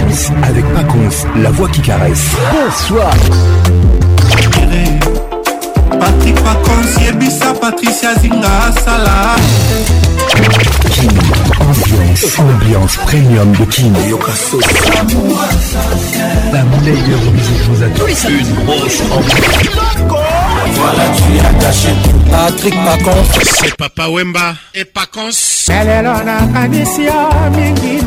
Ambiance avec Paconce, la voix qui caresse. Bonsoir. Patrick Paconce, Yebisa, Patricia Zinga, Salah. Kin, ambiance premium de Kin. La meilleure musique vous attend. Une grosse ambiance. Voilà, tu es attaché. Patrick Paconce. C'est Papa Wemba et Paconce. Elelona Kanisia Mingi.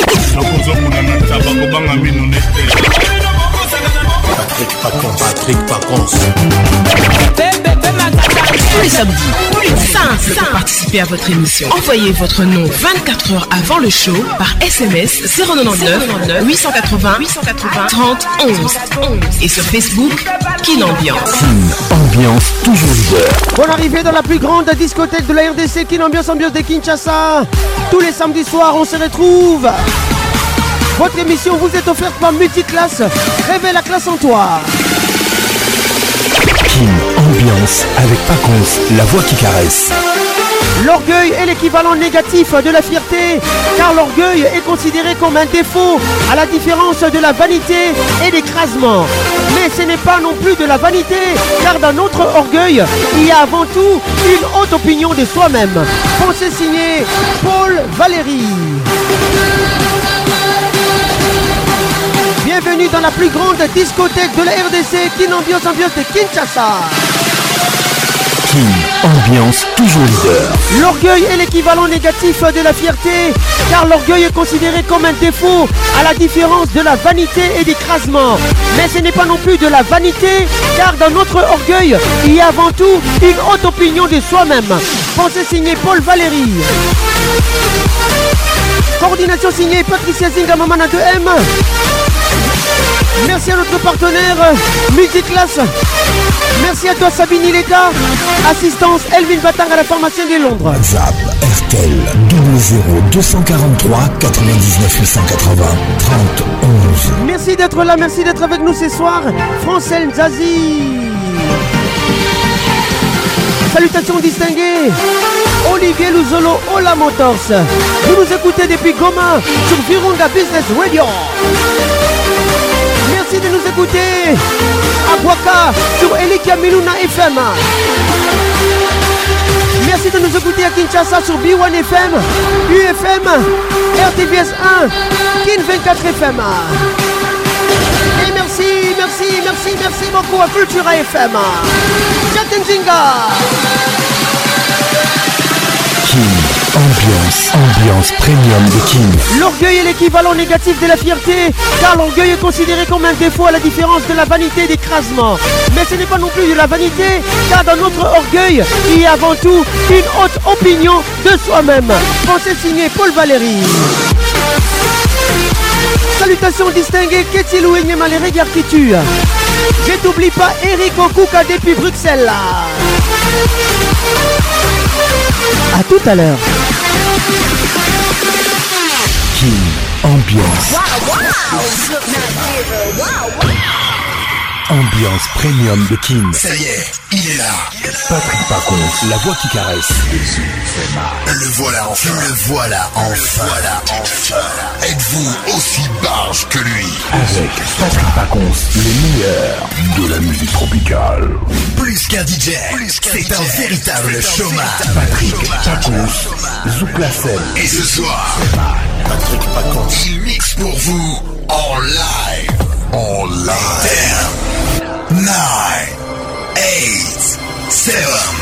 Patrick Paconce. Tous les samedis, simple pour participer à votre émission. Envoyez votre nom 24 heures avant le show par SMS 099 880 30 11 et sur Facebook Kin Ambiance. Kin, ambiance toujours leader. Bonne arrivée dans la plus grande discothèque de la RDC, Kin Ambiance, ambiance de Kinshasa. Tous les samedis soirs, on se retrouve. Votre émission vous est offerte par Multiclass. Réveille la classe en toi. Kin, ambiance avec Paconce, la voix qui caresse. L'orgueil est l'équivalent négatif de la fierté, car l'orgueil est considéré comme un défaut, à la différence de la vanité et l'écrasement. Mais ce n'est pas non plus de la vanité, car dans notre orgueil, il y a avant tout une haute opinion de soi-même. Pensée signée Paul Valéry. Bienvenue dans la plus grande discothèque de la RDC, Kin Ambiance, ambiance de Kinshasa. Kin, ambiance toujours leader. L'orgueil est l'équivalent négatif de la fierté, car l'orgueil est considéré comme un défaut, à la différence de la vanité et d'écrasement. Mais ce n'est pas non plus de la vanité, car dans notre orgueil, il y a avant tout une haute opinion de soi-même. Pensée signée Paul Valéry. Coordination signée Patricia Zinga Mamana 2M. Merci à notre partenaire Multiclass. Merci à toi Sabine Ileka. Assistance Elvin Batang à la formation de Londres. WhatsApp RTL 00 243 99 880 30 11. Merci d'être là, merci d'être avec nous ce soir. Francel Zazie. Salutations distinguées. Olivier Luzolo, Ola Motors. Vous nous écoutez depuis Goma sur Virunga Business Radio. Merci de nous écouter à Boaka sur Elikia Miluna FM. Merci de nous écouter à Kinshasa sur B1 FM, UFM, RTVS 1, Kin 24 FM. Et merci beaucoup à Cultura FM. Jatenzinga. Kin, ambiance premium de Kin. L'orgueil est l'équivalent négatif de la fierté, car l'orgueil est considéré comme un défaut à la différence de la vanité et d'écrasement. Mais ce n'est pas non plus de la vanité, car dans notre orgueil, il y a avant tout une haute opinion de soi-même. Pensée signée Paul Valéry. Salutations distinguées, Ketilou et Maléré qui tue. Je t'oublie pas Eric Okuka depuis Bruxelles. A tout à l'heure. Kin, ambiance. Ambiance premium de Kin. Ça y est, il est là. Patrick Paconce, la voix qui caresse. Le voilà enfin. Êtes-vous aussi barge que lui? Avec Patrick Paconce, le meilleur de la musique tropicale. Plus qu'un DJ, c'est un véritable showman. Patrick Paconce, Zouk la scène. Et ce soir, Patrick Paconce, il mixe pour vous en live. 10, 9, 8, 7,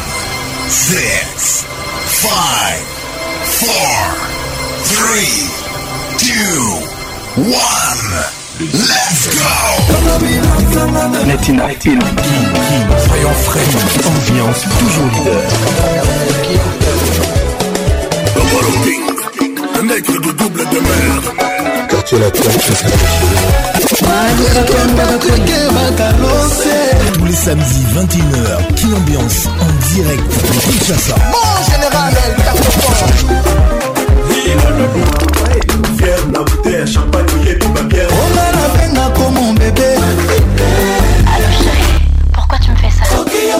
6, 5, 4, 3, 2, 1. Let's go! Latina Kin, soyons frais, ambiance toujours leader. Un nègre de double de merde. Quartier latin, tous les samedis 21h, Kin Ambiance en direct de Kinshasa. Mon général, Fier, la bouteille, champagne, et puis ma bière. on a la peine comme mon bébé. Alors chérie, pourquoi tu me fais ça?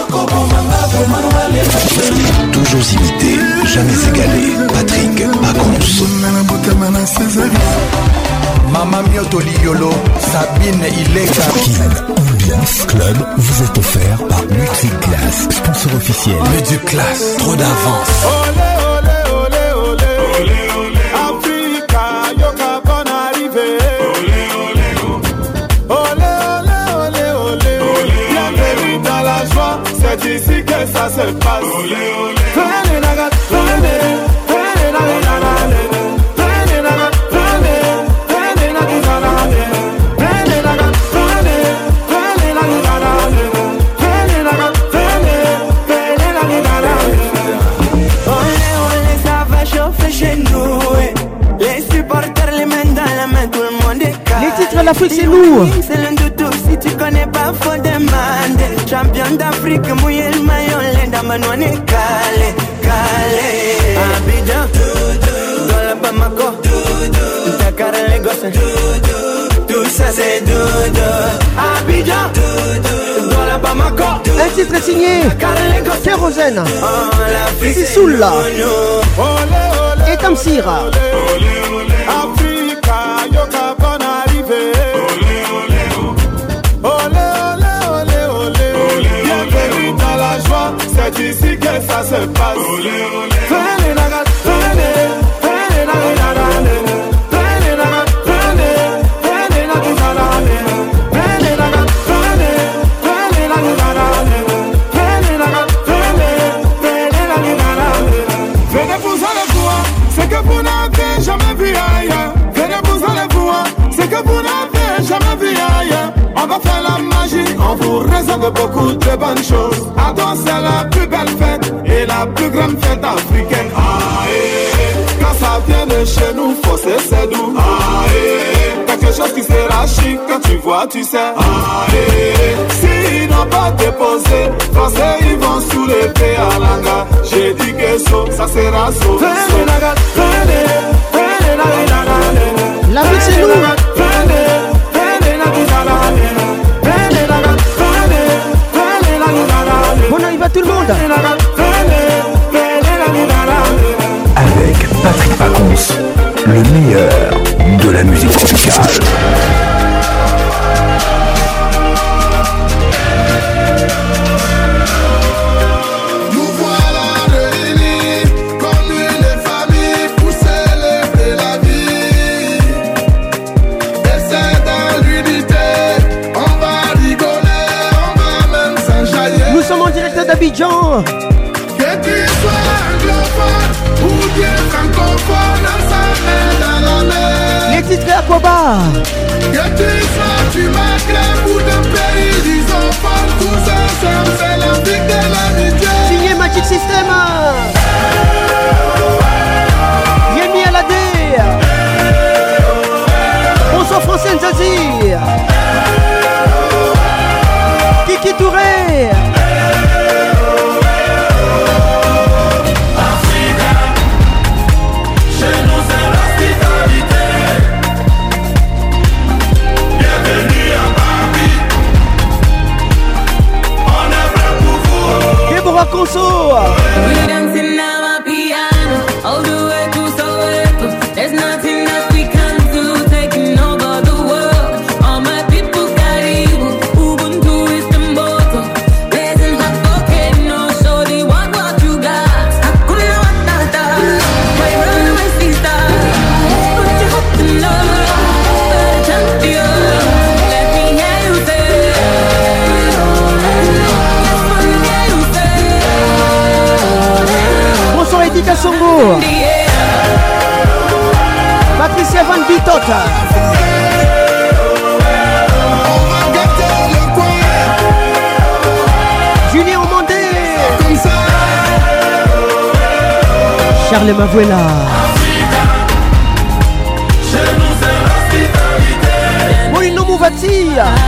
Toujours imité, jamais égalé. Patrick Paconce. Ma Mama Mioto Liolo, Sabine Ilega. Kin Ambiance Club vous est offert par Multiclass, sponsor officiel. Multiclass, trop d'avance. Olé, olé, olé, olé, olé, olé. Africa, yoka bon arrivé. Olé, olé, olé, olé, olé, olé. Bienvenue dans la joie, c'est ici que ça se passe. Olé, olé. Venez, nagat, venez, venez, nagat, les titres de l'Afrique, c'est nous. C'est l'un de tous, si tu connais pas, faut demander. Champion d'Afrique, mouillé le maillot, l'Inde, Manouane, Calais, Calais. Abidjan, dans la Bamako, Dakar, Lagos, tout ça c'est dodo. Abidjan, dans la Bamako. Un titre est signé Kérosène, Sissoula et Tamsira. Africa, yoka bon arrivé. Olé, olé, olé, olé. Bienvenue dans la joie, c'est ici que ça se passe. Venez, nagat, venez, venez, nagat, venez, nagat, venez, venez, nagat, venez, nagat, venez, venez, nagat, venez, nagat, venez, nagat. Venez vous allez voir, c'est que vous n'avez jamais vu ailleurs. Venez vous allez voir, c'est que vous n'avez jamais vu ailleurs. On va faire la magie, on vous réserve beaucoup de bonnes choses. Attends, c'est la plus belle fête et la plus grande fête africaine. Quand ça vient de chez nous, faut c'est doux. Quelque chose qui sera chic, quand tu vois, tu sais. S'ils n'ont pas déposé, français ils vont soulever à l'anga. J'ai dit que ça sera so. Venez, nagat, venez, venez, nagat, la vie c'est nous. Bon arrive à tout le monde. Avec Patrick Pacons, le meilleur de la musique tropicale. d'Abidjan. Que tu sois anglophone ou bien francophone, ensemble dans la mer. Les titres Aquaba. Que tu sois du Maghreb ou d'un pays lusophone, tous ensemble c'est l'Afrique de l'amitié. Signé Magic System. Yemi Alade. Bonsoir Français Nzazi. Kiki Touré. Conso. We dancing now my piano all the way to Soweto. There's nothing that we can do, taking over the world. All my people Karibu, Ubuntu is the motto. Blazing hot volcano, show the what you got. Hakuna Matata, my runaway sister. Put your hope in love, champion. Let me hear you say. Edita Songo, Patricia Van Bitota, Julien Omandé, Charles Mavuela, Molino Mouvati.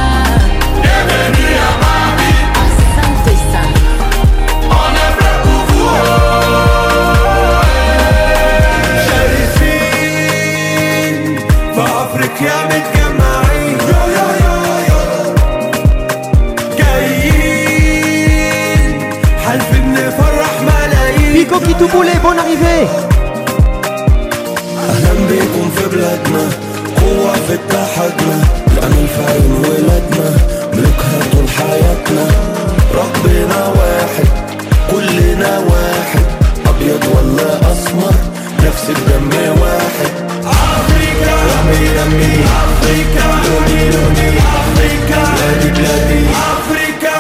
Pico qui tout boulait, bonne arrivée. أهلا بكم في بلادنا قوة فكة حجمة نعمل في عين ولادنا ملكها طول حياتنا ربنا واحد كلنا واحد أبيض ولا أسمر نفس الدم واحد أفريقيا رمي رمي أفريقيا لوني لوني أفريقيا بلادي بلادي أفريقيا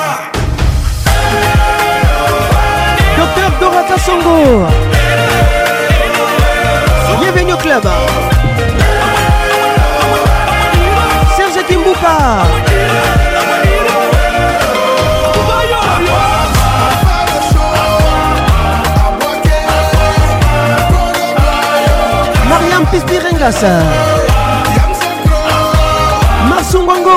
Docteur Dorata Songo. Bienvenue au club. Serge Kimbuka. Mariam Pispirengas. Marsungwango.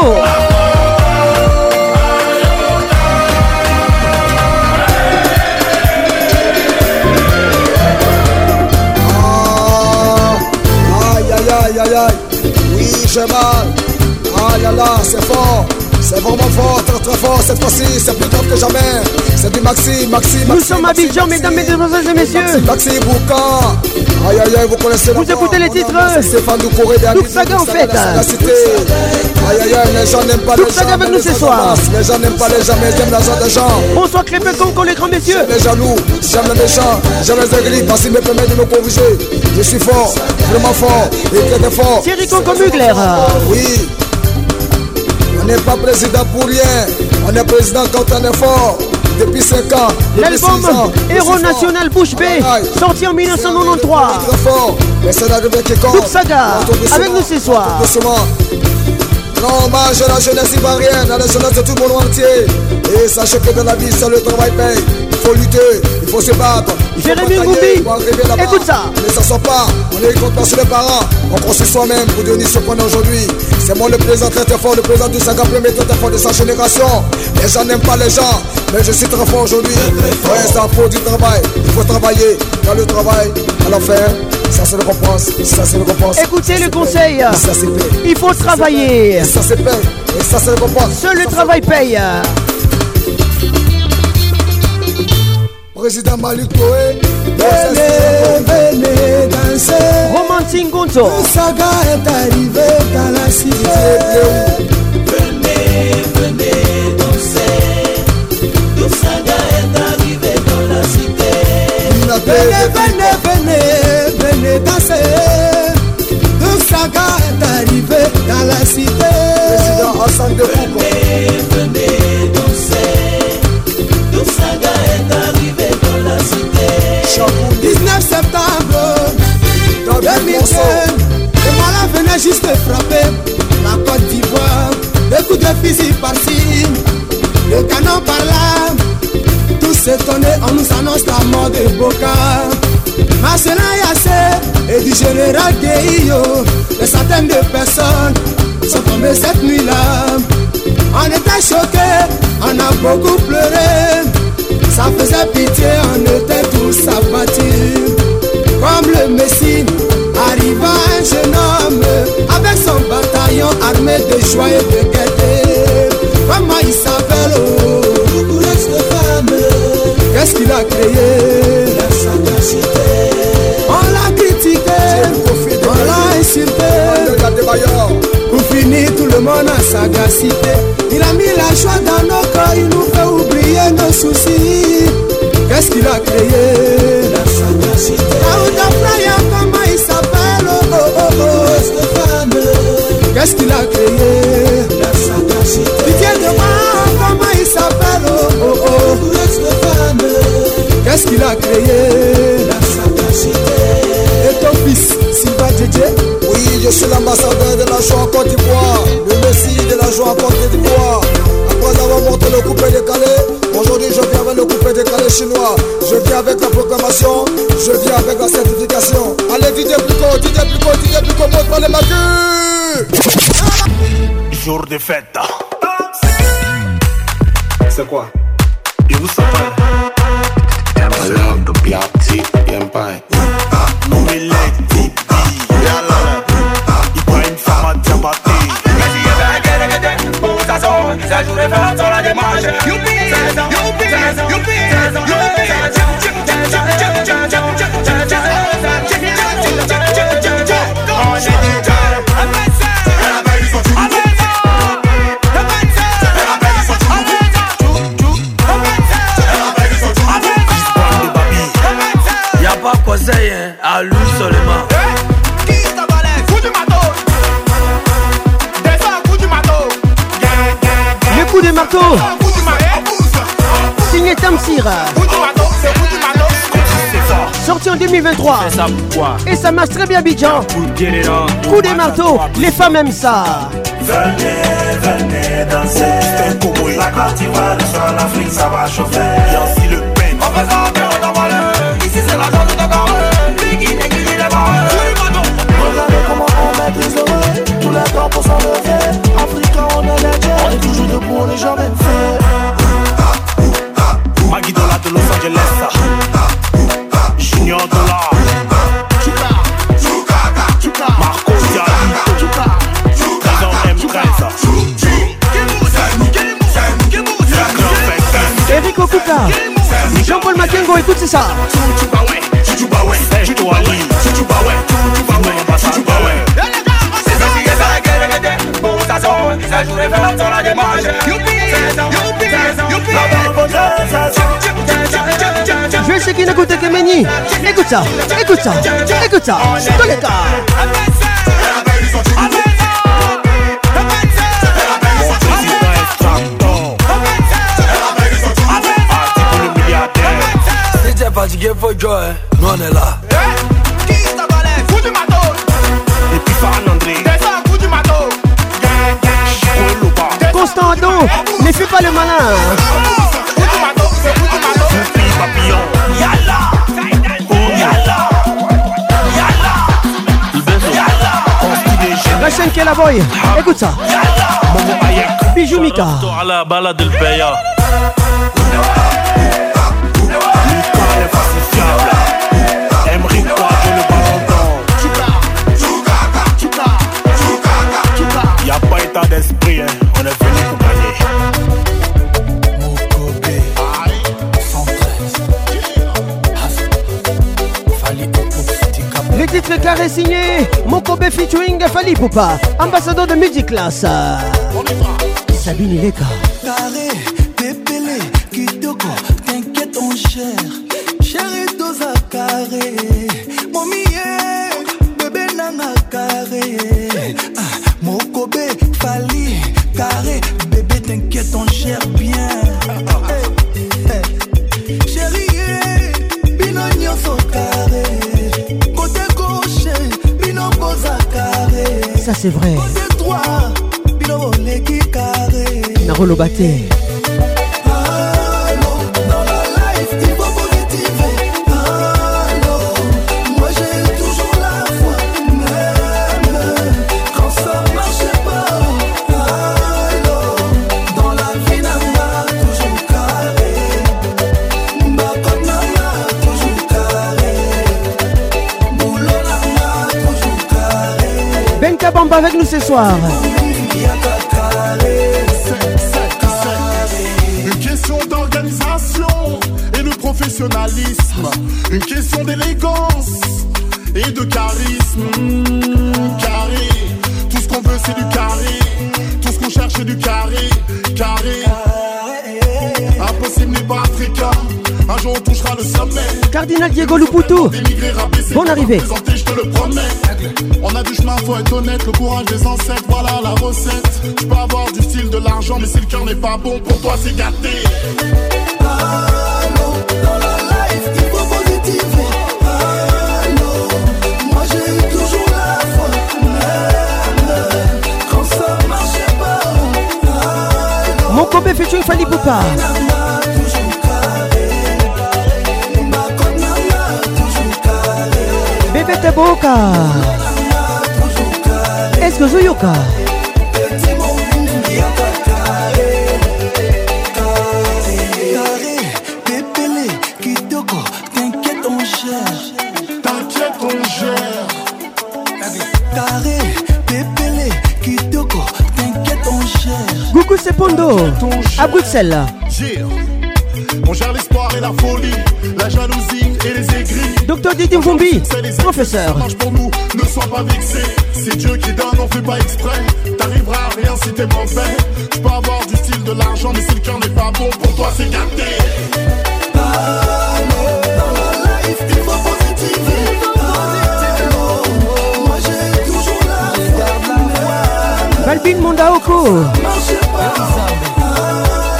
Aïe aïe aïe, oui j'ai mal. Ah là là, c'est fort, c'est vraiment fort, très très fort. Cette fois-ci, c'est plus grave que jamais. C'est du Maxi. Nous sommes à Abidjan, mesdames, mesdemoiselles et messieurs. Maxi Bouka. Aïe aïe aïe, vous connaissez. Vous écoutez les titres. Stéphane Doucouré, Douk Saga en fait. Aïe aïe aïe, les gens n'aiment pas les gens. Douk Saga avec nous ce soir. Les gens n'aiment pas les gens, mais j'aime l'argent des gens. Bonsoir Crépé Conco, les grands messieurs. J'aime les jaloux, j'aime les méchants, j'aime les aigris, parce qu'ils me permettent de me corriger. Je suis fort, vraiment fort, et très très fort. Thierry Conco Mugler. Oui. On n'est pas président pour rien. On est président quand on est fort. Depuis 5 ans. L'album Héros National Bouche B, sorti en 1993. Très fort. Mais c'est l'arrivée qui compte. Douk Saga, avec nous ce soir. Non, hommage à la jeunesse ivoirienne, à la jeunesse de tout le monde entier. Et sachez que dans la vie, seul le travail paye. Il faut lutter, il faut se battre. Jérémy Ngoubi, écoute ça. Ne s'assoit pas, on est contre sur les parents. On construit soi-même pour devenir ce qu'on est aujourd'hui. C'est moi le président très très fort, le président du Saga, premier très fort de sa génération. Les gens n'aiment pas les gens, mais je suis très fort aujourd'hui. Ouais, ça faut du travail, il faut travailler. Dans le travail, à la fin, ça c'est le récompense, ça c'est le récompense. Écoutez le conseil, il faut travailler. Ça c'est paye, et ça c'est le récompense. Seul le travail paye. Président Malik Koé, venez danser. Romantique Gonzo. Le Saga est arrivé dans la cité. Venez danser. Le Saga est arrivé dans la cité. Venez danser. Le Saga est arrivé dans la cité. Président Hassan de Foucault. Venez danser. Le Saga est arrivé dans la cité. 19 septembre 2015, le malin venait juste frapper la Côte d'Ivoire. Des coups de fusil par-ci, le canon par-là. Tous étonnés, on nous annonce la mort de Boka. Marcelin Yassé et du général Gueillo. Des centaines de personnes sont tombées cette nuit-là. On était choqués, on a beaucoup pleuré. Ça faisait pitié, on était tous abattus. Comme le Messie, arriva un jeune homme avec son bataillon armé de joie et de gaieté. Comment il s'appelle, oh, qu'est-ce qu'il a créé? La sagacité. On l'a critiqué, on l'a insulté. Pour finir, tout le monde a sagacité. Il a mis la joie dans nos corps, il nous fait oublier nos soucis. Qu'est-ce qu'il a créé? La sagacité. Aouda Playa, comment il s'appelle? Oh oh oh oh. Qu'est-ce qu'il a créé? La sagacité. Pitié de moi, comment il s'appelle? Oh oh oh. Qu'est-ce qu'il a créé? La sagacité. Et ton fils, Sylvain Djedje? Oui, je suis l'ambassadeur de la joie en Côte d'Ivoire, le messie de la joie en Côte d'Ivoire. Après avoir monté le coupé décalé, aujourd'hui je viens avec le coupé décalé chinois. Je viens avec la proclamation, je viens avec la certification. Allez, DJ Plico, montre les maquis. Jour de fête. C'est quoi? You suffer. I love the Piatti Empire. Ça joue les femmes sur la démarche. Youpi, Loputo. Signé Tamsir. Sorti en 2023. Et ça marche très bien, Bidjan. Coup des marteaux, les femmes aiment ça. Venez danser. La Côte d'Ivoire, le soir, l'Afrique, ça va chauffer. Yancy Le Pen. On fait ça, on va voler. Ici, c'est la zone de Dakar. Biggie, Negui, les barres. Regardez comment on maîtrise le vrai. Tous les temps pour s'en lever. Africain, on est les dieux. On est toujours debout, on n'est jamais fait. Maggie Dola de Los Angeles. Junior Dollar. Marco Dialito. Présent M13. Eric Okuka. Jean-Paul Makengo, écoute, c'est ça. Je vais chez qui n'écoute que Méni. Écoute ça, écoute ça, écoute ça. Tous les cas. Fatigué, faut jouer, nous on est là. Qui t'a balé? Fou du matos. Et puis Fan André. Descends, fou du matos. Constant Adon, ne fais pas le malin. Fou du matos, c'est fou du matos. Fou papillon. Yalla. Yalla. Yalla. La chaîne qui est la boy. Écoute ça. Bijou Mika. À la balade del Peya. Y'a pas état d'esprit, hein. On est venu pour gagner. Mokobé 113 Le titre carré signé Mokobe featuring Fali Poupa, ambassadeur de Music Class. Sabine Ileka. Carré, pépélé, kitoko, t'inquiète on cher. Chéri dosa carré, mon millet, bébé nana carré. Mokobe, Fali, carré, bébé t'inquiète on cher bien. Chéri, bino nyoso carré. Côté gauche, bino bosa carré. Ça c'est vrai. Côté droit, bino leki carré. Narolo Baté. Bamba avec nous ce soir. Une question d'organisation et de professionnalisme. Une question d'élégance et de charisme. Carré, tout ce qu'on veut c'est du carré. Tout ce qu'on cherche c'est du carré. Carré, impossible n'est pas africain. Un jour on touchera le sommet. Cardinal Diego Luputo, bonne arrivée. Je te le promets. On a du chemin, faut être honnête. Le courage des ancêtres, voilà la recette. Tu peux avoir du style, de l'argent, mais si le cœur n'est pas bon, pour toi c'est gâté. Allô, dans la life, il faut positiver. Allô, moi j'ai eu toujours la foi. Même quand ça marchait pas. Allô, mon Kobe featuring Fali Poupa. Bébé Teboka. Est-ce que Zoyoka? T'inquiète on cherche. T'inquiète on gère. Carré, pépélé, kitoko. T'inquiète on cherche. Gougou Sepondo à Bruxelles. On gère l'espoir et la folie, la jalousie et les aigris. Docteur Didi Mvumbi, professeur. Pour nous, ne sois pas vexé. C'est Dieu qui donne, on fait pas exprès. T'arriveras à rien si t'es mauvais. Tu peux avoir du style, de l'argent, mais si le cœur n'est pas bon, pour toi c'est gâté. Allô, dans la life, il faut positiver. Allô, moi j'ai toujours la foi. Balbine Mondaoko. Marchez pas.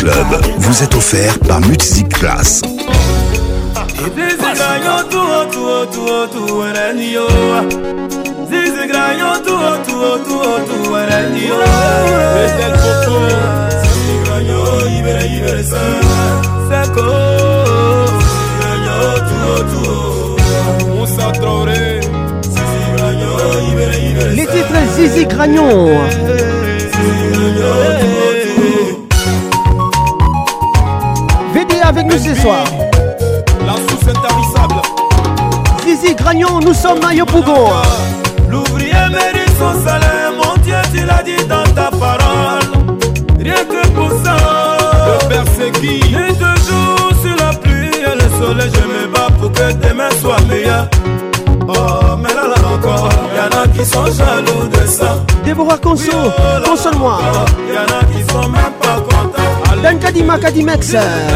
Club vous est offert par Music Class. Les titres Zizi Gragnon. VD avec nous ce soir. La source intarissable. Zizi Gragnon, nous sommes à Yopougon. L'ouvrier mérite son salaire, mon Dieu, tu l'as dit dans ta parole. Rien que pour ça, le Père c'est qui? Et toujours sur la pluie et le soleil, je me bats pour que demain soit meilleur. Oh, mais là encore, y'en a qui sont jaloux de ça. Déborah Conso, console-moi. Y'en a qui sont même pas contents. Dan Kadima Kadimex.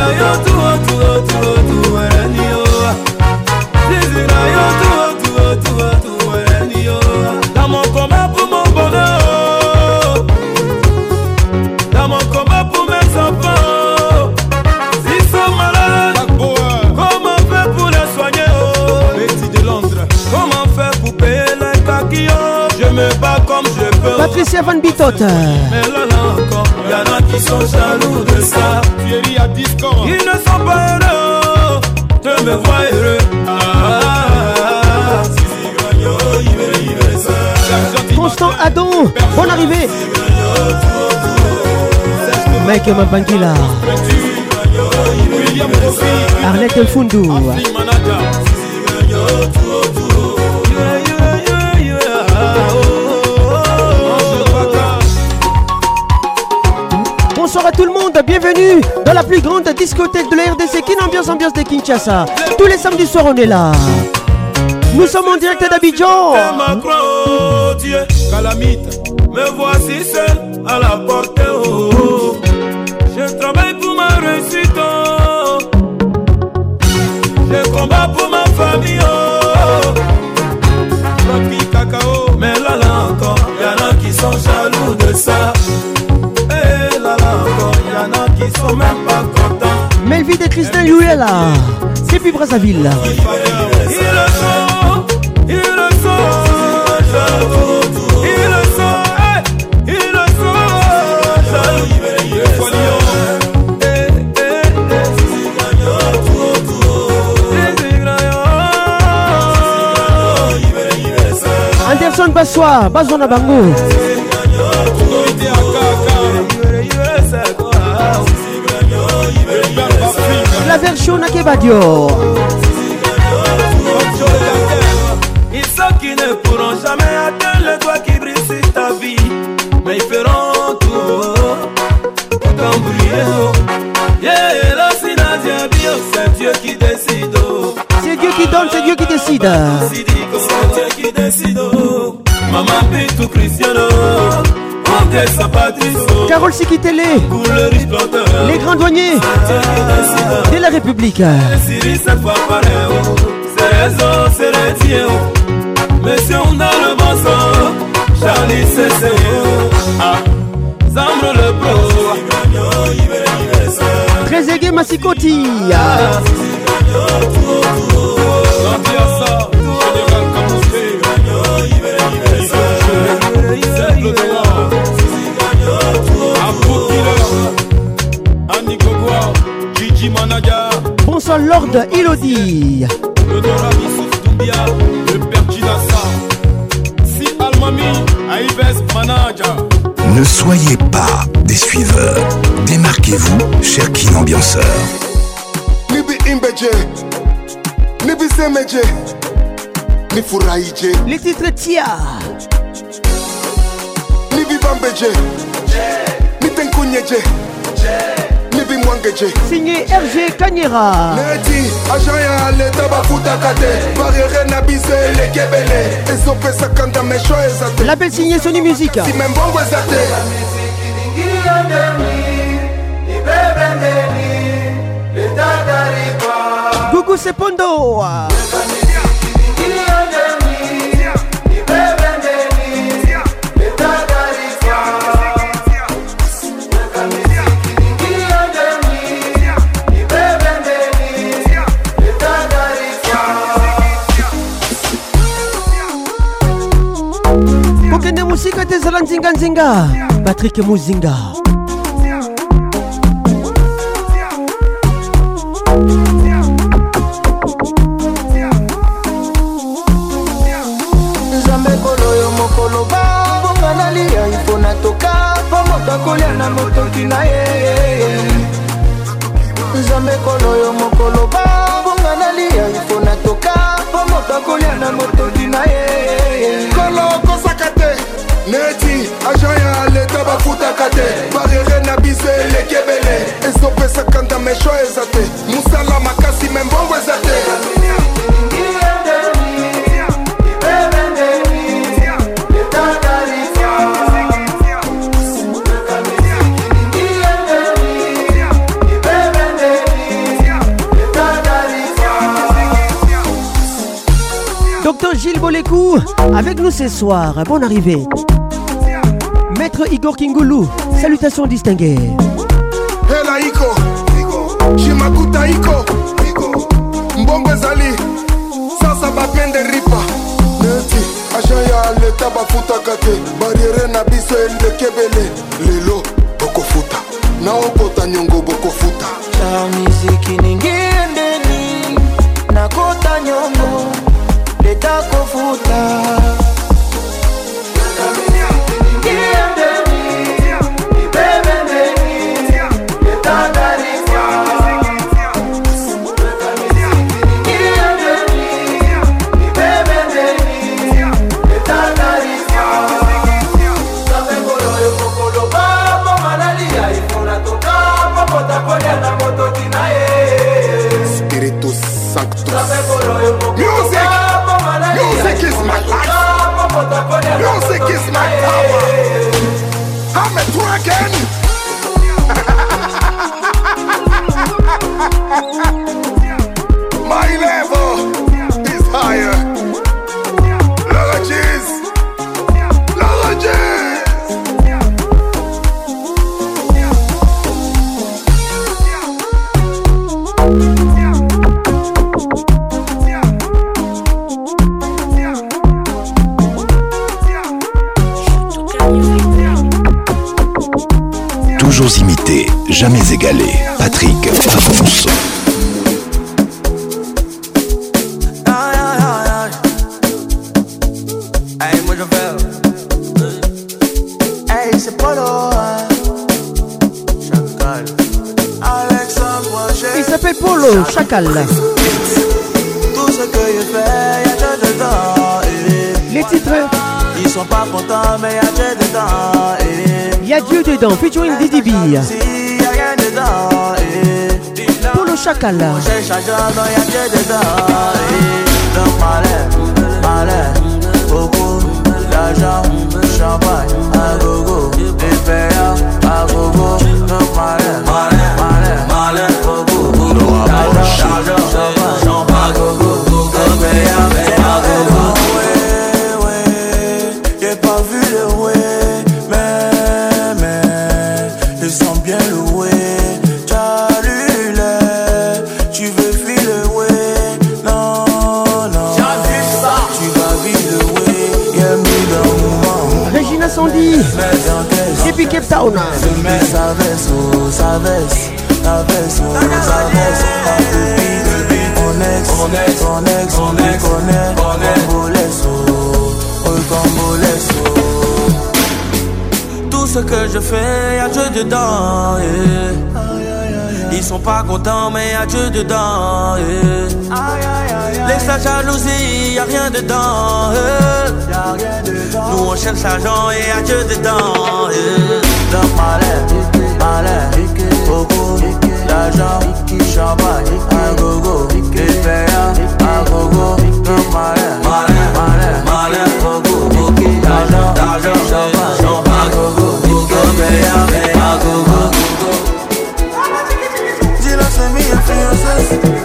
Dans mon combat pour mon bonheur, dans mon combat pour mes enfants, s'ils sont malades, comment faire pour les soigner? Betty de Londres, comment faire pour payer les caquillots? Je me bats comme je peux. Patricia Van Bitot. Mais là encore, y'en a qui sont jaloux de ça. Thierry à Discord, ils ne sont pas heureux de me voir heureux. Constant Adon, bonne arrivée. Mike Mabangila. Arlette El Fundou. Bonsoir à tout le monde, bienvenue dans la plus grande discothèque de la RDC, Kin Ambiance de Kinshasa. Tous les samedis soirs on est là. Nous sommes en direct d'Abidjan. Dieu, calamite, me voici seul à la porte. Oh. Je travaille pour ma réussite. Oh. Je combats pour ma famille. Oh. Papi cacao, mais là encore, y'en a qui sont jaloux de ça. Et là encore, y'en a qui sont même pas contents. Melvie de Christin Louella, depuis Brazzaville. Ils le sont, Anderson Bassois, Bazona Bango. La version Nakebadio. Ils sont qui ne pourront jamais atteindre le doigt qui brille sur ta vie. Mais ils feront tout pour t'embrouiller. Yeah, là, c'est Nadia Bio, c'est Dieu qui décide. C'est Dieu qui donne, c'est Dieu qui décide. C'est Dieu qui décide. Maman Pitou Cristiano, Andressa Patricio, Carole Sikitele, les grands douaniers de la République. C'est raison, c'est les tiens. Monsieur, on a le bon sang. Charlie, c'est Zambro le pro. Très aigué Massikoti. Bonsoir Lord Elodie. Le Dorami Souf Doumbia, le père Jinassa. Si Almami, Aïbes Manaja. Ne soyez pas des suiveurs. Démarquez-vous, cher Kin Ambianceur. Nibi Imbeje, Nibi Semeje, Nifuraije. Les titres Tia. Nibi Bambeje, Nitenkunyeje. Signé RG Kanyera. Neti, Ajaya, l'État Bafuta Kate, Barrière Nabise, les Kebele, Ezope Sakanda, Mesho Ezate. Label signé Sony Music. Si même bon Ezate. Gougou Sepondo. Tokende musika tezala nzinga nzinga. Patrick Muzinga. Nzambe kolo yo mokolo ba bonga nalia ifona toka pomoto kolia na motoki na ye. Nzambe kolo yo mokolo ba bonga nalia ifona toka pomoto kolia na motoki na ye. Kolo kosakate neti ajaya leta bafuta kate barriere na biso elekebele ezopesa kanda mesho ezate musala makasi membongo ezate. Docteur Gilles Bolekou, avec nous ce soir. Bonne arrivée. Maître Igor Kingoulou, salutations distinguées. Hela Iko, Shimakuta Iko, Mbongo Zali, Sasa Bapende Ripa. Neti, Ajaya leta bafuta kate, barriere na biso elekebele. Lelo, boko futa, na okota nyongo boko futa. La miziki ningiendeni, na kota nyongo. Leta kofuta Spiritus Sanctus. Music! Music is my life. Music is my power. I'm a dragon. My level is higher. Laura Jeez. Laura Jeez. Toujours imité, jamais égalé. Patrick Pacons. Hey, moi je fais. Hey, c'est Polo. Chacal. Alexandre, il s'appelle Polo, Chacal. Tout ce que je fais, y'a Dieu dedans. Les titres. Ils sont pas contents, mais y'a Dieu dedans. Y'a Dieu dedans, featuring Didi B. Y'a rien dedans. Polo Chacal. Mon cher changeant, non y'a Dieu dedans. Donc malin, beaucoup d'argent, champagne, à gogo, des payants, à gogo. Donc malin, beaucoup d'argent, champagne, à gogo, des payants, à gogo. J'ai pas vu le way, mais ils sont bien loués. Tu veux filer le way, non. Tu vas vivre le way, y'a mis dans le moment. Regina Sandy, depuis Cape Town. Je mets sa veste. On connaît, tout ce que je fais, y'a Dieu dedans, yeah. Ils sont pas contents, mais y'a Dieu dedans, yeah. Laisse la jalousie, y'a rien dedans, yeah. Nous on cherche l'argent et y'a Dieu dedans, yeah. Donc malin, beaucoup d'argent, champagne, à gogo, des payants, à gogo. Donc malin, beaucoup d'argent, champagne, à gogo, des payants, à gogo. Dis-le, c'est mes influences.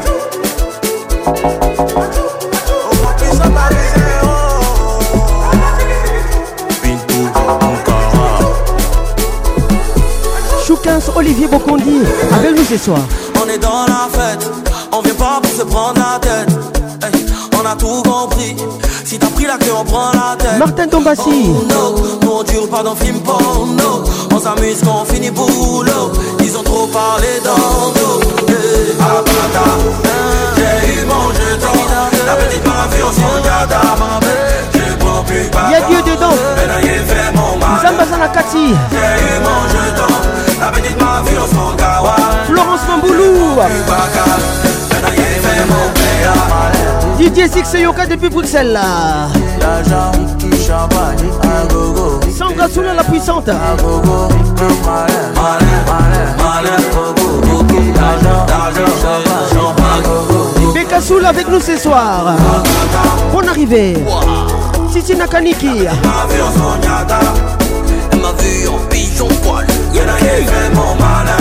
Choukins Olivier Bokondi, avec nous ce soir. On est dans la fête, on vient pas pour se prendre la tête. Hey, on a tout compris. Si t'as pris la là qu'on prend la tête. Martin Tombassi. Oh no, nous on dure pas dans film porno. On s'amuse quand on finit boulot. Ils ont trop parlé d'ando. Abata, j'ai eu mon jeton. La petite m'a vu en son gada. Je prends plus pas. Y'a Dieu dedans. Zambazana Kati. J'ai eu mon jeton. La petite m'a vu en son gawa. Florence Mamboulou. Didier Six Yoka depuis Bruxelles. Sandra Soula la puissante. Beka Soula avec nous ce soir. Bonne arrivée. Sissi Nakaniki. Elle m'a vu en pigeon poil. Y'en a qui fait mon malin.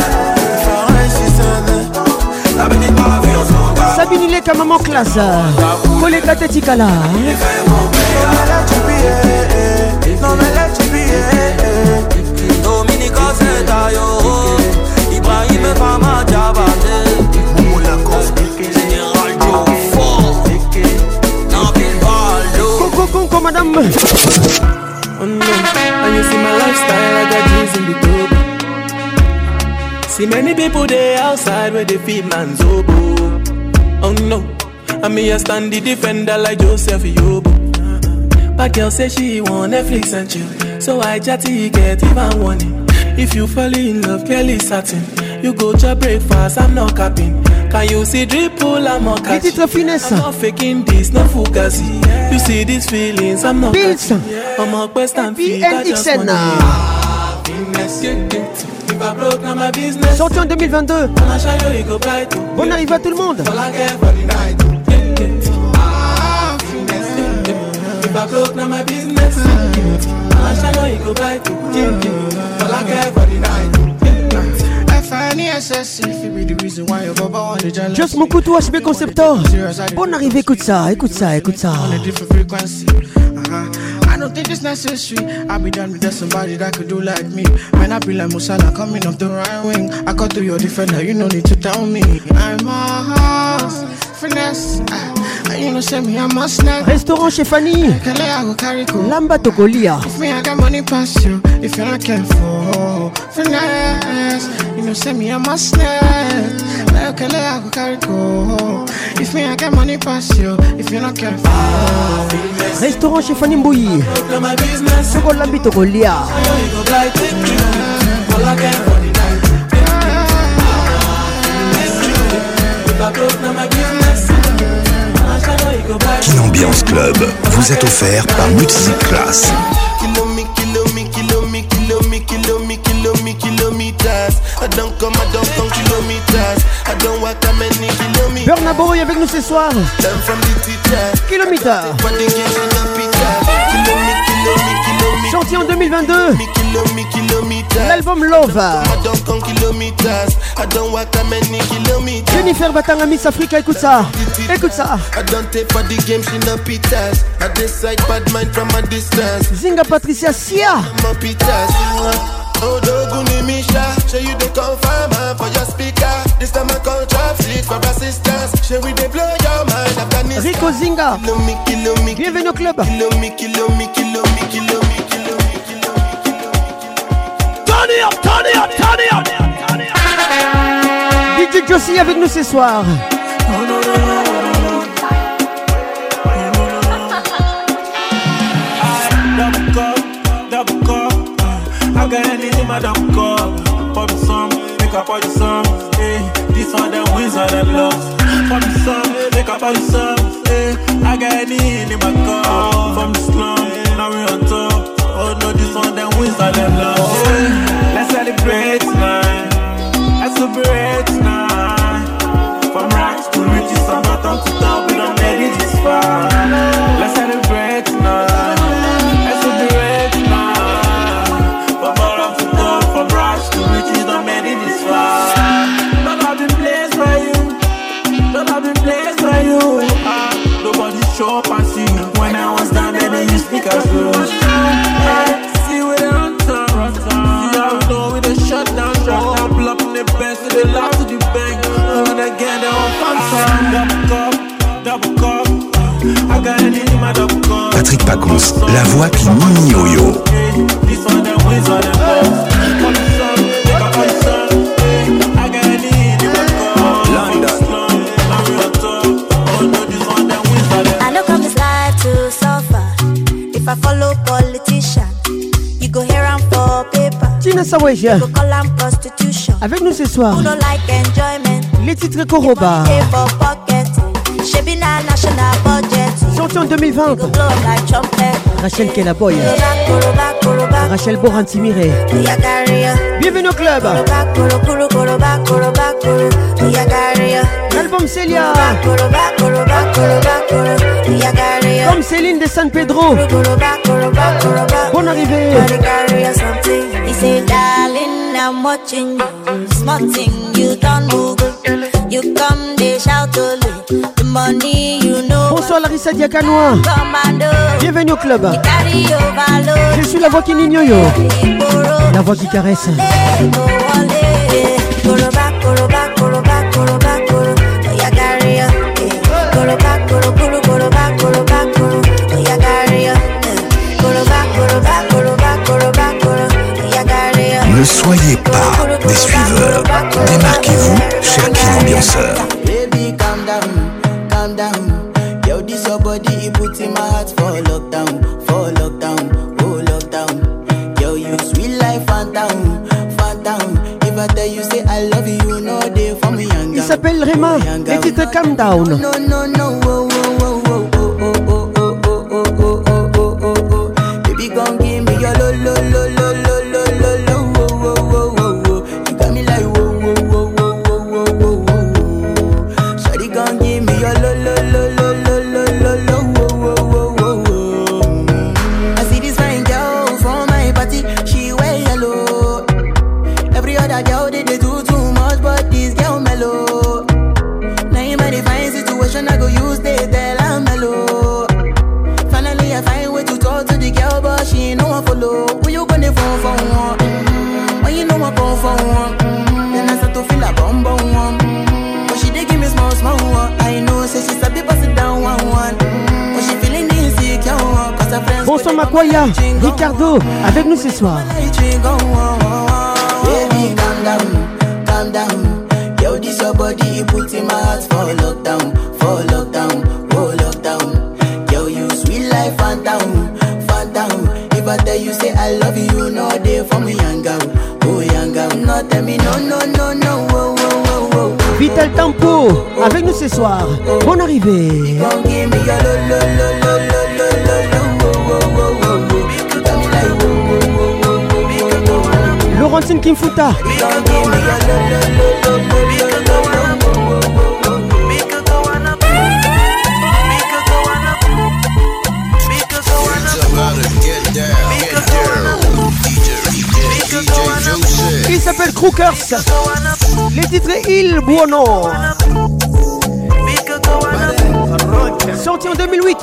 La petite m'a vu en son gars. Sabine Leka maman classe. Koleka Tetikala. Non mais laisse oublier. Dominique c'est taillot. Ibrahim est pas ma diabate. Général Joe fort. Nabil Baldo. Conco madame. Oh no, and you see my lifestyle, I got jeans in the tub. See many people there outside where they feed man's oboe. Oh no, I me a stand the defender like Joseph Yobo. But girl say she want Netflix and chill, so I chatty get even warning. If you fall in love, Kelly satin, you go to breakfast, I'm not capping. Can you see dripple, I'm not catching. I'm not faking this, no fugazi. You see these feelings, I'm not catching. I'm a quest and feel, I just want Sorti en 2022. Bonne arrivée à tout le monde. Just Mokutu HB Conceptor. Bonne arrivée, écoute ça, écoute ça, écoute ça. I don't think it's necessary. I'll be done with just somebody that could do like me. Man, I be like Musala coming off the right wing. I got through your defender, you no need to tell me. I'm a house, finesse. You know, send me, I'm a snack. Restaurant chez Fanny. Lamba Tokolia. If me, I got money past you. If you're not careful, finesse. You know, send me, I'm a snack. If me, I got money past you. If you're not careful. Restaurant chez Fanny Mbouyi. Soko Lambi Tokolia. Kin Ambiance Club vous est offert par Multiclass. Burna Boy avec nous ce soir. Kilomètre. Sorti en 2022. L'album Love. Jennifer Batanga Miss Africa, écoute ça. Écoute ça. Zinga Patricia Sia. Oh, Doguni Misha, show you the confirm for your speaker. This time I call traffic for assistance. Show we they blow your mind. Afghanistan. Rico Zinga. Bienvenue au club. Turn it up, turn it up, turn it up. DJ Josie avec nous ce soir. I got anything in my damn cup. Pop me some, make up all the some. Hey, this one them wins all them loves. Pop me some, make up all the some. Hey, I got anything in my cup. From the slum, now we on top. Oh no, this one them wins all them loves. Hey, let's celebrate tonight. Let's celebrate tonight. From racks to riches, from bottom to top, we done made it this far. Let's celebrate tonight. Let's celebrate tonight. From racks to riches, done made it this far. Love have been placed for you. Love have been placed for you. Nobody show up and see you. When I was down there, they used speak as rules. Pacons, la voix qui nini yo-yo. I know come this life to suffer. If I follow politician, you go hear am for paper. Tina Saweja, go call am prostitution. avec nous ce soir. Who don't like enjoyment? Les titres Koroba. Pay for pocket. Shebi na national budget. Sorti en 2020. Go blow up like trumpet. Rachel Kelaboy. Koroba, koroba. Rachel Borantimire. Ya carry. Bienvenue au club. Koroba, koroba, koroba, koroba, koroba. Ya carry. L'album Celia. Koroba, koroba, koroba, koroba. Ya carry. Comme Céline de San Pedro. Koroba, koroba, koroba. Bonne arrivée. He said, darling, I'm watching you. Small thing, you don't move. You come, they shout only. The money, you know. Bonsoir Larissa Diakanoa. Bienvenue au club. Je suis la voix qui n'ignore. La voix qui caresse. Ne soyez pas des suiveurs. Démarquez-vous, cher Kin ambianceur. Baby, calm down, calm down. Yo, this your body, it puts in my heart for lockdown, oh lockdown. Yo, you sweet life, phantom, phantom. If I tell you say I love you, you know they for me young. Il s'appelle Rema. Les titres Calm Down. No, no, no, oh, oh, oh, oh, oh, oh, oh, oh, oh, oh, oh, oh, oh, oh. Baby, gon' give me your lo, lo, lo, lo, lo, lo, lo, lo, oh, oh, oh, oh, oh. You got me like whoa, whoa, whoa, whoa, whoa, whoa, whoa, whoa. Shawty gon' give me your lo, lo, lo, lo, lo, lo, lo, lo, whoa, whoa, whoa, whoa. I see this fine girl from my party, she wear yellow. Every other girl they do too much, but this girl mellow. Now in my fine situation, I go use they tell I'm mellow. Finally I find way to talk to the girl, but she ain't no one follow. Who you gonna phone for one? When you know I come for one, then I start to feel a bum bum one. But she dey give me small small one. I know say she's a bit pass it down one one. But she feeling insecure one, cause her friends. Bonsoir Makwaya, Ricardo, avec nous ce soir. Baby, calm down, calm down. Yo, this your body, it puts in my heart for lockdown, oh lockdown. Yo, you sweet life, phantom, phantom. If I tell you say I love you, you know they for me young girl, oh young girl. No tell me no, no, no, no, oh, oh, oh, oh. Vital Tempo, avec nous ce soir. Bonne arrivée. Gon' give me your lo, lo, lo, lo, lo, lo, lo, lo, oh, oh, oh, oh, oh. You got me like oh, oh, oh, oh, oh. Laurentine Kimfuta. Il s'appelle Crookers. Les titres Il Buono. Sorti en 2008.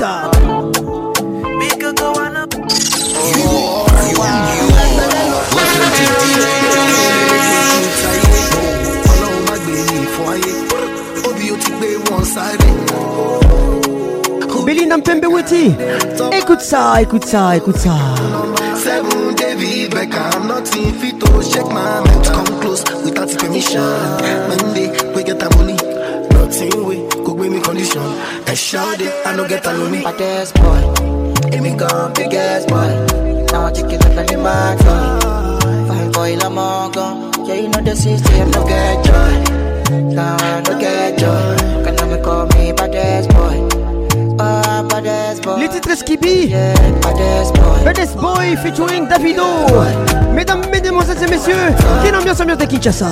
Belinda Mpembeweti. Écoute ça, écoute ça, écoute ça. Seven David Beckham, nothing fit to shake my mind. Come close without permission. Monday we get a money, nothing we could bring me condition. And shout it, I no get alone me. But this boy, give me gun, big ass boy. Now I check it up in my car. Fine boy, I'm all gone. Yeah, you know the system, no get joy. Now I no get joy. Can I call me baddest boy? Les titres Skippy, Baddest Boy featuring Davido. Mesdames, mesdemoiselles et messieurs, quelle ambiance de Kinshasa.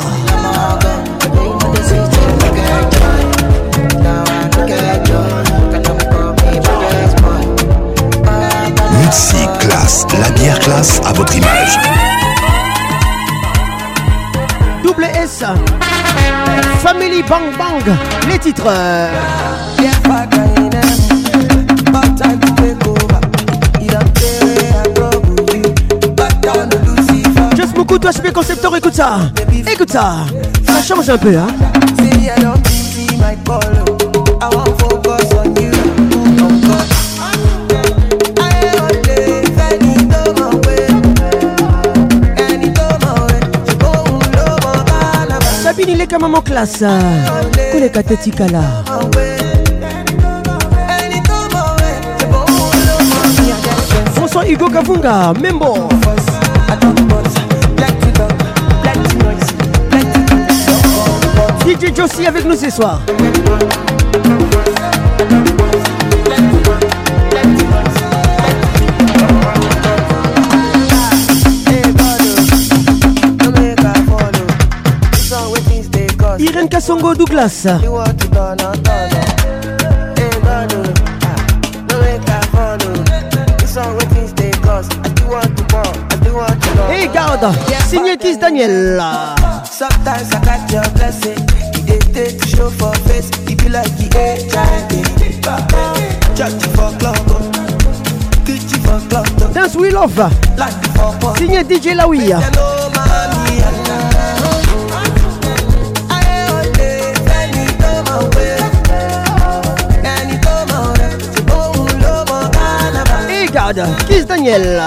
Mutsi Classe, la bière classe à votre image. Double S, Family Bang Bang, les titres. Just beaucoup toi HP concepteur, écoute ça. Écoute ça. Ça change un peu hein. Tika maman classe. Koleka tetikala. François Hugo Kavunga, Membo. DJ Josie avec nous ce soir. Irene Kassongo Douglas. Hey garde, signé Kiss Daniel. Sometimes I got your blessing. You did to show for face. You be like you ain't trying. Judge for club. Teach you for club. Dance We Love. Signé DJ Laouia. Hey garde, Kiss Daniel.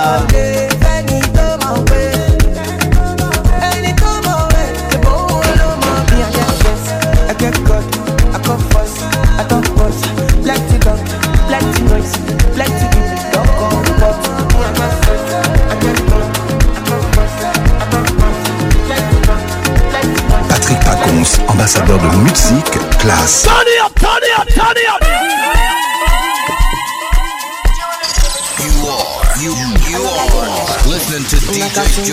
Patrick Pacons, ambassadeur de musique classe. Turn it up, turn it up, turn it up. You are listening to DJ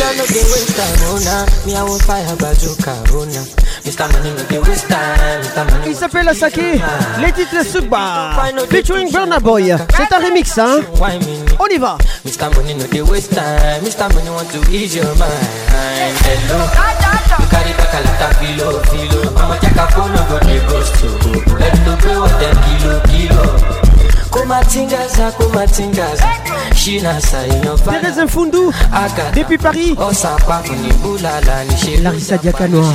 Il s'appelle Asake, les titres Sugba, featuring Burna Boy. C'est un remix, hein? On y va. Mr. Money no dey waste time. Mr. Money want to ease your mind. Hello, you carry back a lot of filo. I'ma check a phone, no go dey ghost to. Let me pay what them kilo. Kumatingaza, Shina Thérèse Mfundu, depuis Paris. Larissa Diakanoa.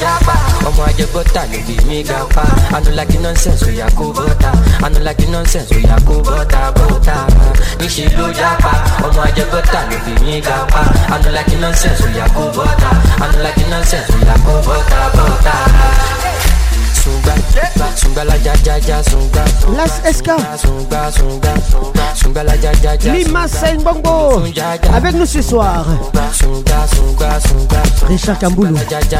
I don't like the nonsense, we are kubota. I don't like the nonsense, we are kubota. Nishi lo japa, omo ajebota, lebi mi gapa. I don't like the nonsense, we are kubota. I don't like the nonsense, we are kubota. Sunga la ja sunga. Las Esca. Sunga la ja. Lima Saingbongo. Avec nous ce soir. Richard Kamboulou.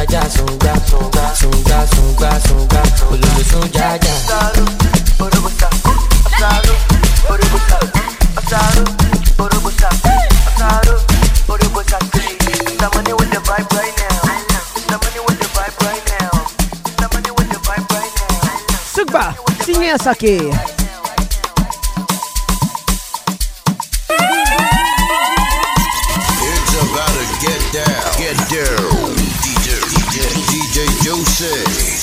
Sugba, signé Asake. It's about to get down. DJ Joseph.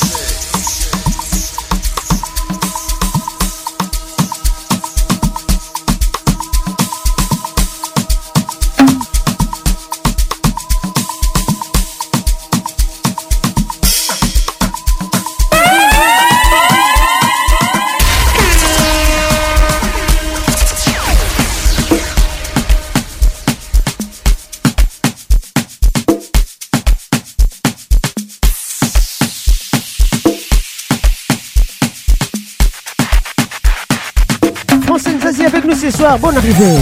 Avec nous ce soir, bonne arrivée.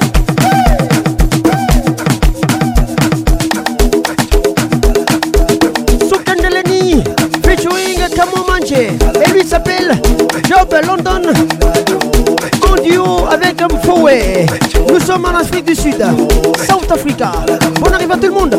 Soukandeleni, featuring Kamo Manche. Et lui s'appelle Job London. En duo avec Mfowe. Nous sommes en Afrique du Sud, South Africa. Bonne arrivée à tout le monde.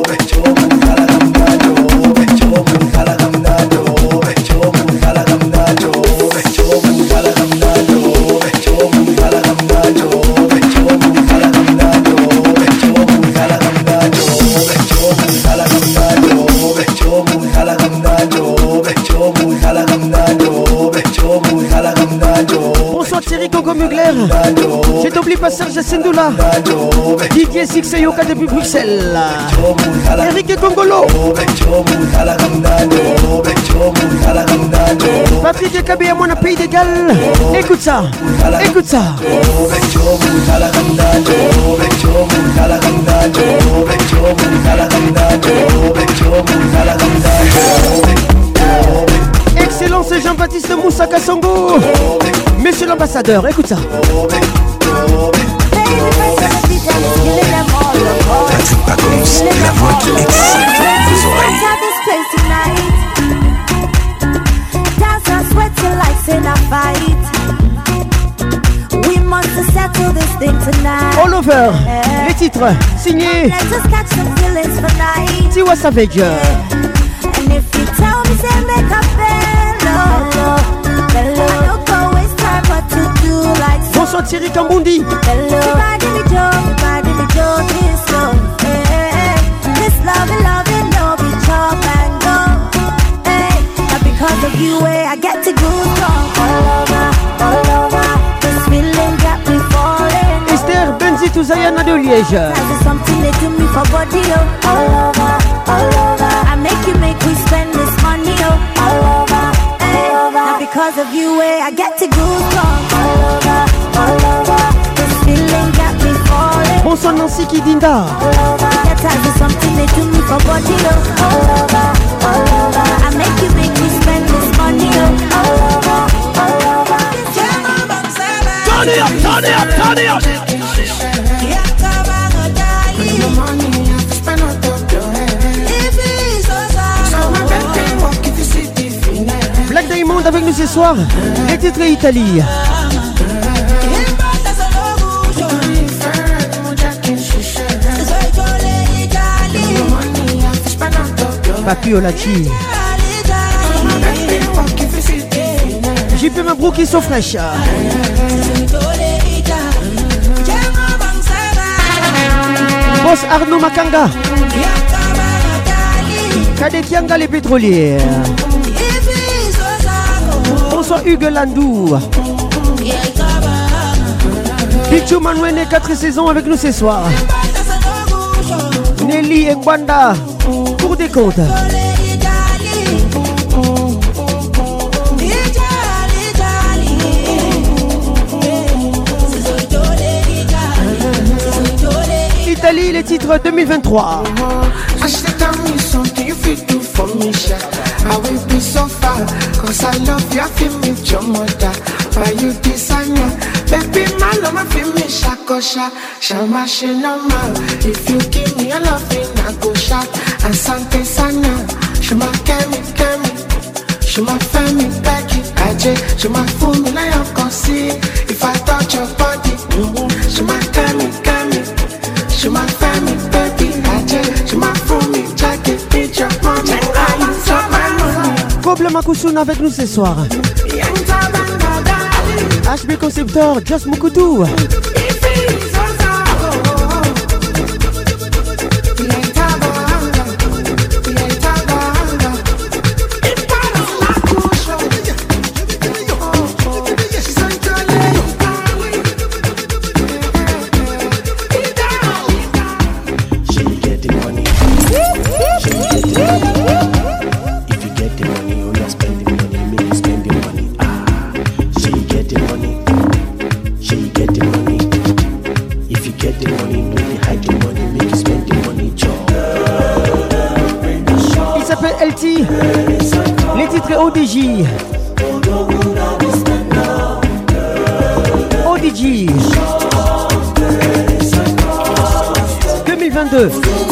Bonsoir Thierry Coco Mugler. Je t'oublie pas Serge Sendoula. Didier Sixeyoka depuis Bruxelles. Eric Congolo. Patrick Kabé à mon pays d'égal. Écoute ça. Écoute ça. Songo. Monsieur l'ambassadeur, écoute ça. Patrick Pacons, la voix qui excite vos oreilles. All over, les titres signés Tiwa Savage. Bonsoir Thierry Kambundi. Because of you, I get to go all over. This feeling got me falling. Esther Benzi Touzayana de Liège. There's something they do me for body, all over. I make me spend this money, all over. Now because of you, I get to go all over. This feeling got me falling. Bonsoir Nancy Kidinda. There's something they do me for body, all over. I make me spend this money, all over. Turn it up. Black Diamond avec nous ce soir. Les titres Italie. Papio Lachi. JP Mabrouk qui sont fraîches. Boss Arnaud Makanga. Kade Kianga les pétrolières. Bonsoir Hugues Landou. Pichou Manouene 4 saisons avec nous ce soir. Nelly Mbanda pour des comptes. Italie, les titres 2023. I will be so far, cause I love you, I feel me, your mother. Why you designer? Baby, my love, I feel me, shakosha. Shama, shinama. If you give me a loving, I go shot. And Sante Sana. Shama, kemi. Shama, femi, Becky. Aje, Shama, fool me, like I can see. If I touch your body, Shama, kemi. Shama, femi, baby. Aje, Shama, fool me, jacket, bitch, your mommy. Koble Makusuna avec nous ce soir. HB Conceptor, Just Mukutu. Les titres ODJ. ODJ 2022.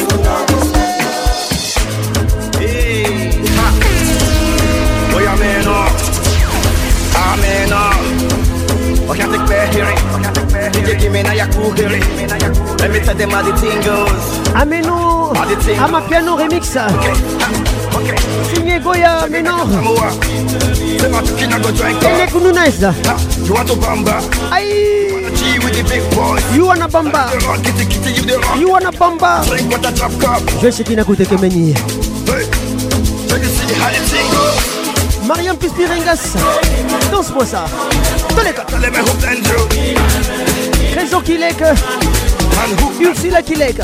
Let me tell them how the thing goes. Ameno, Amapiano remix. Signé Goya Menor. Elek Nunez. Aïe. You wanna bamba. You wanna bamba. Je sais qui n'a coûté que Meni. Mariam Pispirengas. Danse-moi ça. Trésor Kilek. Ursula Kilek.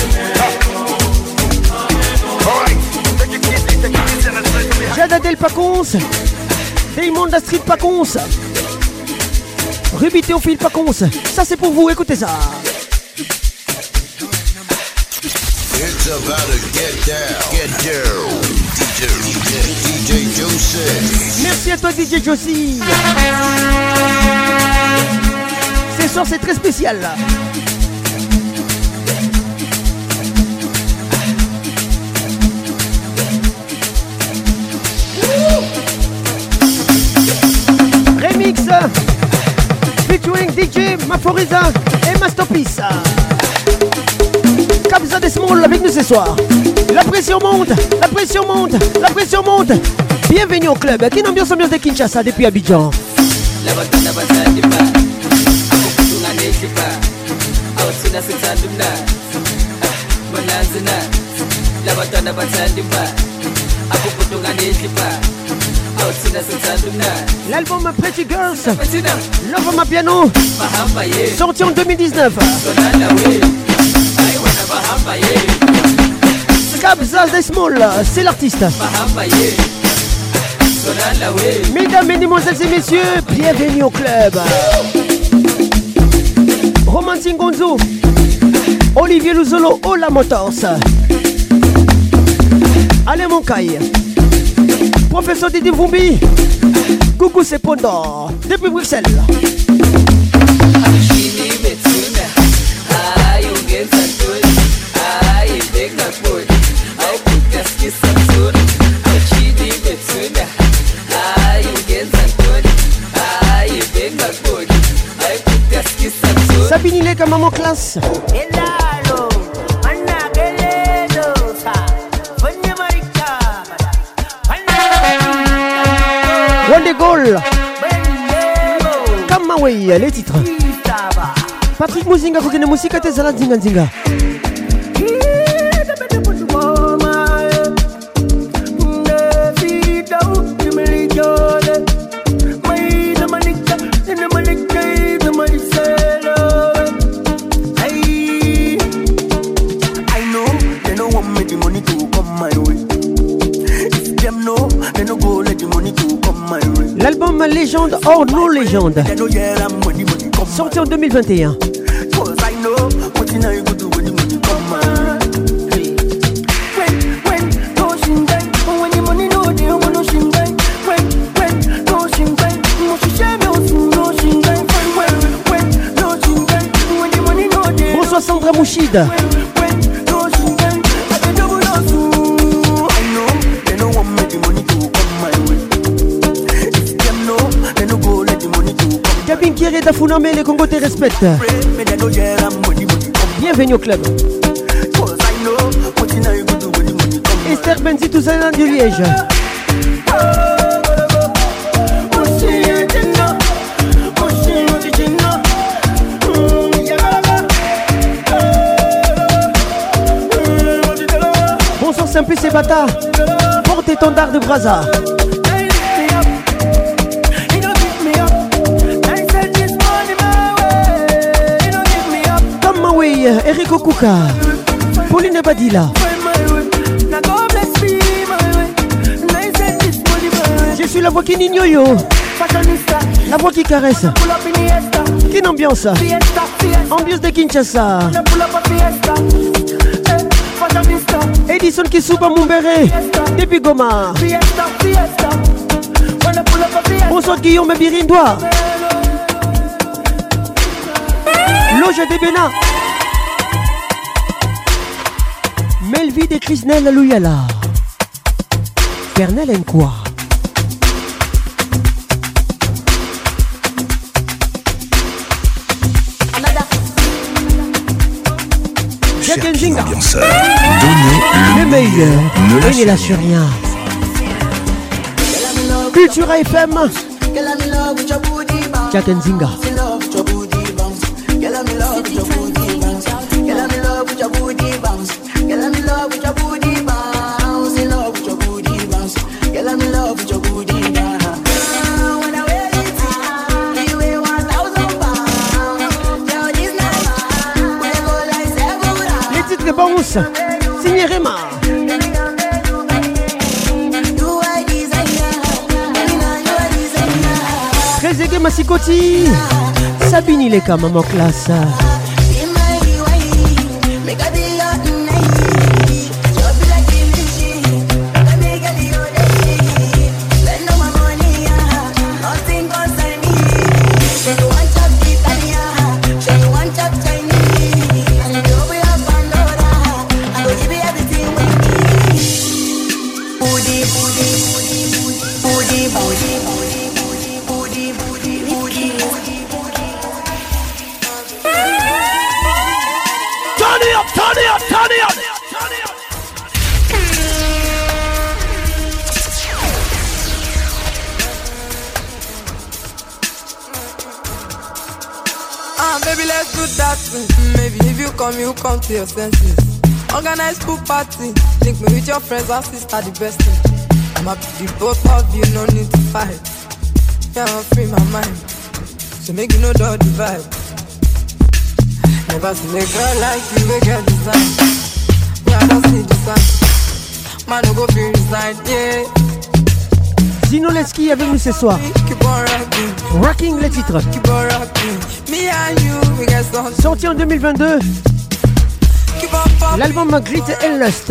Jada Del Pacons. Damon da Street Pacons. Ruby Théophile Pacons. Ça c'est pour vous, écoutez ça. It's about to get down. DJ Joseph. Merci à toi DJ Josie. Ce soir c'est très spécial là. Remix featuring DJ Maforiza et Masterpiece. Kabza des Small avec nous ce soir. La pression monte, la pression monte, la pression monte. Bienvenue au club. Quelle ambiance de Kinshasa depuis Abidjan. L'album Pretty Girls, Love My Piano, sorti en 2019. Kabza des Small, c'est l'artiste. Mesdames, mesdemoiselles et messieurs, bienvenue au club. Roman Singonzo, Olivier Luzolo, Ola Motors, Alain Moncaille, Professeur Didi Vumbi, Coucou Sepondo, depuis Bruxelles. Sabine Ileka, maman classe. One Goal. Kamaway, les titres. Patrick Muzinga, Kokene Musika, Tezala Zinga Zinga. L'album Légende hors nos légendes, sorti en 2021. Bonsoir Sandra Mouchid. Gabin Kieré Dafouname, les Congos te respectent. Bienvenue au club. Esther Benzi Touzana du Liège. Bonsoir Simplice et Bata. Porte-étendard de Brazza. Eric Okuka, Pauline Badila. Je suis la voix qui n'ignore, la voix qui caresse. Quelle ambiance? Ambiance de Kinshasa. Edison Kisuba Mumbere, depuis Goma. Bonsoir Guillaume Birindois. Loge de Bena. Melvide et Chrisnel Louyala. Fernel Nkwa. Jacques Nzinga. Donnez le meilleur. Ne lâche rien. Cultura FM. Jacques Nzinga. Les titres de bounce, signé Rema. Trezeguet Massikoti, Sabine Ileka, maman classe. Baby, let's do that thing. Maybe if you come to your senses. Organize pool party. Link me with your friends or sister, the best thing. I'm happy the both of you, no need to fight. Yeah, I'm free my mind. So make you know the vibe. Never seen a girl like you, we get design. Yeah, I don't see design. Man, no go feel resign, yeah. Zinoleski avec nous ce soir. Rocking les titres. Sorti en 2022. L'album Grit and Lust.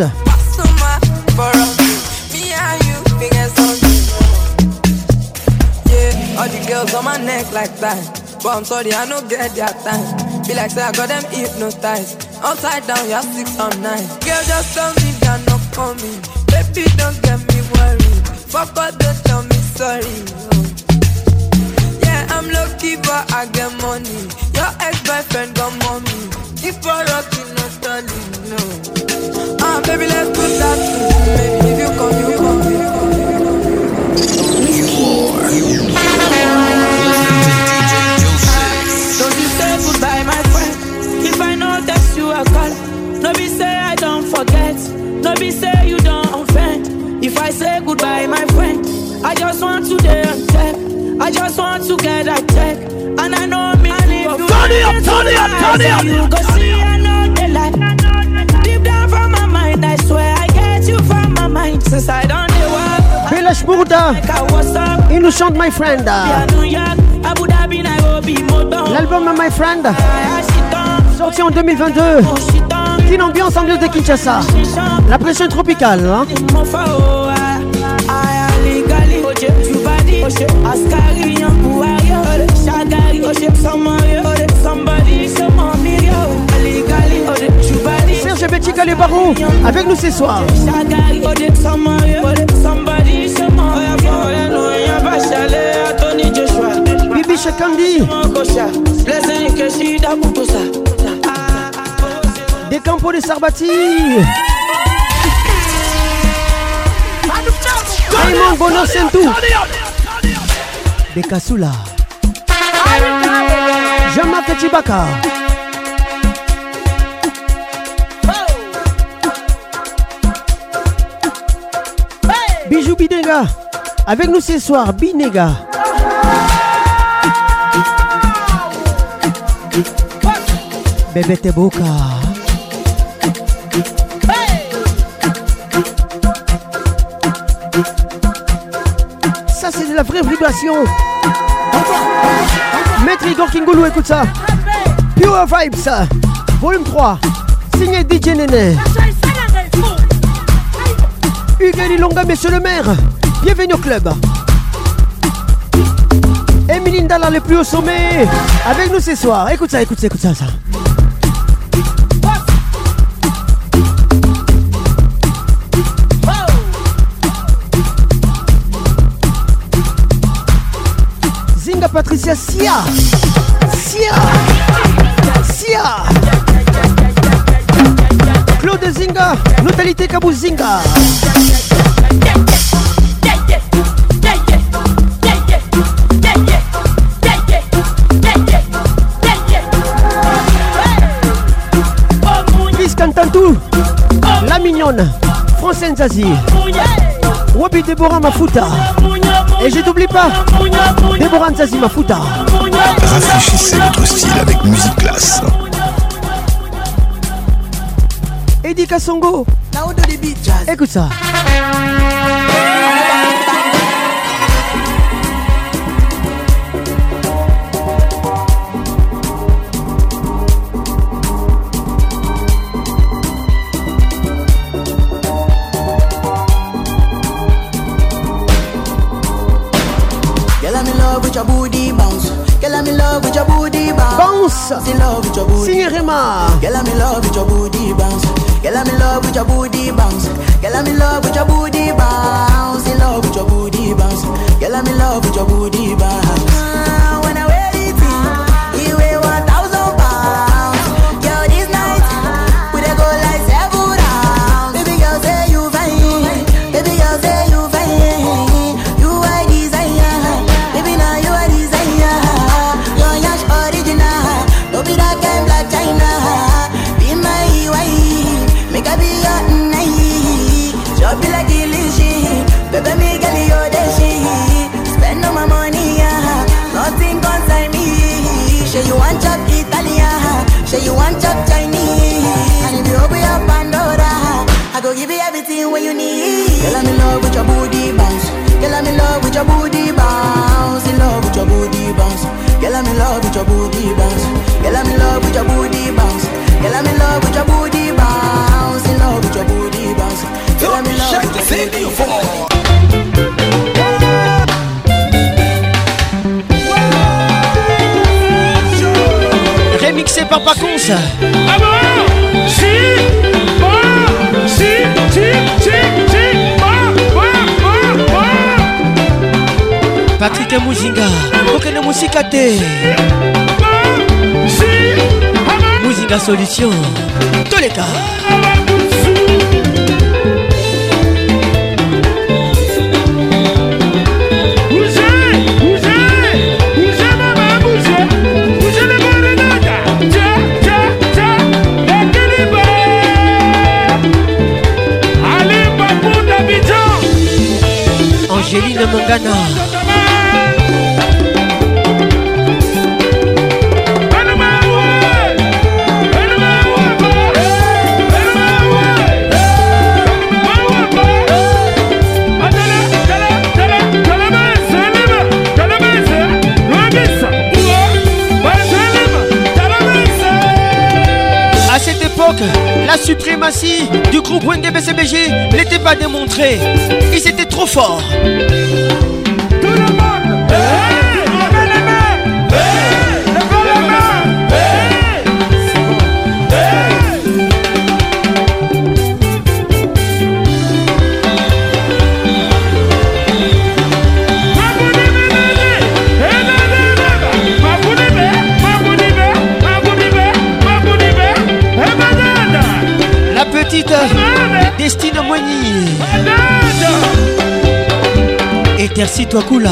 Yeah, all the girls on my neck like that. But I'm sorry, I don't get their time. Be like, say I got them hypnotized. Upside down, you're 6 or 9. Girl, just tell me they're not coming. Baby, don't get me worried. Fuck all, don't tell me sorry. Oh. Yeah, I'm lucky, but I get money. Your ex-boyfriend got mommy. If you're rocking, not stalling, no. Baby, let's put that thing. Maybe if you come, you come. Don't you say goodbye, my friend. If I know that you are call. No be say I don't forget. No be say you don't offend. If I say goodbye, my friend, I just want to get a check. I just want to get a check. And I know me. And if you turn it up. You go see I know the light. Deep down from my mind, I swear I get you from my mind. Since I don't know what. Belash Bourda, il nous chante My Friend. L'album My Friend, sorti en 2022. Une ambiance de Kinshasa. La pression tropicale, hein? Serge Betika les barons avec nous ce soir. Bibi Shakandi des Campos de Sarbati. Raymond Bono Sentou de Kasula. Jean-Marc Chibaka. Bijou Binega avec nous ce soir. Binega. Bébé Teboka. Ça c'est de la vraie vibration. Maître Igor Kingoulou, écoute ça. Pure Vibes, volume 3. Signé DJ Néné. Hugues Longa, monsieur le maire. Bienvenue au club. Emeline Dalla, le plus haut sommet. Avec nous ce soir. Écoute ça. Zinga Patricia Sia. Claude Zinga, Notalité Kabou Zinga. Chris Cantantou, La Mignonne, Francine Zazie, Wabi Déborah Mafuta. Et je t'oublie pas, Déborah Nzazi Mafuta. Rafraîchissez votre style avec Musique Classe. Eddie Kassongo, écoute ça. with your booty bounce. Girl, I'm in love with your booty bounce. Bounce. In love with your booty. Signorema. Girl, I'm in love with your booty bounce. Girl, I'm in love with your booty bounce. Girl, I'm in love with your booty bounce. In love with your booty bounce. Girl, I'm in love with your booty bounce. When I wear it, you weigh 1,000 pounds. Girl, this night we dey go like 7 rounds. Baby girl, say you fine. Baby girl, say you fine. You are desire. Baby, now you are desire. Your yash original. Don't be that kind black China. Be my wife. Make a be your night. Chop you like delicious. Baby, me get you the shit. Spend all my money, nothing concern me. Say you want chop Italian. Say you want chop Chinese. And if you open your Pandora, I go give you everything what you need. Girl, I'm in love with your booty bounce. Girl, I'm in love with your booty bounce. In love with your booty bounce. Girl, I'm in love with your booty bounce. Girl, I'm in love with your booty bounce. Girl, I'm in love with your booty bounce. In love with your booty bounce. Girl, I'm in love with your booty bounce. Remixé par Paconce. Ah bon? Patrick Muzinga. Aucune musique à thé. Muzinga Solution. Tous les cas. Angéline Mangana. À cette époque, la suprématie du groupe Wenge BCBG n'était pas démontrée. Ils étaient trop forts. Tout le monde, levez les mains, levez les mains. La petite Destine Moigny. Intercite Wakula.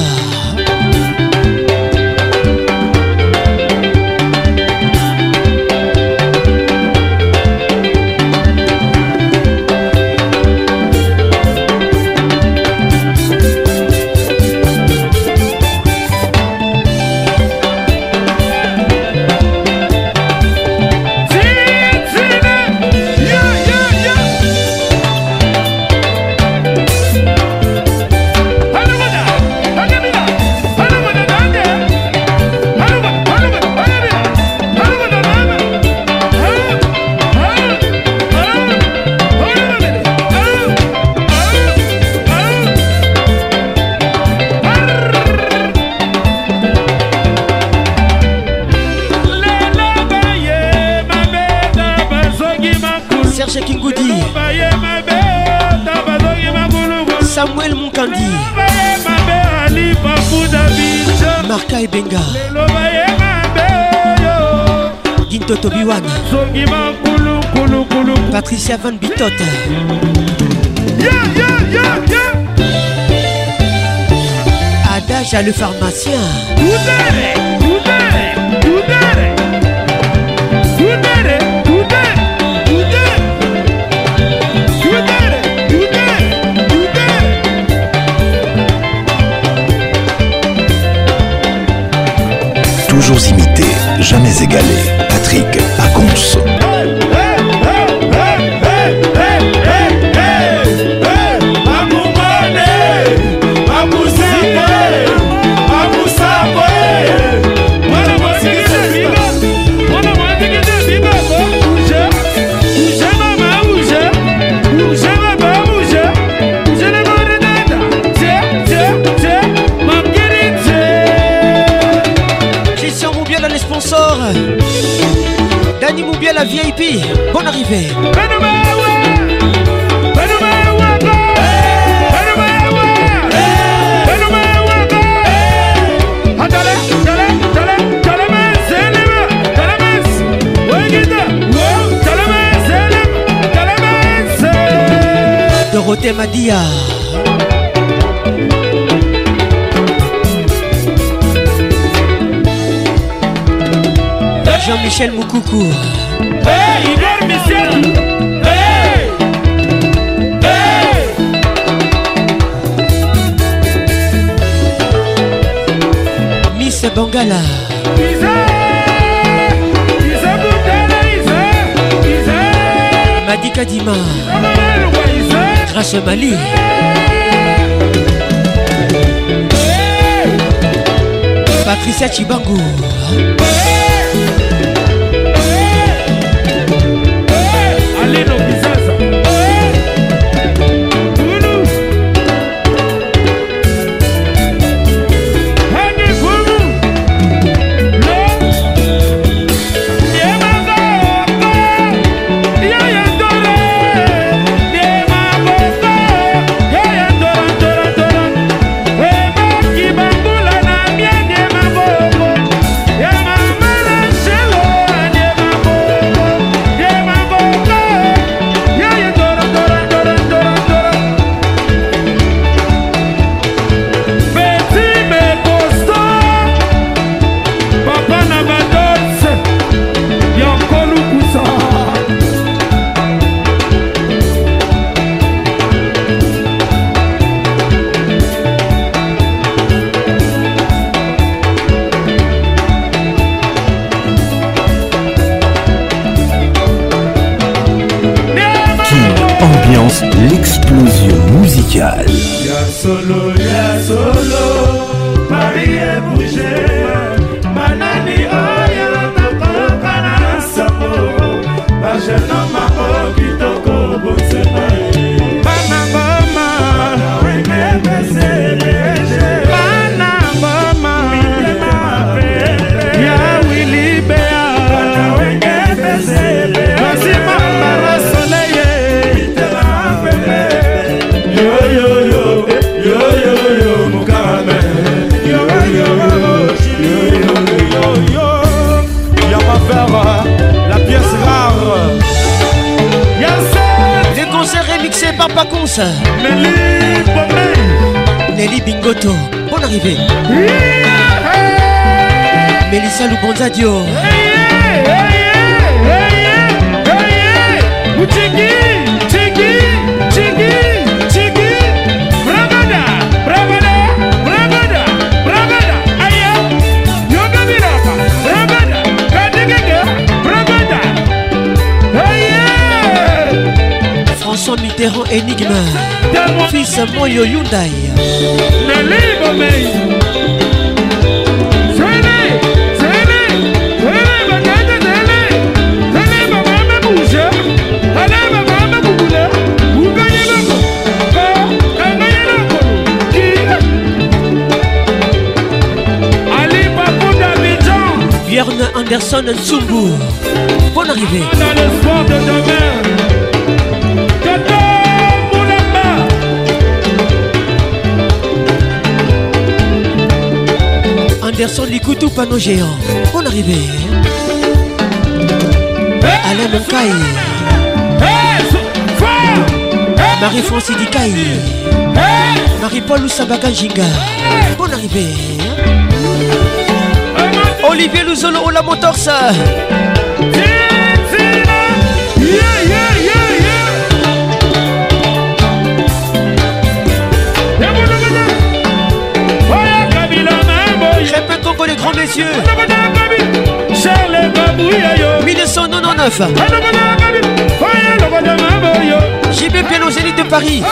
Samuel Munkandi, Marka Ebenga, Ginto Tobiwan, Patricia Van Bitot, Adage le pharmacien. Toujours imité, jamais égalé. Patrick Paconce. la VIP, bonne arrivée. Dorothée Madia. Jean-Michel Moukoukou. Hey, Igor Michel. Hey, hey. Miss Bangala. Madi Kadima. Grâce Mali. Patricia Chibangu. Alino Bizaza. L'explosion musicale. Y'a solo, Paris est bougé. Manani oya takokana sabo. Bajeno mako kitoko bosema. Banangoma, wenge beseleje. Banangoma, mitema pepe. Ya Willy Bea, wenge besele. Kasima mara soleil. La pièce rare. Les concerts remixés par Pacons. Nelly Bingoto, bonne arrivée. Mélissa Lubonzadio. François Mitterrand énigme. Fils Moyo Hyundai. Björn Anderson Ntsumbu. Bonne arrivée. Dans l'espoir de demain. Anderson Likutu panneau géant. Bonne arrivée. Alain Monkai. Marie-France Dikaï. Marie-Paul Oussabaka Jinga. Bonne arrivée. Olivier Luzolo Ola Motors. Répète encore les grands messieurs. 1999. JB Piano Zénith de Paris.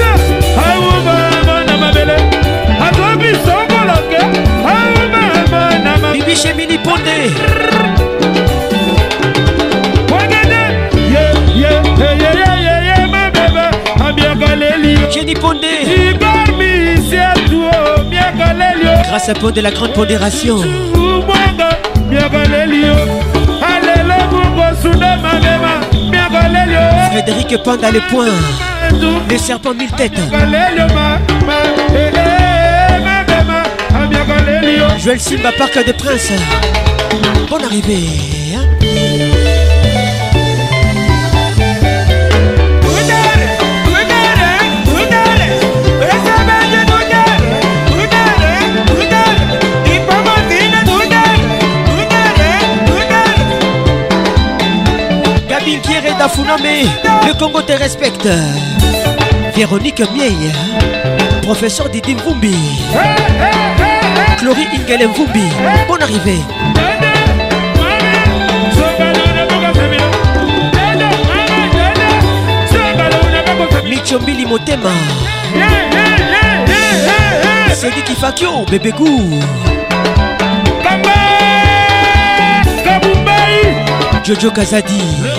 Bibi chez Mini Pondé. Jenny Pondé. Grâce à Pont de la grande pondération. Frédéric Panda les points. Les serpents mille têtes. Joël Simba Parc des Princes. Bonne arrivée hein? Gabi Kieré Dafuname, le Congo te respecte. Véronique Miei, professeur Didi Mvumbi. Chloé Ingele Mvumbi, bonne arrivée. Michombili Motema. Sedi Kifakio, bébé Gou. Jojo Kazadi.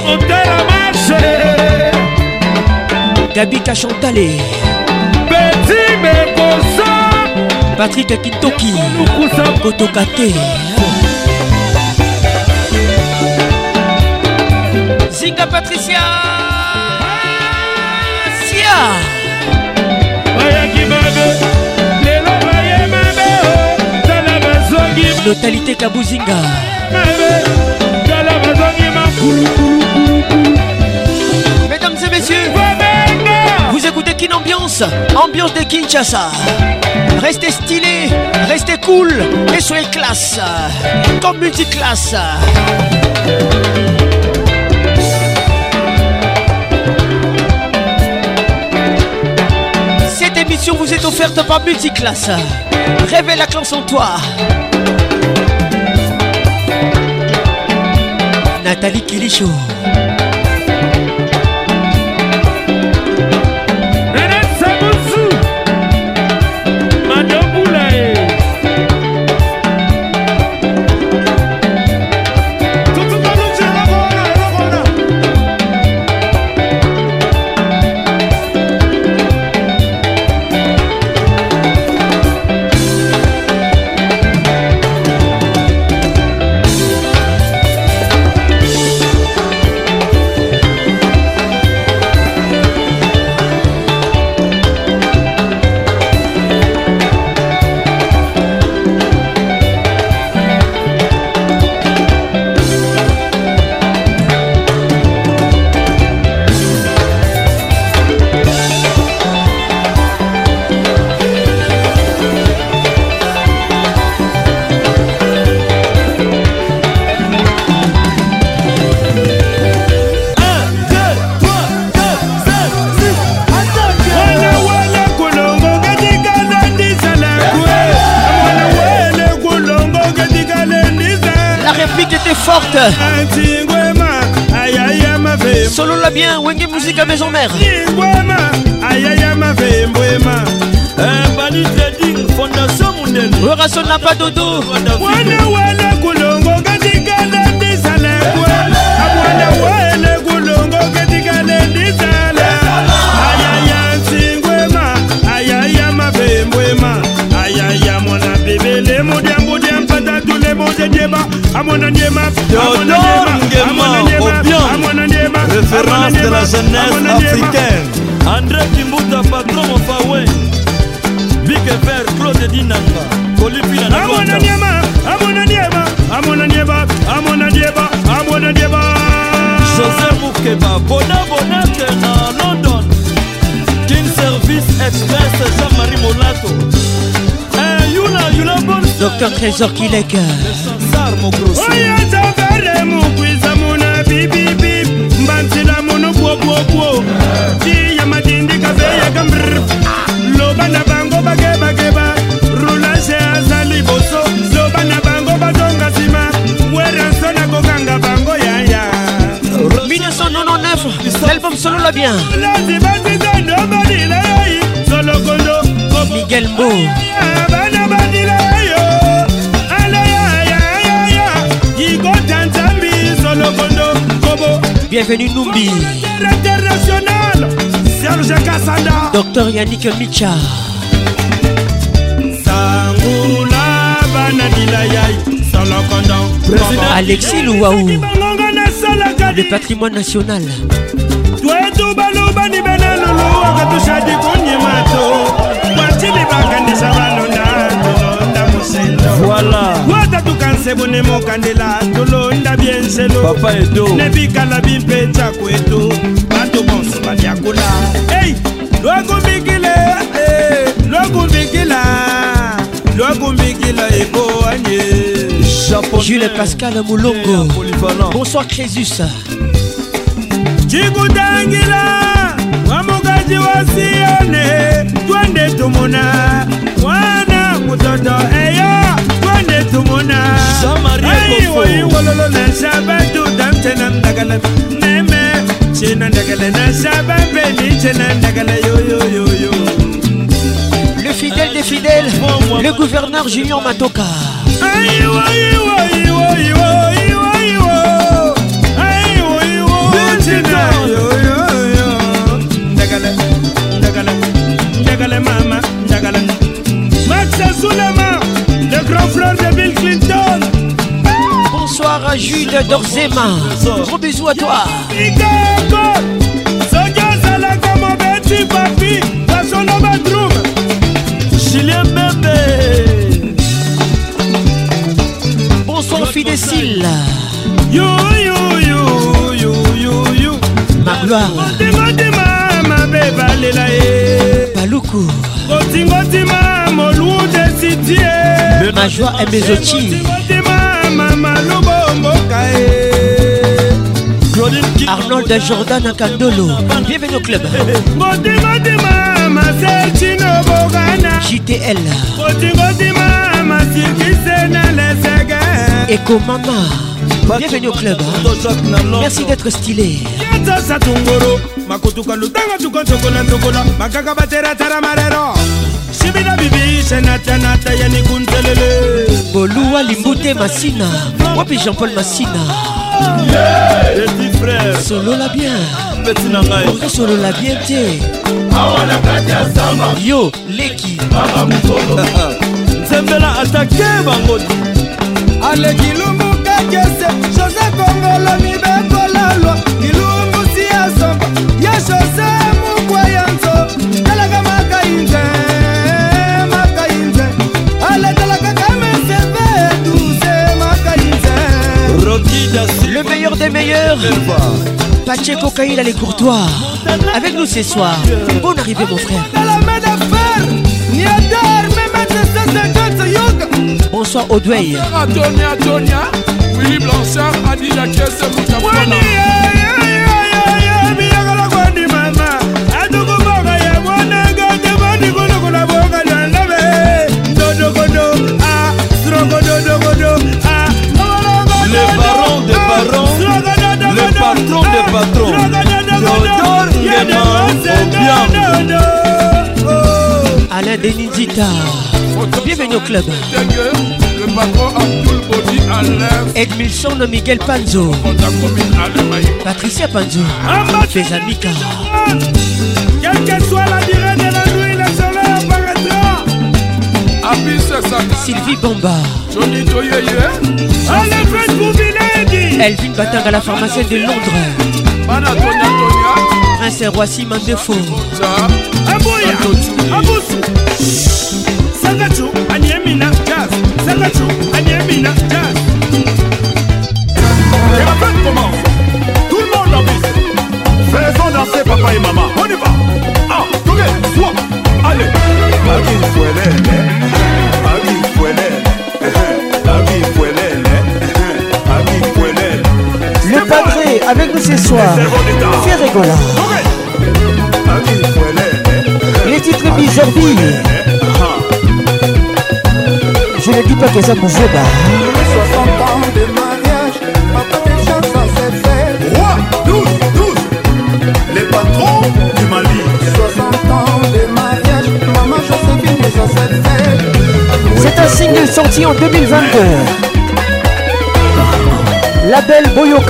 Gabi Kachantale. Petit Mekosa. Patrick Kintoki. Kotokate. Zinga Patricia. Sia. Notalité Kabuzinga. Mesdames et messieurs, vous écoutez Kin Ambiance, ambiance de Kinshasa. Restez stylés, restez cool et soyez classe, comme multiclasse. Cette émission vous est offerte par Multiclasse. Réveille la classe en toi. Nathalie Kilicho. Forte. Solo la bien, Wenge Musique à maison mère. Orason n'a pas dodo. Référence de la jeunesse africaine. André Kimbuta, patron au Fawe. Big Vert, Claude Dinanga. Colipina Nagota. José Moukeba, Bona na London. King Service Express, Jean-Marie Molato. Docteur Trésor Kilek. L'album Solo la bien. Miguel Mo. Bienvenue Numbi. Serge Kassanda. Docteur Yannick Micha. Alexis Louaou. Le patrimoine national. Twetu baluba ni benalulu wakatushadi kunye mato. Wachili bakandisa balonda tulonda musendo. Voilà. Wata tukanse bune mokandela tulonda bienselo. Papa Edo. Nebikala bimpe chakwetu. Bato bonso badiakula. Hey, lwakumbikile, lwakumbikila. Lwakumbikila eko anye. Jules Pascal Moulongo. Bonsoir Crésus. Chikutangila wamukaji wasione twende tumuna mwana mutoto eyo twende tumuna aiwoiwololo na shabatu damtena ndagala neme chena ndagala na shabapeni chena ndagala yoyoyoyo. Le fidèle des fidèles, le gouverneur Junior Matoka. Ndagala mama, ndagala Max Soulema, le grand frère de Bill Clinton. Bonsoir à Jude Dorzema. Gros bisous à toi. Julien Bébé. Bonsoir Fidécile. Yo yo yo yo yo yo. Ma gloire. Paloukou. Ma joie est mes outils. Arnold Jordan Kandolo. Bienvenue au club. JTL. Eco Mama. Bienvenue au club. Merci d'être stylé. Boluwa Limbute Massina. Wapi Jean-Paul Massina. Petit frère. Solo la bien. Petit nangai. Solo la bien t'es. Yo, Leki. Zembela attaqué Bangodi. Ale kilumbu kakese José Kongolo mibeko lalo Kilumbu siya somba Ya José mukwa yanzo Talaga makainze Makainze Ale talaga kame sebe Douze makainze Rocky Dassi. Le meilleur des meilleurs. Pacheco Kaïla les Courtois. Avec nous ce soir. Bonne arrivée mon frère. Bonsoir Audwey. Antonia, Willy Blanchard, Adi la caisse, Moukapana. Le baron des barons, le patron des patrons. Théodore Nguema Obiang. Alain Denizita. Bienvenue au club. Le patron Abdul Bodi à l'air. Edmilson Miguel Panzo. Patricia Panzo. Fezamika. Quelle que soit la durée de la nuit, le soleil apparaîtra. Sylvie Bomba. Johnny Toyeye. Elvin Batang à la pharmacienne de Londres. Prince Roissy Mandefo. Sagachu, Anyemina, Jazz. Sagachu, Anyemina, Jazz. Et la fête commence. Tout le monde danse. Faisons danser papa et maman. On y va. Ah, tournez, soit. Allez. Le padré avec nous ce soir. Fais rigoler. Les titres Bizarbi. Je ne dis pas que ça pouvait pas. 60 ans de mariage, papa des gens ça s'est fait. Roi, 12, les patrons du Mali. 60 ans de mariage, maman Joséphine et ça s'est fait. C'est un single sorti en 2022. Label Boyoka.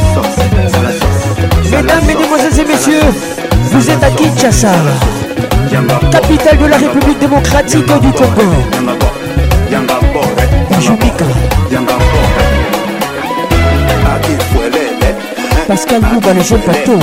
Mesdames, mesdemoiselles et messieurs, vous êtes à Kinshasa. capitale de la République démocratique du Congo. Jumika. Pascal Mouba, le jeune bateau.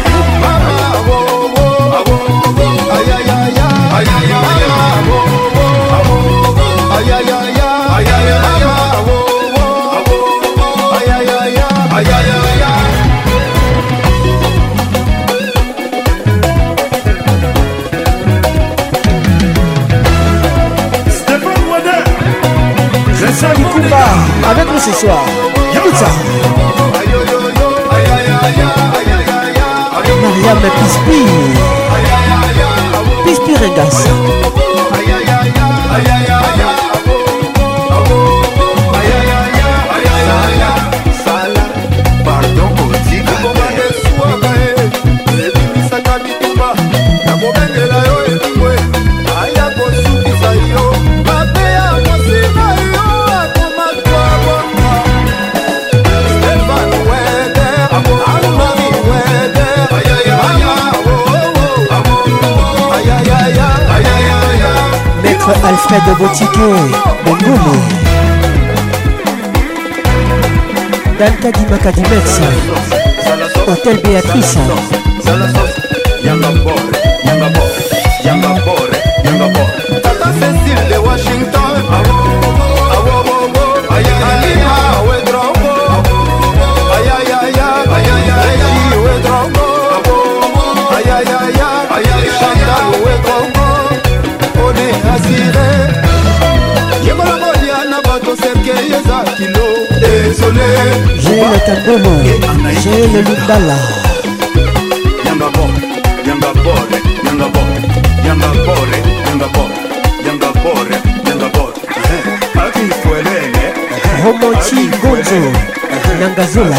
Avec nous ce soir, écoute ça. Mariam Pispi Rengas. Alfred Botiquet, Bengomo Dalka Dimakadimex, Hôtel Béatrice. Tata Cécile de Washington. J'ai le Tandolo, j'ai le Lundala. Romanti Gonzo, Nangazola.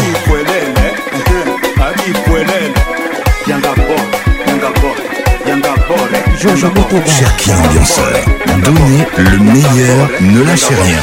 Cherki ambianceur, donnez le meilleur, ne lâchez rien.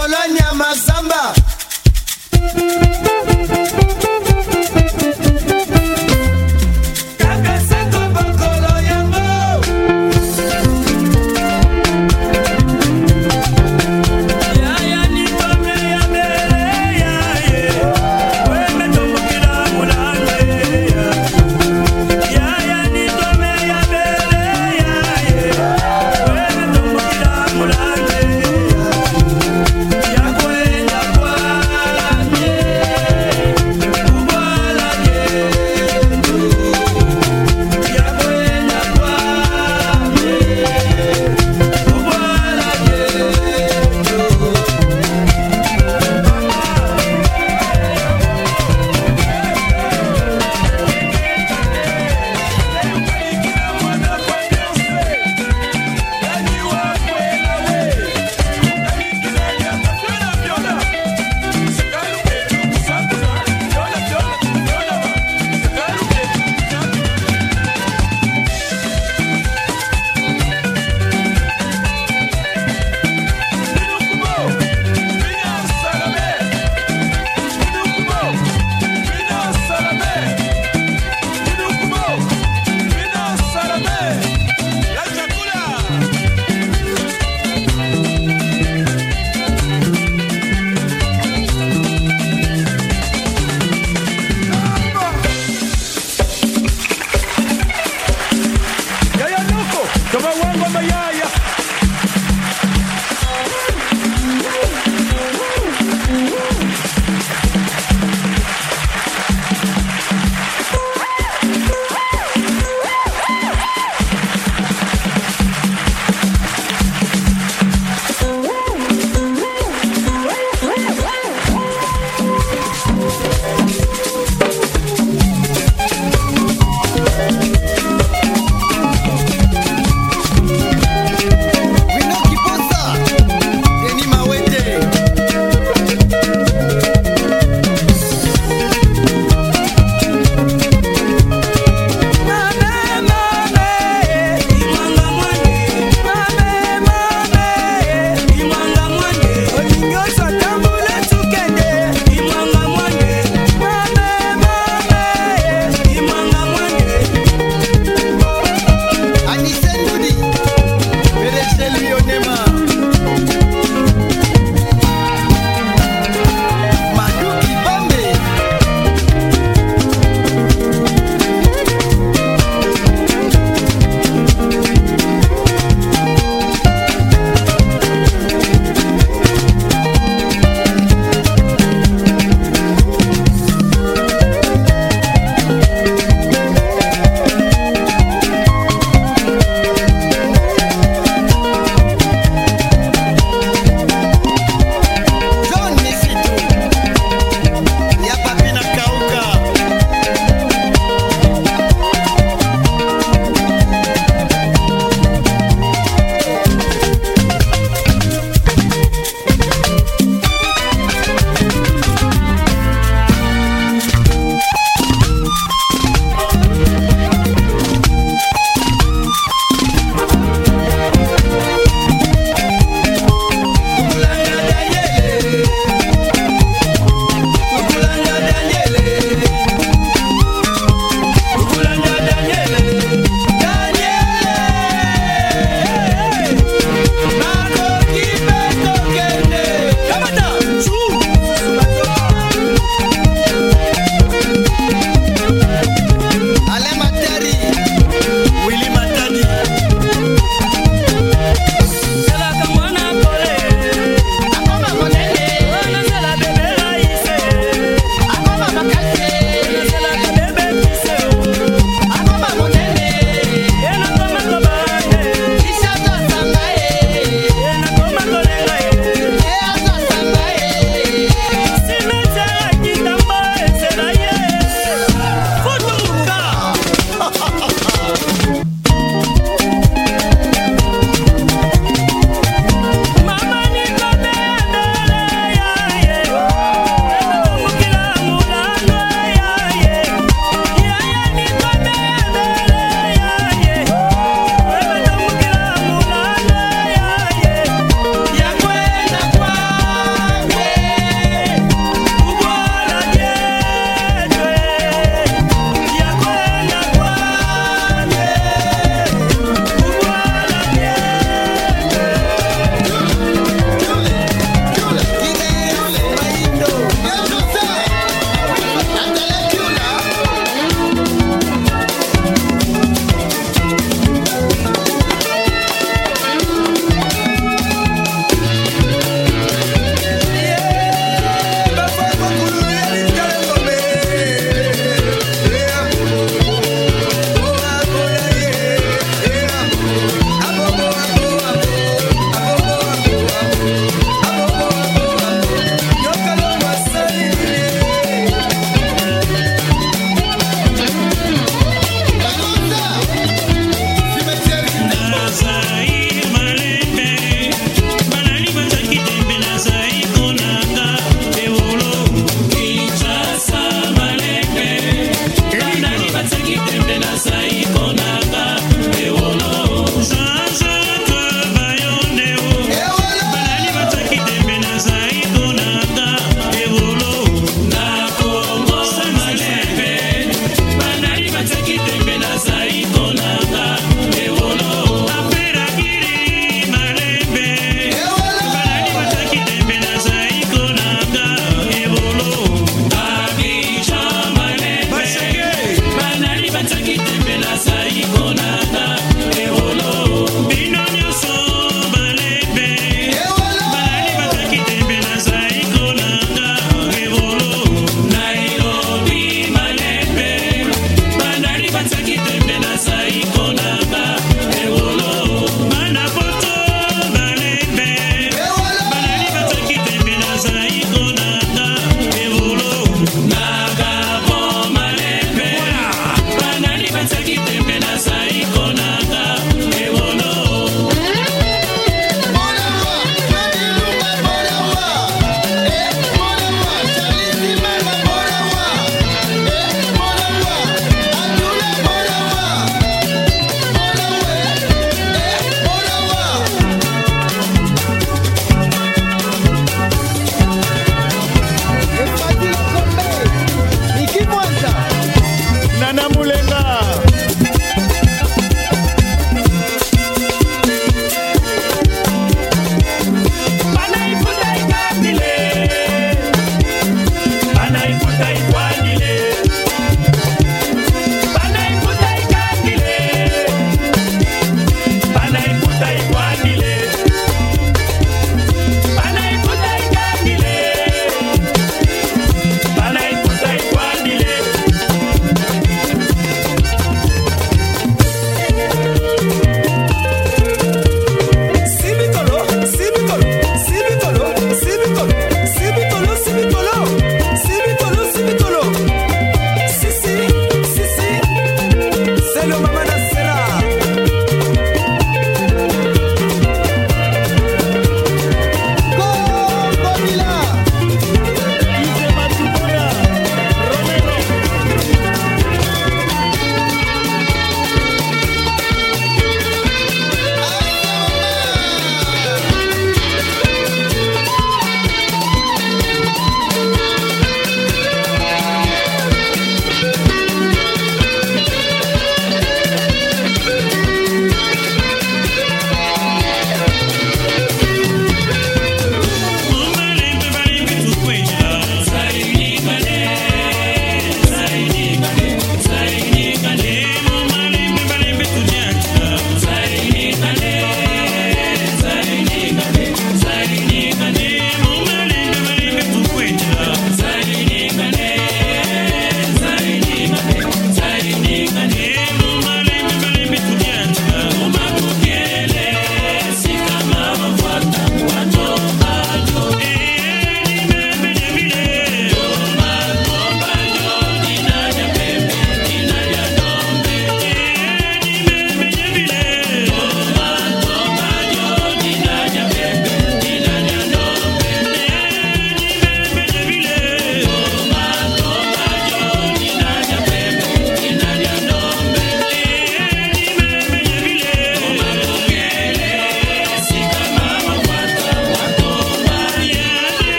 Colonia Mazamba. Yeah.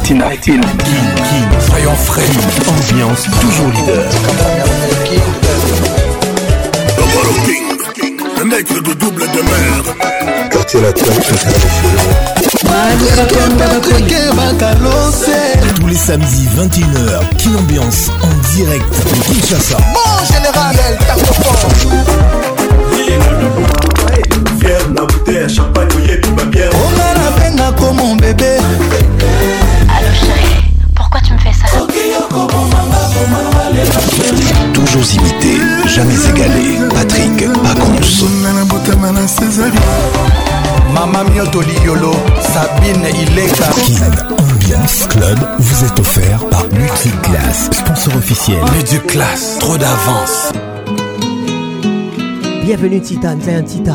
Tina King. Soyons frais. Ambiance toujours leader. Le mec de double de merde. Quartier latin, tous les samedis 21h, Kin Ambiance en direct de Kinshasa. Mon général, Fier, la bouteille, champagne, mouillé, puis ma bière. On a la peine comme mon bébé. Allô chérie, pourquoi tu me fais ça? Toujours imité, jamais égalé. Patrick Pacons. Mama Miotoli Yolo, Sabine Ileka. Kin Ambiance Club vous est offert par Multiclass, sponsor officiel. Multiclass, trop d'avance. Bienvenue Titan, c'est un Titan.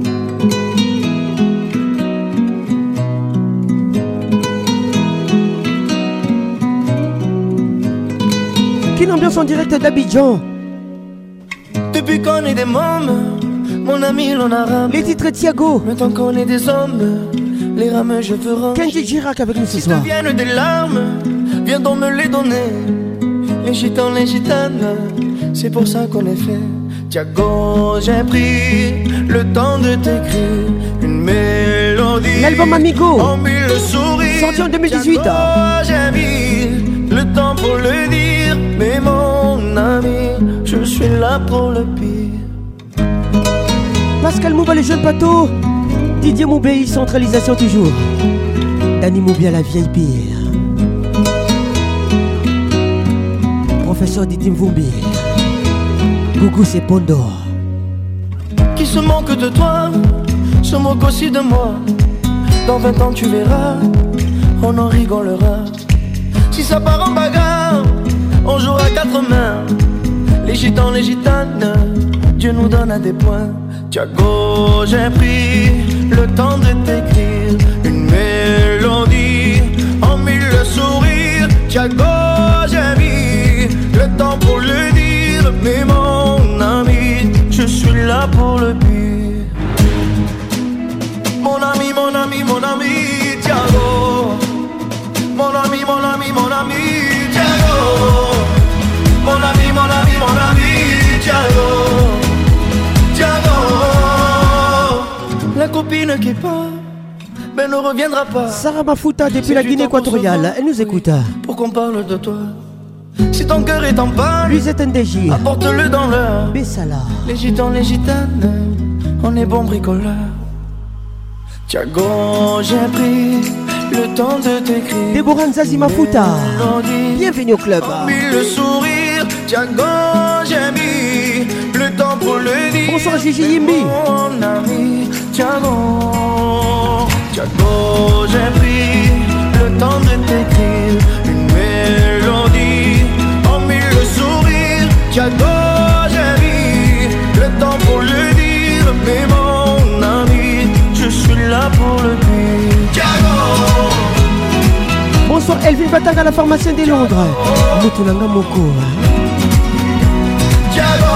Kin Ambiance en direct d'Abidjan. Depuis qu'on est des mômes, mon ami l'on a ramé. Les titres Thiago. Maintenant qu'on est des hommes, les rames je veux ranger. Kenji Girac avec nous ce soir. Si te viennent des larmes, viens donc me les donner. Les gitans, les gitanes, c'est pour ça qu'on est fait. Thiago, j'ai pris le temps de t'écrire une mélodie. L'album Amigo, en mille sourires, sorti en 2018. Thiago, j'ai mis le temps pour le dire. Mais mon ami, je suis là pour le pire. Pascal Mouba, les jeunes bateaux. Didier Moubéi, centralisation toujours. Dani Moubia, la vieille pire. Professeur Didi Mvumbi. Gougou, c'est Pondo. Qui se moque de toi, se moque aussi de moi. Dans 20 ans tu verras, on en rigolera. Si ça part en bagarre, on jouera 4 mains. Les gitans, les gitanes, Dieu nous donne à des points. Thiago, j'ai pris le temps de t'écrire une mélodie en 1000 sourires. Thiago, j'ai mis le temps pour le dire. Mais mon ami, je suis là pour le pire. Mon ami, mon ami, mon ami, Thiago. Mon ami, mon ami, mon ami, Thiago. Mon ami, mon ami, mon ami, Thiago. Thiago. La copine qui part, ben ne reviendra pas. Sarah Mafuta depuis la Guinée équatoriale, elle nous écoute. Pour qu'on parle de toi. Si ton cœur est en panne, Luisette NDJ, apporte-le dans l'heure. Bessala. Les gitans, les gitanes, on est bons bricoleurs. Thiago, j'ai pris le temps de t'écrire. Déborah Nzazi Mafuta, bienvenue au club. Le sourire, Thiago, j'ai mis le temps pour le dire. Bonsoir Gigi Yimbi. Mon ami, Thiago, Thiago, j'ai pris le temps de t'écrire une mélodie en 1000 sourires. Thiago, j'ai mis le temps pour le dire. Mais mon ami, je suis là pour le dire. Thiago. Bonsoir Elvin Bataga, la pharmacienne de Londres. Moutoulanga Moko. Thiago.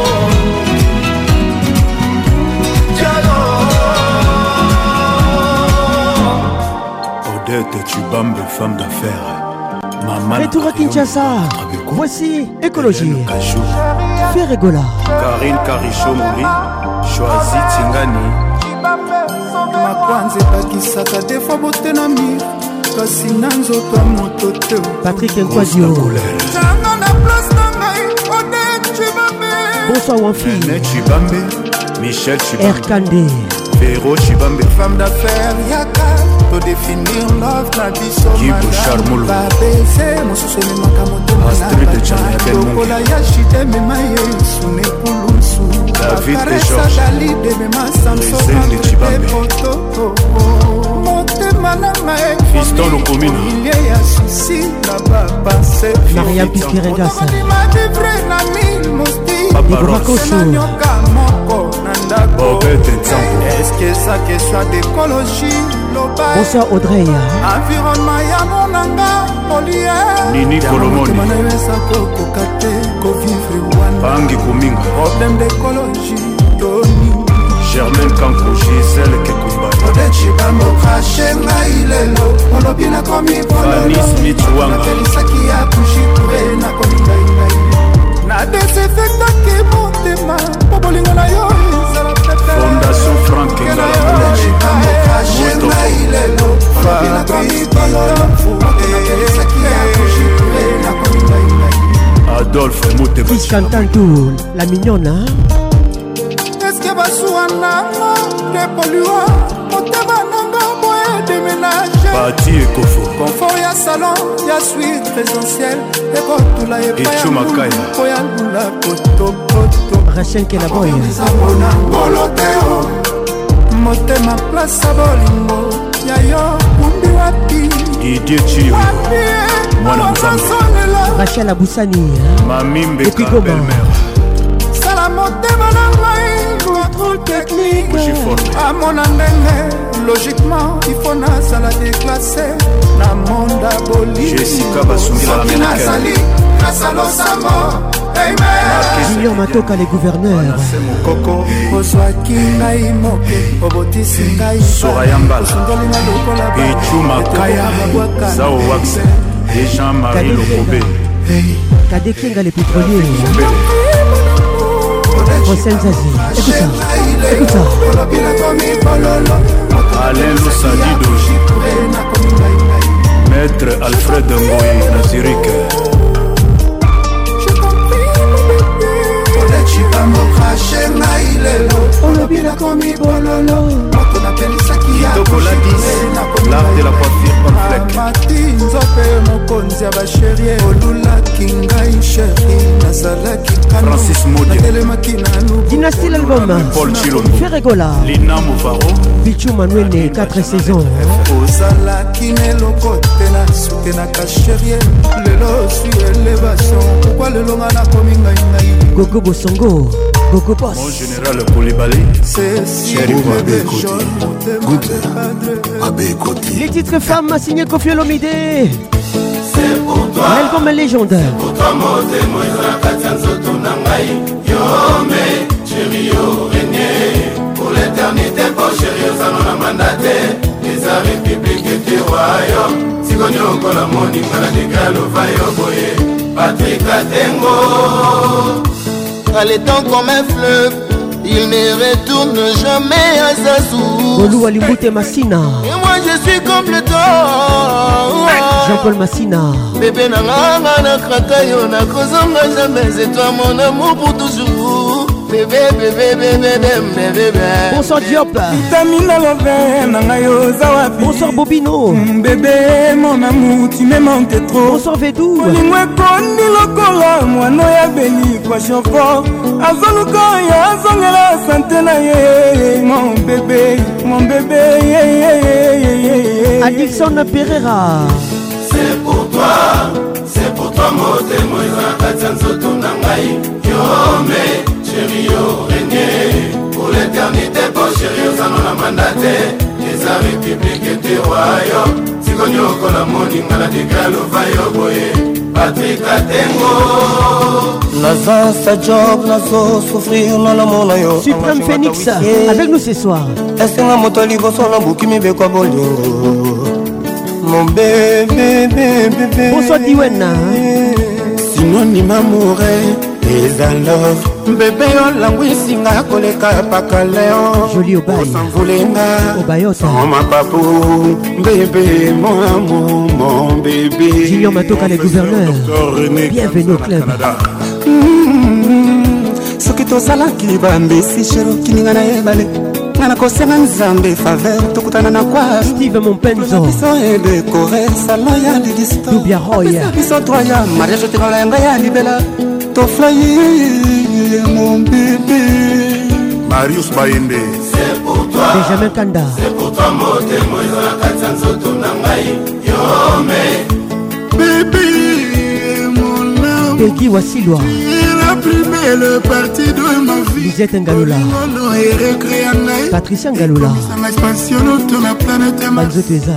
Odette, tu bambes, femme d'affaires. Maman. Retour à Kinshasa. Voici Écologie. Ferregola. Karine Karicho Mouri. Choisi Tingani. makwanza ebakisaka defo bote na mir kasi na nzoto ya moto te Patrick Nkwadio. ntango na place na ngai Odette Chibambe. Bonsoir Wanfi. Chibambe. Michel Chibambe. Erkande. Véro Chibambe. Femme d'affaires yaka to définir love na biso Kibo Charmolo. babese mosusu ememaka motema lokola ya shite emema yesu nepulusu David et bakaresa Georges. dalide emema samsoepoto motema na ngai Fiston Lokomina. ilie ya susi na bapase Mariam Piskiregasa. madivre na mil mosti Ibrakoso. nanyoka moko na ndako Bobette Nzambo. eske sa question d'écologie loba Bonsoir Audrey. environnement ya monanga olie Nini Kolomoni. motema na yo esako koka te kovivre wana Bangi Kuminga. problème d'écologie toni Germaine Kanko. Gisèle Kekumba. Odette chibambo craché ngai lelo olobi na komi polonapelisaki ya kushikure na komi ngai na desinfectaki motema po bolingo na yo ezala Fondation Frank chibambo craché ngai lelo olobi na komi polonapelisaki ya kushikure na komi ngai Adolphe Mouteba Chantantoul, la mignonne, hein? Est-ce que Basuananga, que polluant, Motema Nanga, Boé déménager. Bati et Kofo. Confort, y'a salon, y'a suite présentielle. Et Kotula et Chumakaya. Boya Lula, Koto, Koto. Rachel Kenaboy. Motema place à Bolingo. Yayo, Kumbi Wapi. Didier Chio. Mwana Mzambe. Rachel Aboussani. Mamimbe belle-mère. Salamotema Nangai. Contrôle technique. À mon andenge. Logiquement, il faut na la déclasser. Na monda boli. Jessica Basungila l'américaine. Nasalo Samo. Junior Matoka, les gouverneurs. Coco. Ozwaki ngai moke. Obotisi ngai. Soraya Mbala. Ichuma Kaya. Zao Wax. Et Jean-Marie Lokobé. Kade Kenga, les pétroliers. Hossein Zazi. Écoute ça. Écoute ça. Alain Loussadido. Maître Alfred Ngoyi Nazirik. Chibambo craché ngai lelo olobi na komi bololo moto na pelisaki ya l'art de la coiffure complexe mati nzope mokonzi ya basherie olulaki ngai sheri nazalaki Francis Modia natelemaki na lubu Dynastie l'album Paul Chilombo Ferregola Lina Mouvaro Bichou Manuel 4 saisons ozalaki neloko te na suke na kasherie lelo sui élévation pourquoi lelo nga na komi ngai Gogo Bosongo, Gogo Boss. Mon général Koulibaly, Chéri Abekoti. Les titres femmes signés Kofi Olomide. C'est pour toi. L'album légende. C'est pour toi, chéri, pour l'éternité, pour chéri, on a mandaté. Les arrêts publics et royaume. Si on y a encore la monnaie, on a des gars, on va y Patrick Atengo. Allez tant comme un fleuve, il ne retourne jamais à sa source. Olou Alimboute Massina. Et moi je suis comme le temps. Jean-Paul Massina. Bébé nanga na krakayo na kozonga jamais. C'est toi mon amour pour toujours. Bébé, bébé, bébé, bébé, bébé. Bonsoir Diop. Tamina l'envers, nangayo zawapi. Bonsoir Bobino. Bébé, mon amour, tu me manques trop. Bonsoir Védou. Olingwe kondi lokola, mwano ya beli kwa chauffeur. Azoluka ya azongela santé na ye. Mon bébé, Adilson Pereira. C'est pour toi, moté, moi, Katanzoto Nangai. Yome. Chéri, régné pour l'éternité, pour chéri, on a mandaté. Les arrêts publics et des royaumes. Si on y a encore la monnaie, on a des gars, on va y envoyer. Patrick Atengo. Naza sa job, nazo souffrir, non la monayo. Suprême Phoenix, avec nous ce soir. Est-ce que la moto libre sur la boucle, mi bekwa bolingo. Mon bébé, bébé. Bonsoir Diwena. Sinon ni m'amourer. Is a love. Bébé on langwisinga koleka paka leo. Joli Obaye. Osanvulenga. Obayota. Oh ma papou. Bébé mon amour, mon bébé. Junior Matoka les gouverneurs. Bienvenue au club. Soki tozalaki bambesi shero kininga na ebale. Ngana kosenga nzambe faveur tokutana na kwa Steve Mompenzo. Biso e décoré salon ya lidisto. Dubia Roy. Biso troya mariage te bala yanga ya libela. Mon bébé Marius Baïndé. C'est pour toi. Benjamin Kanda. C'est pour toi, moté, moi, Katanzoto Nangai. Yome. Bébé, mon amour. Peggy Wassilwa. La plus belle partie de ma vie. Lisette Ngaloula. Patricia Ngaloula. Banzo Teza.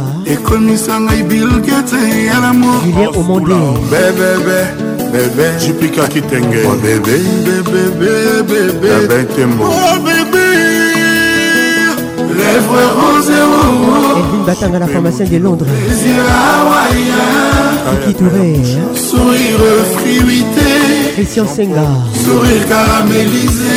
Julien Omondé. Bébé, Jupika Kitenge. Oh bébé, bébé. Oh bébé. Lèvres roses et Batanga, la pharmacienne de Londres. Qui Touré, sourire fruité, Christian Senga, sourire caramélisé,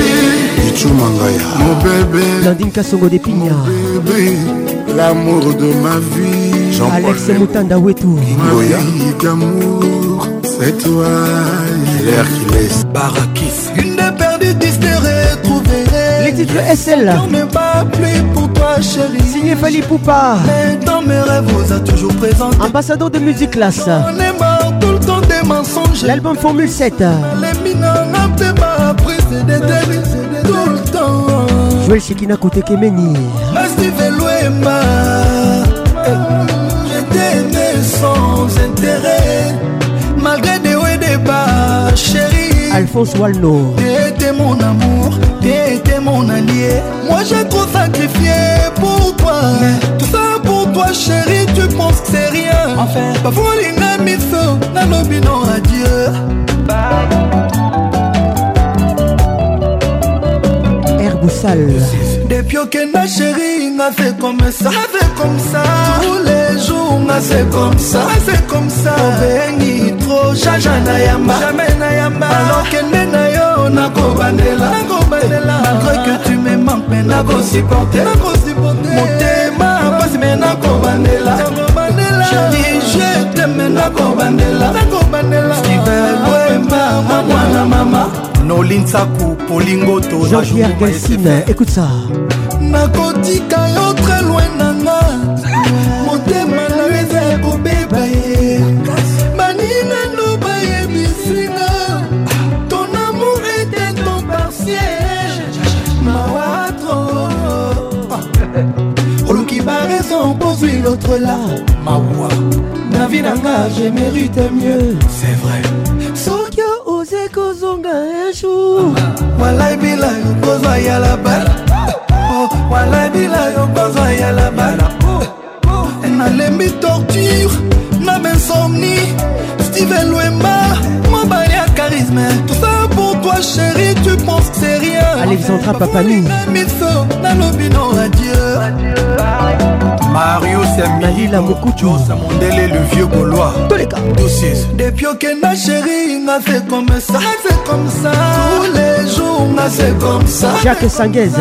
mon bébé, Landine Kassongo de Pigna, l'amour de ma vie, Alex Moutanda Wetou, d'amour, c'est toi, l'air qui laisse Barakis, une des perdues disparue retrouvée. Les titres SL, on n'est pas plus pour toi chérie. Signé Fali Poupa, mais dans mes rêves vous a toujours présenté. Ambassadeur de musique classe. On est mort tout le temps des mensonges. L'album Formule 7. Les minants n'ont pas pris des délits tout le temps. Joël Shekina Kote Kemeni. Steve Louema, je t'aimais sans intérêt, malgré des hauts et des bas, chérie. Alphonse Walno. T'étais mon amour, t'étais mon allié. Moi j'ai trop sacrifié pour toi. Tout ça pour toi chérie, tu penses que c'est rien. Enfin, pas voler mis feu, n'a l'obino adieu. Herboussal. Depuis que ma chérie m'a fait comme ça, tous les jours m'a fait comme ça, béni trop, jamais nayamba, alors que nenayo nako bandela, malgré que tu me manques, mais nako supporter, motema passe mais nako bandela, chérie je t'aime nako bandela, Steven Wemba, mama. Nolinsaku, Polingoto, Jean-Pierre Gelsine, écoute ça. Nakotika yo très loin nanga, motema na weza kobeba ye. Manina no baye bisinga, ton amour était ton partiel. Mawatro, Oluki ba raison pose l'autre là. Mawa, na vie nanga je mérite mieux. C'est vrai. Sokyo ose kozonga un jour. Walai bila yo kozwa ya la bala. Walai bila yo kozwa ya la bala. Nalembi torture, na insomnie. Steven Louema, mon bali à charisme. Tout ça pour toi chérie, tu penses que c'est rien. Alexandra Papani. Na lobino adieu. Mario Malila Mokutu, Samondele le vieux Gaulois. Depuis que ma chérie m'a fait comme ça, tous les jours m'a fait comme ça. Jacques Sangueza,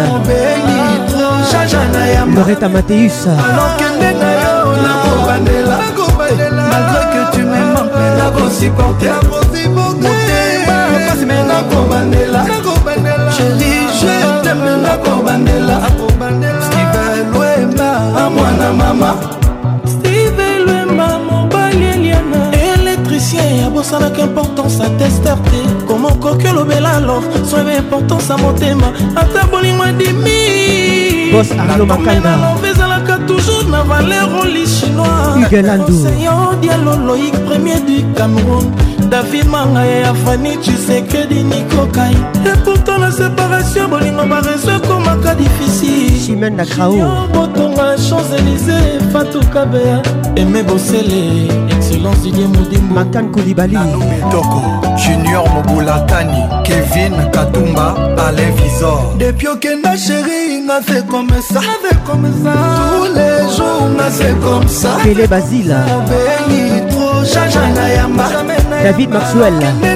Loretta Mathéus, alors que nenayo nako bandela, malgré que tu me manques, nako supporter, motema passe mais nako bandela, chérie je t'aime nako bandela. Steven Louema, mwana mama. Steven Louema, mon balieliana. Électricien, y'a bossana qu'importance à tester. Comment coquille l'obéla alors, soit importance à mon thème. Ata bolingo dimi. Boss Arnaud Makanda. Vezalaka toujours na valeur au lit chinois. Hugues Landou. Conseillant Diallo Loïc, premier du Cameroun. David Manga et Afani, tu sais que di Nico Kai. Et pourtant la séparation, bolingo ma réseau comme un cas difficile. Chimène Nakrao. Botonga, Champs-Élysées, Fatou Kabea. Aimé Bossele, excellence Didier Moudimbo. Makan Koulibaly. Toko, Junior Mobulatani, Kevin Katumba, Alain Visor. Depuis que ma chérie m'a fait comme ça, tous les jours m'a fait comme ça. Pélé Basile. Béni trop, Jajana Yamba. David Maxwell.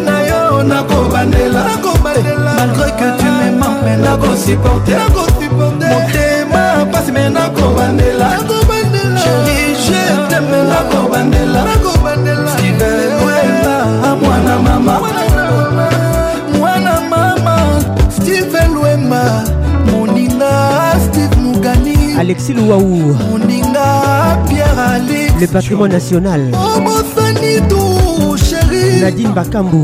Malgré que tu me manques, mais nako supporter. Motema passe mais nako bandela. Chérie je t'aime nako bandela. Steven Louema, mwana mama. Mwana mama, Steven Louema. Moninga Steve Mugani. Alexis Louaou. Moninga Pierre Ali. Le patrimoine national. Nadine Bakambu.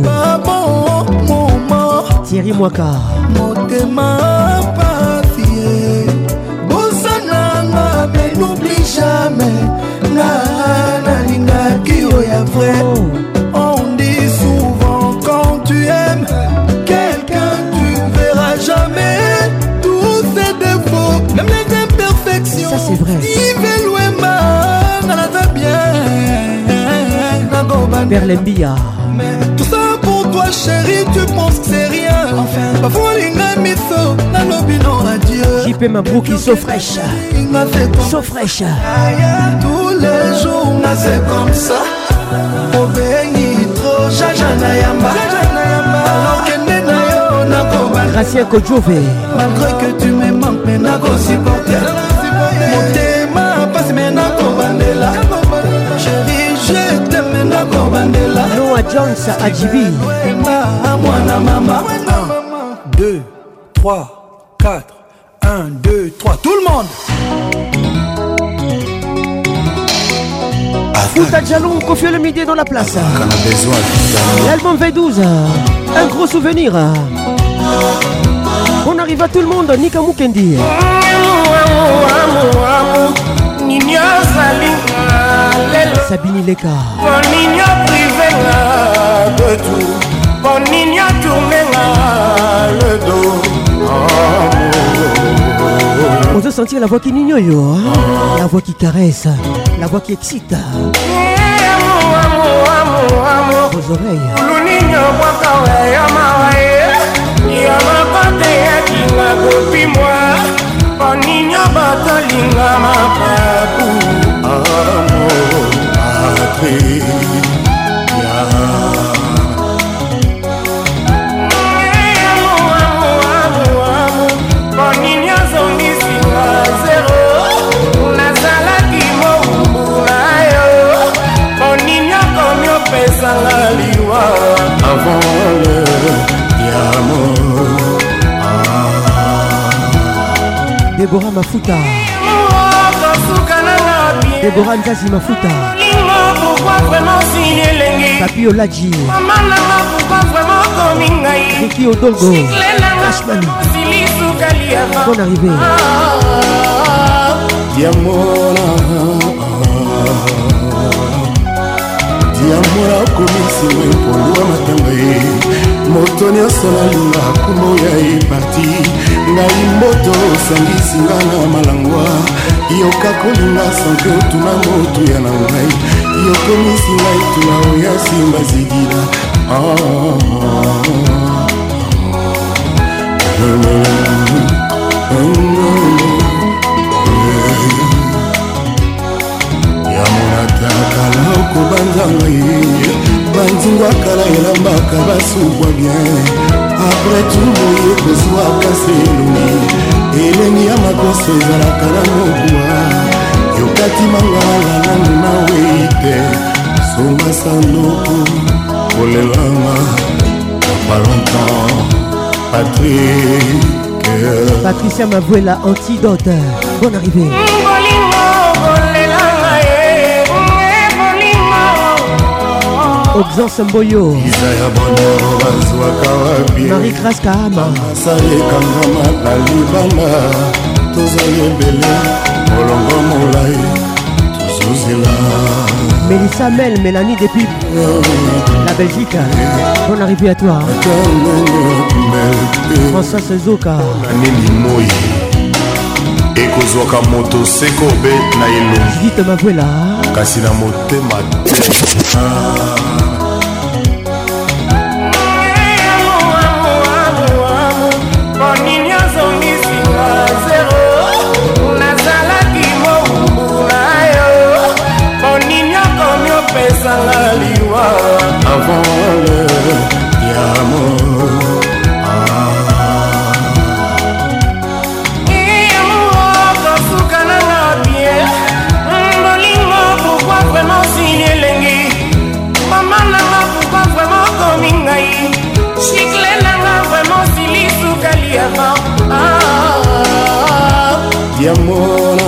Thierry Mwaka. Motema papier. Bosananga, mais n'oublie jamais. Naninga Kyo ya vrai. On dit souvent quand tu aimes quelqu'un, tu verras jamais tous ses défauts, même les imperfections. Ça c'est vrai. Berlembia. Mais tout ça pour toi chérie, tu penses que c'est rien. Enfin, pas voler biso nalobi non adieu. JP Mabrouki so fraîche. So fraîche. Tous les jours nga c'est comme ça. Obengi trop jaja na yamba. Alokende na yo na koba. Gracien Kodjove. Malgré que tu me manques mais na ko supporter. Motema passe mais na koba ndela. Chérie je t'aime mais na koba ndela. Noah Jones Adjibi. Mwana mama. 1, 2, 3, 4. 1, 2, 3. Tout le monde. Fouta Djalon, Kofi le midi dans la place. L'album V12, un gros souvenir. On arrive à tout le monde, Nika Mukendi. Sabine Leka. Bonigno privé de tout. Bonigno tourné le dos. On peut sentir la voix qui n'ignore, la voix qui caresse, la voix qui excite. Vos oreilles. Avant le diamant. Déborah Mafuta. Déborah Nzazi Mafuta. Pourquoi vraiment signer l'engue? Papi Oladji. Maman n'a pourquoi vraiment coming. Ricky Odolgo. Cashman. Bonne arrivée. Diamora komisi mepolwa matanga ye moto nyonso nalinga kumo ya eparti ngai mboto osangisi nga na malangwa yoka kolinga sanke otuna moto ya na ngai yokomisi ngai tuna oya simba zidila yamonataka okobanzanga ye banzingwa kala elambaka basukwa bien apres tumoye kozwaka seloni elengi ya makoso ezalaka na mokuwa yokatimangala nanu nawe te songa sanoko kolelanga pas longtemps Patricia Mavuela, Antidote. Bonne arrivée. Oxan Mboyo. Marie Grace Kahama. Mélissa Mel, Mélanie depuis la Belgique. Bonne arrivée à toi. François Sezoka. ekozwaka moto seko be na elongi Judith Mavuela kasi na motema avant le diamant. Pourquoi vraiment signer l'engue? Maman n'a pourquoi vraiment coming ngai? Chicle n'a vraiment signé sous Kaliava. Diamora,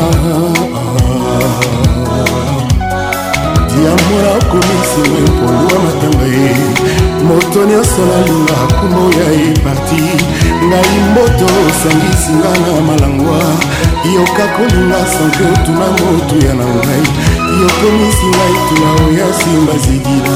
Diamora komisi mepolwa matanga ye moto nyonso nalinga kumo ya eparti ngai mboto osangisi nga na malangwa yoka kolinga sanke otuna moto ya na ngai yokomisi ngai tuna oya simba zidila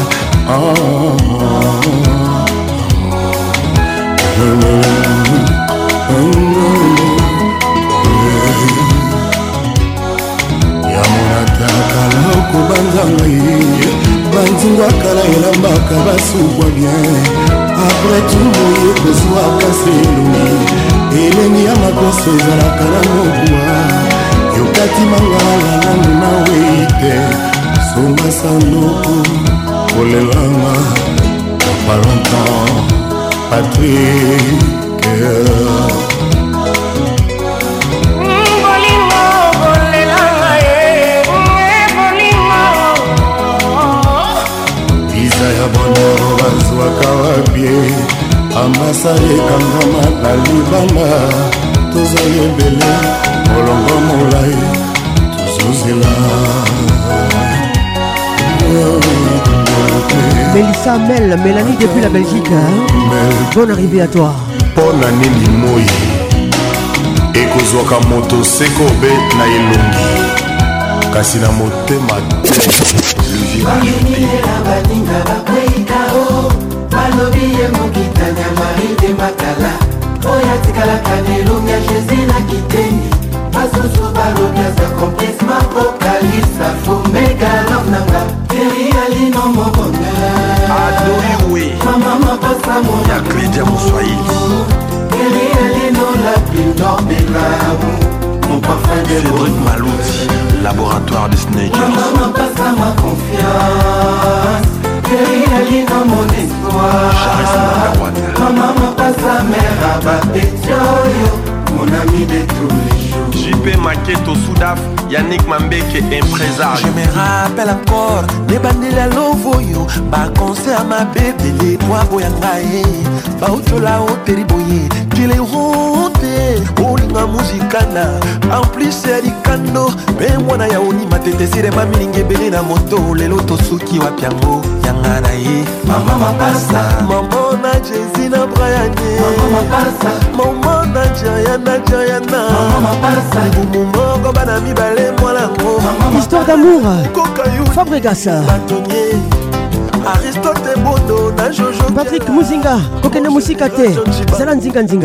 yamonataka na okobanzanga ye banzingwa kala elambaka basukwa bien apres tumoye kozwaka seloni elengi ya makoso ezalaka na mobwa yokati mangala nanu nawe te songa sanoko kolelanga pas longtemps Patrick Isaya bonero bazwaka wabie ambasade ekangama na libanda tozali ebele molongo molai tozozela Mélissa Mel, Mélanie depuis la Belgique. Bonne arrivée à toi. Pona nini moi ekozwaka moto sekobe na elongi kasi na motema te le virage balobi ye mokitanya Marie de Makala oya tikala kanelonga Jésus na kitengi basusu balobi aza complice mapokalisa fomega love nanga Keri alino mobonga Adori oui Mama mapasa mona ya Claudia Moswahili Keri alino la plus noble mon parfum de Cédric Malouti laboratoire de Snake Mama mapasa ma confiance Keri alino mon espoir Mama mapasa mère abatetioyo mon ami de tous les jours JP Maketo Soudaf Yannick Mambeke imprésar Je me rappelle encore les bandela lovoyo ba concert à ma bébé les bois boyangaye ba utola oteriboye kile honte olinga muzikana en plus c'est ricando mais mwana ya oni matete sire ba milinge bele na moto lelo tosuki wa piango yangana ye mama mapasa mama na Jésus na Brian mama mapasa mama na Jayana mama mapasa bumongo bana mibale Histoire d'amour Fabregas Aristote Bondo na Jojo Patrick Muzinga Kokene Musika te Zala Nzinga Nzinga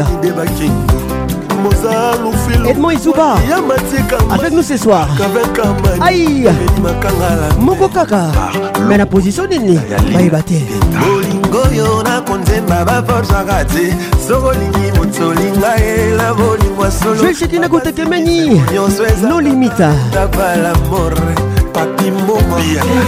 Edmond Izuba avec nous ce soir. Aïe Moko Kaka mais la position nini Baibate Bolingo yo na konzemba ba forza gati Sogolingi mutsolinga ela bolimwa solo Je suis Kina Kote Kemeni No limita Tapa l'amor Papi momo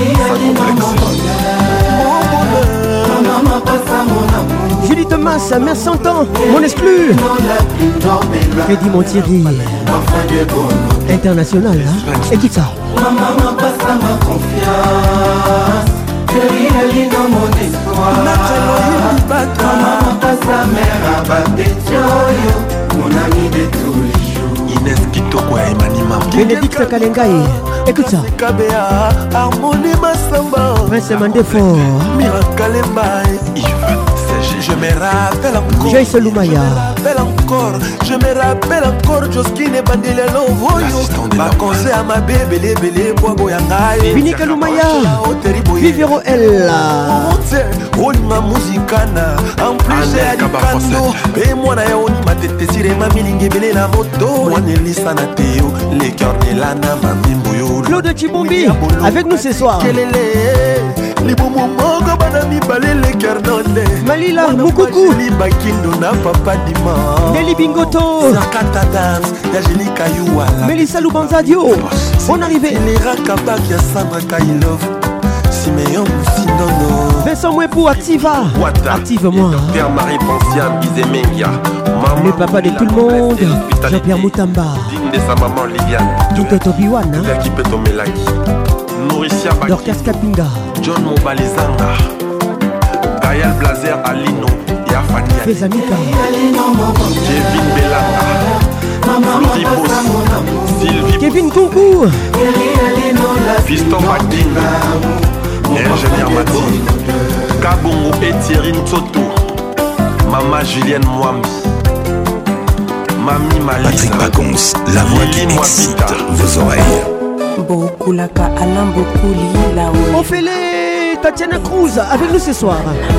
Julie Thomas, merci 100 ans, mon exclu. Freddy Montieri, international, hein? Écoute ça. Maman passe à ma confiance. Chérie, dans mon espoir. Maman passe à mère à Batetioyo, mon ami de tous les jours. Inès Kitoko et Manima. Bénédicte Kalengaï, écoute ça. Harmonie Massamba. Prince Mandefort. Miracalemba. Je me rappelle encore. Joyce Lumaya. Je me rappelle encore. Joskine Bandele Lovoyo. Ma conseil à ma bébé, les bois yangaye. Vinica Lumaya. Vivero Ella. Olima Musicana. En plus, j'ai Alicando. Et moi, na yaoni ma tête sire ma milingue belé la moto. Moi, Nelisa na Théo. Les cœurs Nelana, ma mimboyo. Claude Chibombi. Avec nous ce soir. Malila Moukoukou Nelly Bingoto Melissa Loubanzadio. On arrivait Vincent Mouepou, Activa. Active-moi. Pierre-Marie Ponciane, Izemengia. Le papa de tout le monde, Jean-Pierre Moutamba. Digne de sa maman Liliane. Toto Biwana. L'équipe est au Melaki. Nourricia Baki. Dorcas Kapinga. John Mobalizanga. Gaël Blazer Alino. Yafania. Fezanika. Kevin Belanga. Flori Boss. Sylvie. Kevin Kunku. Fiston Baking. Ingénieur Matine. Kabongo et Thierry Nsoto. Maman Julienne Mwambi. Mamie Malisa. Patrick Pacons, la voix qui excite vos oreilles. Beaucoup la ka Alain, beaucoup lila. On fait les Tatiana Cruz avec nous ce soir.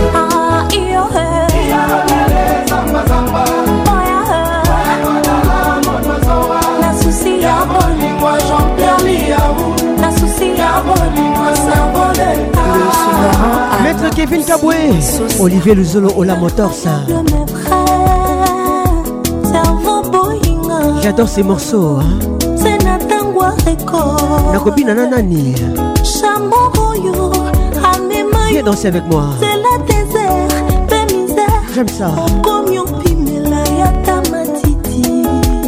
Maître Kevin Kaboué, Olivier Luzolo Ola Motors. Servant J'adore ces morceaux, hein. C'est Natangwa Record. Nakobina Nanani. Chamoroyo, Amema. Viens danser avec moi. C'est la désert, la misère. J'aime ça. Komyo Pimela Yata Matiti.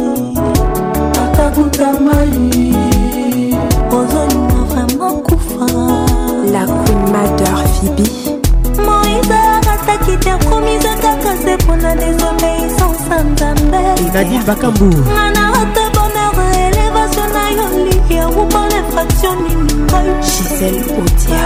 Atakuta Mali. Ozoni vraiment Koufa. La Queen Mother Phoebe. Moïse Arataki te promise kaka c'est pour la désobéissance en Nadine Bakambu. Gisèle Audia.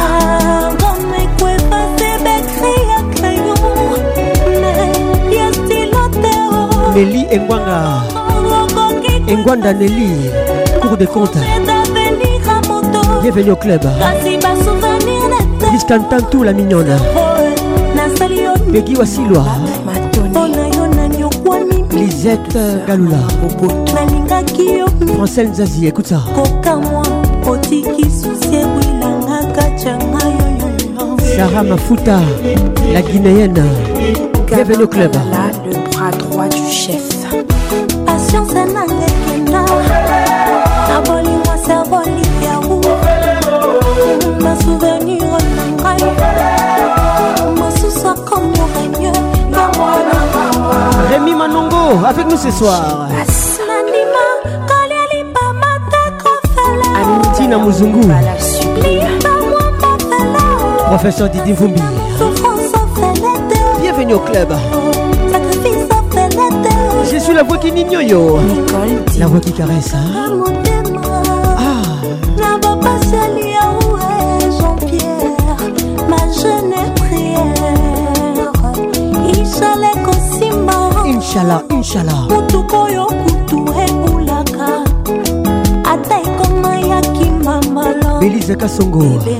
Nelly Engwanga. Engwanda Nelly. Cours de compte. Bienvenue au club. Biscantantou la mignonne. Peggy Wasilwa. Lisette Galula. Francine Zazie, écoute ça. Sarah Mafuta, la Guinéenne. Bienvenue au club. Le bras droit du chef. Rémi Manongo avec nous ce soir. Tina Muzungu. Professeur Didi Vumbi. Bienvenue au club. Je suis la voix qui n'ignore. La voix qui caresse. Inch'Allah, Inch'Allah. Belize Kasongo.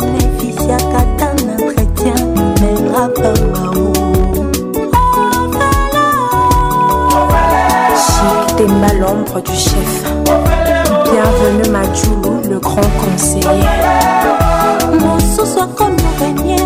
Chic Temba, l'ombre du chef. Bienvenue Madjoulou, le grand conseiller. Mon sou soit comme le régnier.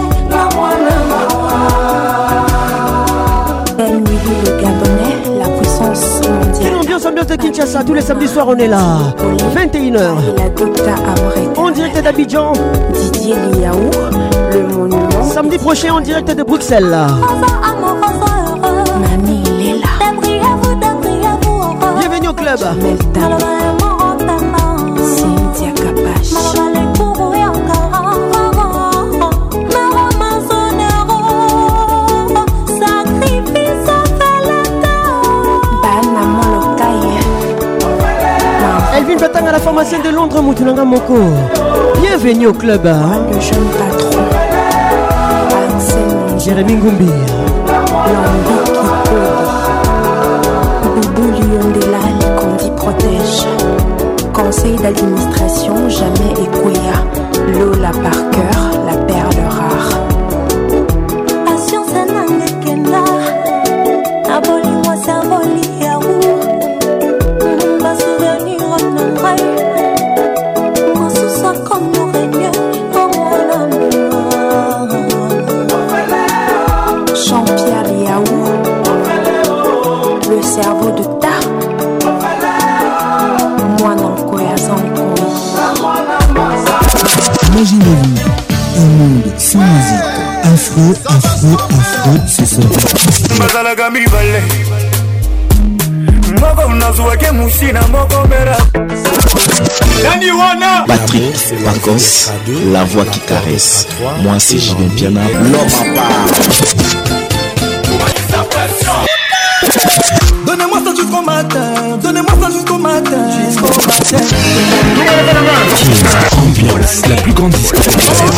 Emily le Gabonais, la puissance mondiale. Ambiance de Kinshasa, tous les samedis soirs on est là. 21h. En direct d'Abidjan. Didier Liaou, le monument. Samedi prochain en direct de Bruxelles. Mamie Léla. Bienvenue au club. Cynthia Kapache. Elvin Batang à la pharmacienne de Londres, Moutounanga Moko. Bienvenue au club. Le jeune patron. Jérémy Ngumbi. Lambi Kipoli. Boubou Liondela, Likondi protège. Conseil d'administration, jamais Ekouya. Lola Parker, la perle rare. Patience Nangekenda. Aboli-moi, Saboli, Yaou. Ma souvenir en oreille. Mon sous-sol comme nous régnier. Comme mon amour. Jean-Pierre Liaou. Le cerveau de Ta. Moi non Koyazankoui. Imaginez-vous un monde sans musique. Afro, afro, afro, c'est ça. Patrick Pacos, la voix qui caresse. Moi c'est Julien Piana, l'homme à part. Donnez-moi ça jusqu'au matin, donnez-moi ça jusqu'au matin, Ambiance, la plus grande discothèque.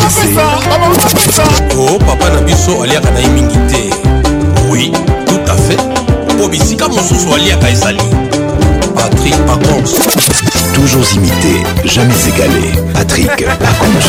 Oh papa Nabiso aliaka na imingité. Oui, tout à fait. Obisika mosusu aliaka ezali. Patrick Pacons. Toujours imité, jamais égalé. Patrick Pacons.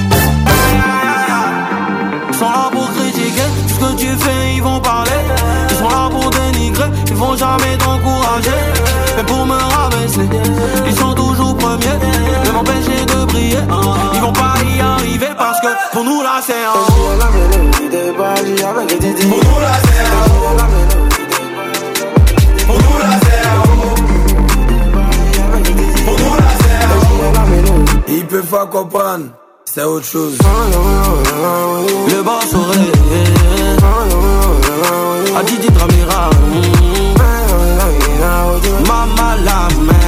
Ils sont là pour critiquer tout ce que tu fais, ils vont parler. Ils sont là pour dénigrer, ils vont jamais t'encourager. Mais pour me rabaisser, ils sont toujours premiers. Ne m'empêcher de briller, ils vont pas y arriver parce que pour nous là c'est un. Pour nous là c'est un. Pour nous là c'est un. peuvent pas comprendre, c'est autre chose. Le boss aurait a dit Dramira. Maman la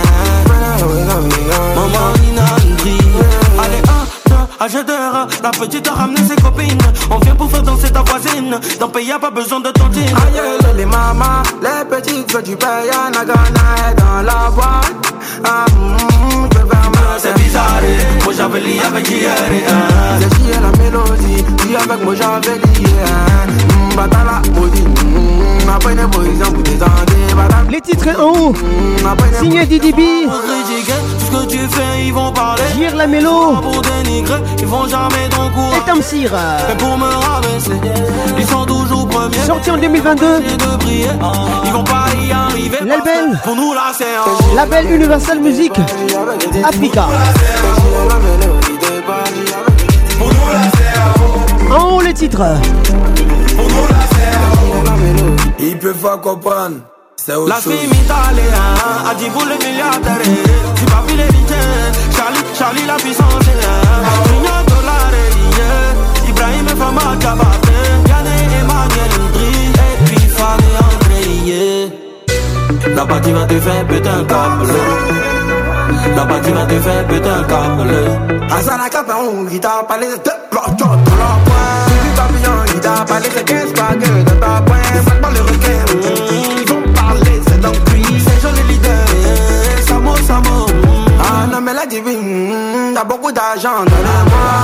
maman Inandri. Allez, acheteur, la petite a ramené ses copines. On vient pour faire danser ta voisine. Dans pays y'a pas besoin de tontine. Aïe, les mamas, les petites veulent du paye. Nagana est dans la boîte. C'est bizarre, moi j'avais lié avec hier. C'est chier la mélodie, dis avec moi j'avais lié. Batala, maudit. Après les boys, en bout des années. Les titres en haut, signé Didi B. Ce que tu fais, ils vont parler. Gire la mélo. Pour dénigrer, ils vont jamais t'encourager. Et Tamsir. Mais pour me rabaisser, ils sont toujours premiers. Sorti en 2022. Ils vont pas y arriver. Label. Pour nous là c'est Label Universal Music Africa. En haut les titres. Ils peuvent pas comprendre. C'est autre chose. La fille m'italienne a dit pour les milliardaires. Si pas vu les Charlie la puissance. $1 Ibrahim et Fama Kabate. Yanné Emmanuel Ndri. Et puis Fanny André. La partie va te faire péter un câble. La partie va te faire péter un câble. Azana Capon, il t'a parlé de blocs dans leur poing. Du papillon, il t'a parlé de 15 bagues de ta poing. Ça parle le requin, ils vont parler, c'est dans le cuit. C'est joli leader, Samo. Ah non, mais la divine, t'as beaucoup d'argent dans les mois.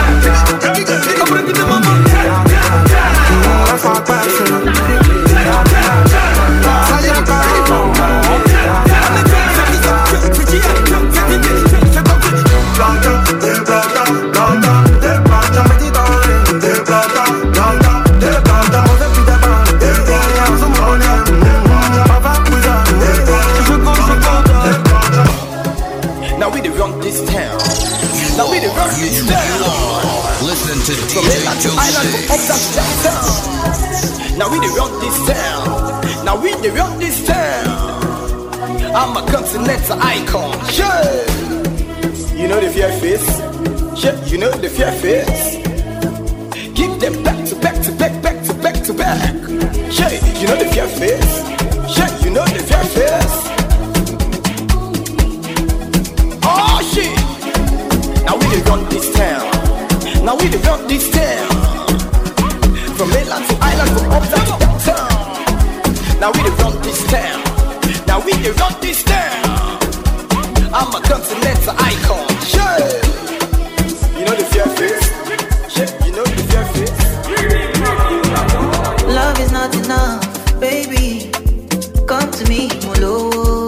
Now we the run this town. Now we the run this town. Listen to From Island to Island, from up down. Now we the run this town. Now we the run this town. I'm a continental icon. Yeah. You know the fear face. Yeah, you know the fear face. Give them back to back to back, back to back to back. Yeah, you know the fear face. Yeah, you know the fear face. Oh shit! Now we dey run this town. Now we dey run this town. From mainland to island, from uptown to downtown. Now we dey run this town. Now we dey run this town. I'm a continental icon. Yeah. You know the fear face. Yeah, you know the fear face. Love is not enough, baby. Come to me, Molo.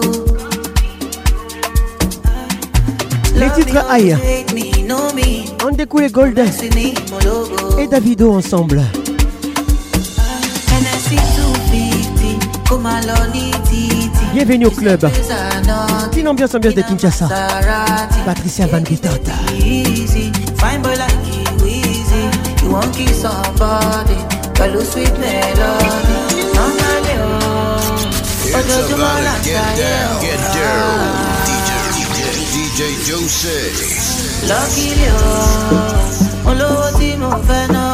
Les titres Aïe, Andekou et Gold et Davido ensemble. Bienvenue au club. Une ambiance de Kinshasa. Patricia Van Vitota. Fine boy like you easy. You won't kiss somebody. Kalu sweet melody. It's about to get down, get dirty. DJ Jose. Lucky you, Olowo ti mo fẹ́ náà.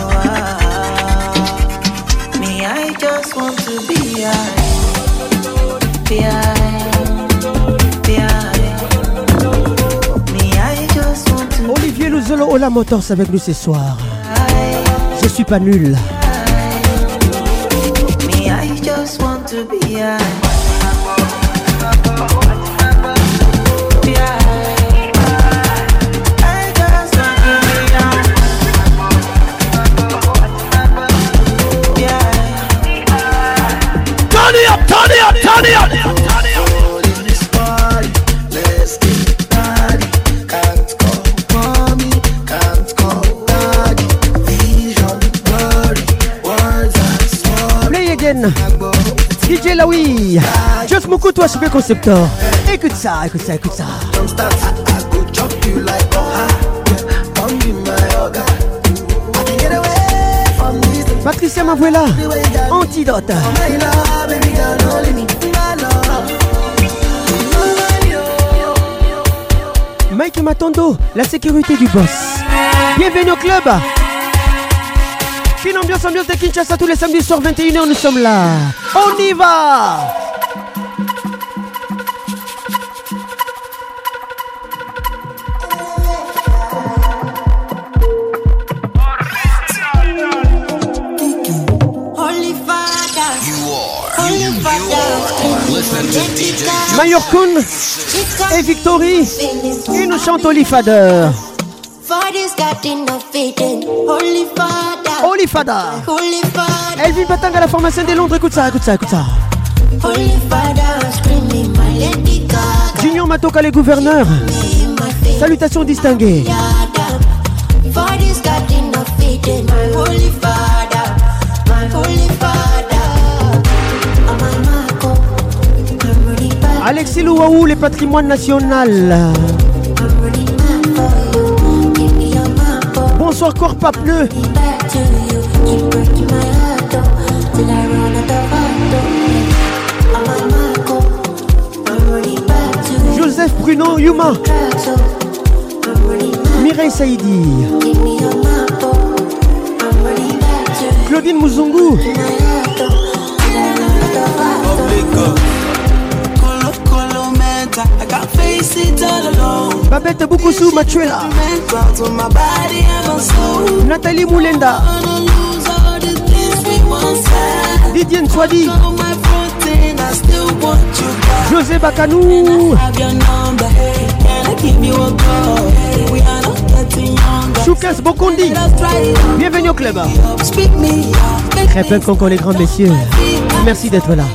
Me, I just want to be high. Be high. Me, I just want to Olivier Luzolo Ola Motors avec nous ce soir. Je suis pas nul. Me, I just want to be high. Turn it up, turn it up, turn it up. Let's get party. Can't call mommy, can't call daddy. Vision, worry, words are small. Play again. DJ Laoui. Just Moukou, toi, super concepteur. Écoute ça, écoute ça, écoute ça. Don't start, I go chop you like Oha. Come be my organ. I can get away from this. Patricia Mavuela. Antidote. My love, baby girl, only me. My love. Mike Matondo, la sécurité du boss. Bienvenue au club. Fine ambiance de Kinshasa tous les samedis soirs 21h, nous sommes là. On y va. Mayor Kun et Victory, ils nous chantent Holy Father. Holy Father. Elvin Batang à la formation de Londres, écoute ça, écoute ça, écoute ça. Junior Matoka, les gouverneurs. Salutations distinguées. Alexis Louaou, les patrimoines national. Bonsoir Corpa Pneu. Joseph Bruno Yuma. Mireille Saïdi. Claudine Mouzungu. Babette Boukoussou Matuela. Nathalie Moulenda. Didier Nswadi. José Bakanou. Choukas Bokondi. Bienvenue au club. Très peu qu'on les grands messieurs. Merci d'être là.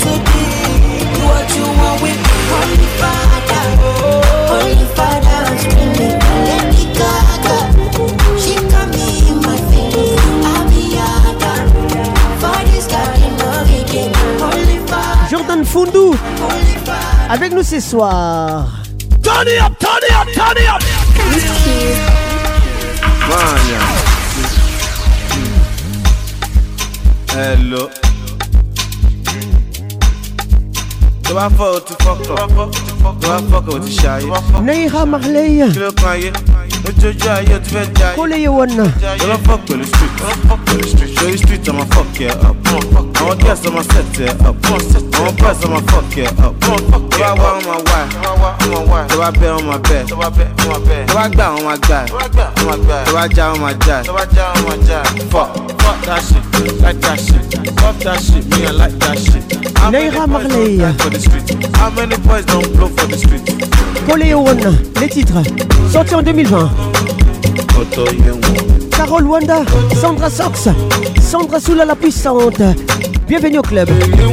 Jordan Fundou avec nous ce soir. Turn it up, turn it up, turn it up. Hello. Do I fuck to fuck up? Do I fuck with the shy? Neira Marley. Koleye Wana. Do I fuck with the street? Show the street, I'ma fuck you up. I'ma guess I'ma set you up. I'ma press, I'ma fuck you up. Do I want my wife? Do I bet on my bed? Do I gbà on my guy? Do I jam on my jazz? Fuck that shit, like that shit. Fuck that shit, me I like that shit. Neira Marley. How many boys don't blow for the street? Koleye Wana, les titres sortis en 2020. Carole Wanda, Sandra Sox, Sandra Soula la puissante. Bienvenue au club.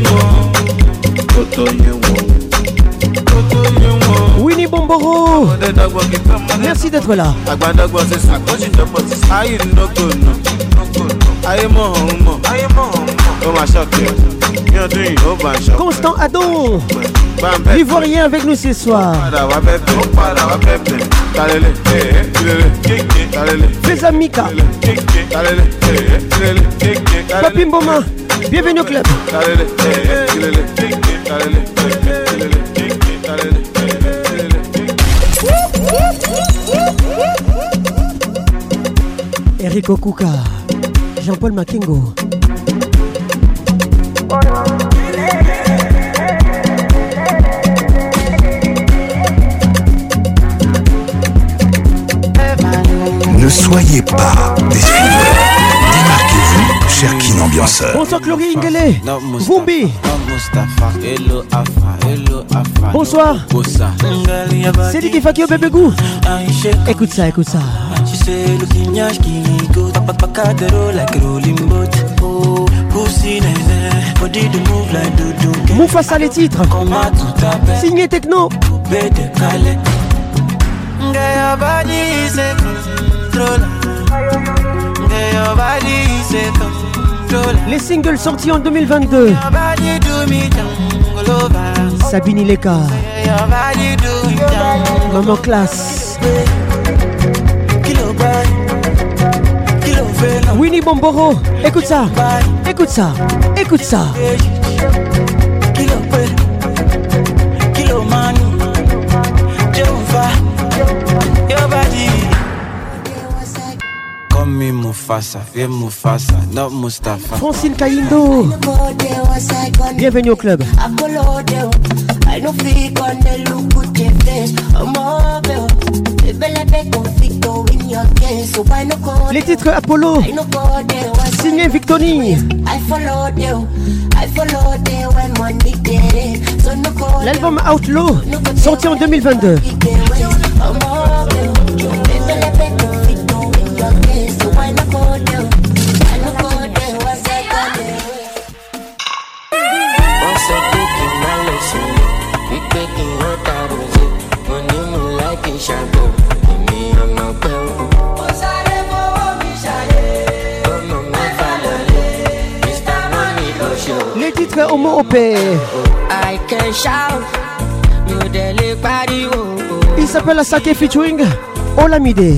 Winnie Bomboro, merci d'être là. Constant Adon, l'Ivoirien avec nous ce soir. Fais Mika, Papi Mboma, bienvenue au club. Eric Okuka, Jean-Paul Makengo. Ne soyez pas des suiveurs. Démarquez-vous, cher Kin Ambianceur. Bonsoir Chloé Ingele, Vumbi. Bonsoir. C'est Diki Fakio Bébégou. Écoute ça, écoute ça. Moufassa les titres. Signé Techno. Les singles sortis en 2022. Sabine Ileka, Maman Classe, Winnie Bomboro. Écoute ça, écoute ça, écoute ça. Mufasa, viens Mufasa, not Mustafa. Francine Kaindo, bienvenue au club. Les titres Apollo, signé Victoni. L'album Outlaw, sorti en 2022. Les titres Homo OP. Il s'appelle Asake featuring Olamide.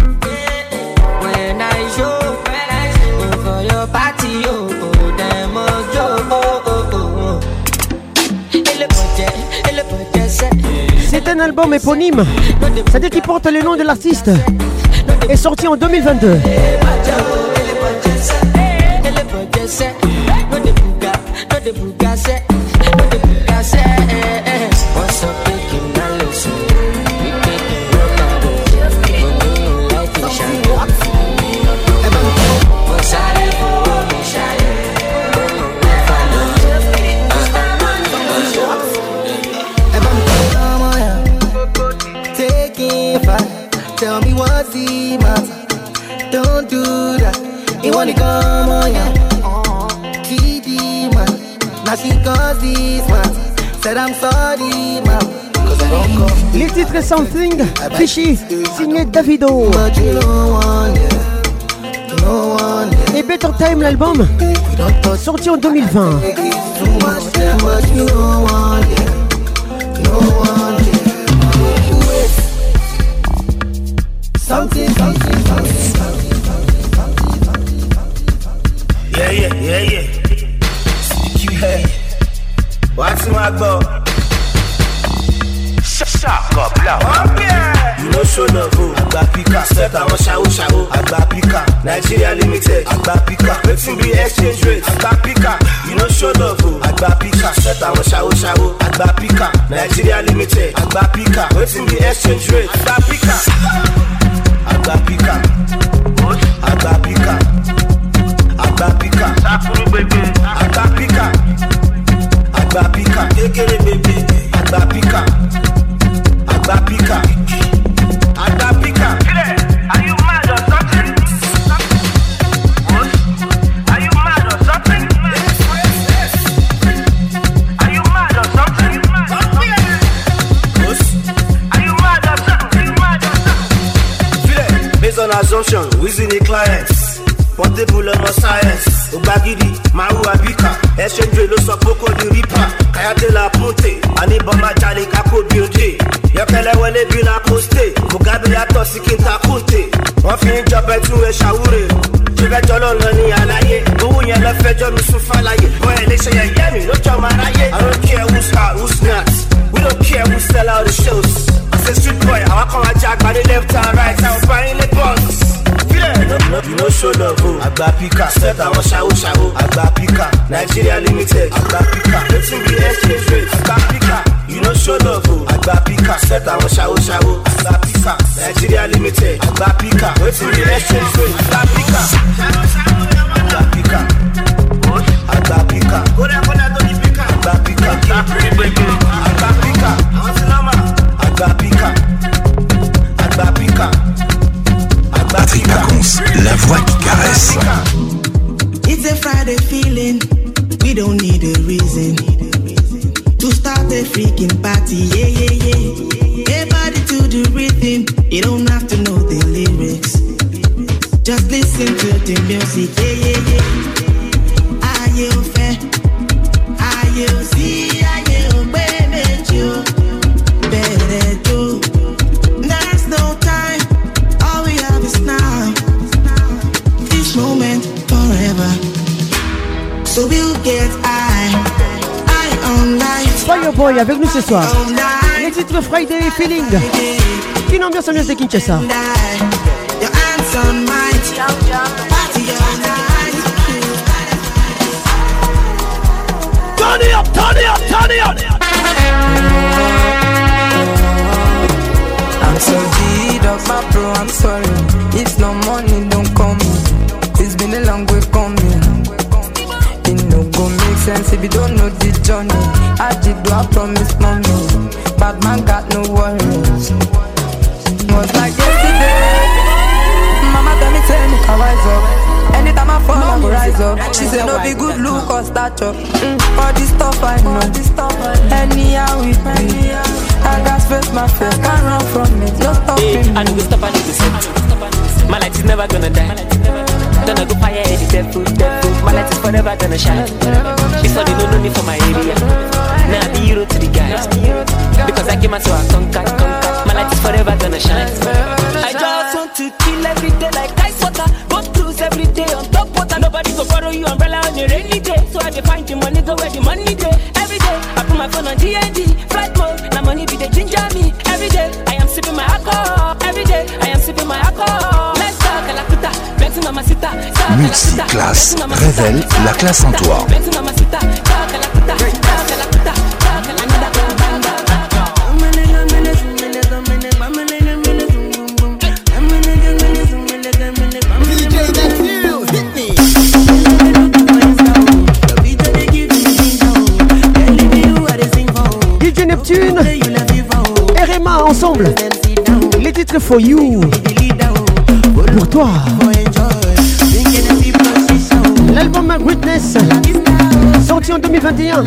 C'est un album éponyme, c'est-à-dire qu'il porte le nom de l'artiste, est sorti en 2022. Tell me what's the matter. Don't do that. You wanna come on, yeah. Kitty man. Now she caused this matter. Said I'm sorry, man. Cause I don't come. Les titres Something, Fishy, signé Davido. But you don't want it. You don't want it. Et Better Time, l'album, sorti en 2020. Too much time, but you don't want it. You don't want it. Something. Yeah. CQ head. What's my go? Shut up, là. You know show love, Agba Pika. Set our show. Agba Pika. Nigeria Limited. Agba Pika. Let's be exchange rate. Agba Pika. You know show love, Agba Pika. Set our show. Agba Pika. Nigeria Limited. Agba Pika. Let's be exchange rate. Agba Pika. Agba Pika. Agba Pika. Agba Pika. Sakuru baby. Agba Pika. Agba Pika. Egere baby. Agba Pika. Agba Pika. Agba Pika. Are you mad or something? What? Are you mad or something? Are you mad or something? What? Are you mad or something? Based on assumption, within the clients. Portable on science. Obagidi, Maru Abika. Exchange rate, loss of Poco di Ripa. Kayate la Ponte. Anibama Jali Kako Beauty. Yokele wele bila poste. Mugabe ya tosi kinta kunte. Wọ́n fi ń jọbẹ̀ tún ẹ ṣàwúre. Ṣífẹ́jọ́ ló lọ ní àlàyé. Owó yẹn lọ fẹjọ́ mi sún fàlàyé. Bọ́ ẹ lè ṣe yẹ̀yẹ́ mi lójọ́ máa ráyé. I don't care who's hot, who's not. We don't care who sell out the shows. As a street boy, àwọn kan wá jẹ́ àgbàdo left and right. Àwọn báyìí lè bọ́ọ̀sì. You know show love, Agba Pika. Set our show. Agba Pika. Nigeria Limited. Agba Pika. Let's be exchange rate. Agba Pika. You know show love, Agba Pika. Set our show. Agba Pika. Nigeria Limited. Agba Pika. Let's be exchange rate. Agba Pika. Agba Pika. Agba Pika. Agba Pika. Agba Pika. Agba Pika. Agba Pika. Patrick Pacons, la voix qui caresse. It's a Friday feeling, we don't need a reason to start a freaking party, yeah. Everybody to the rhythm, you don't have to know the lyrics. Just listen to the music, yeah. Are you fair? Are you see? Are you baby? You better do. There's no time. Now, this moment forever. So we'll get high on life. Fireboy avec nous ce soir. Les titres Friday Feeling. Une ambiance de Kinshasa. Your hands on mine. Turn it up, turn it up, turn it up. I'm so G'd up, my bro, I'm sorry. If no money, don't call me. It's been a long way coming. It no go make sense if you don't know the journey. I did do I promise mommy. Bad man got no worries. Was like yesterday. Mama tell me I rise up. Anytime I fall, I go rise up. She said no be good look or stature. All this stuff I know. Anyhow we be. I got face my face, can't run from it. No stopping. I know we stop, I need to set. My light is never gonna die. Don't I go fire the devil. My light is forever gonna shine. It's all they don't know me for my area. Now I be hero to the guys. Because I came out so I conquer. My light is forever gonna shine. I just want to kill every day like ice water. Go cruise every day on top water. Nobody go borrow you umbrella on a rainy day. So I dey find the money, go where the money day. Every day I put my phone on DND. Flight mode, now money be the ginger me. Every day I am sipping my alcohol. Every day I am sipping my alcohol. Let's talk a la puta, Betty Mamacita. Multiclasse révèle la classe en toi. Betty Mamacita, talk a la puta, talk a la puta, talk a la puta. Neptune et Rema ensemble. Les titres for you. Pour toi. L'album Greatness sorti en 2021.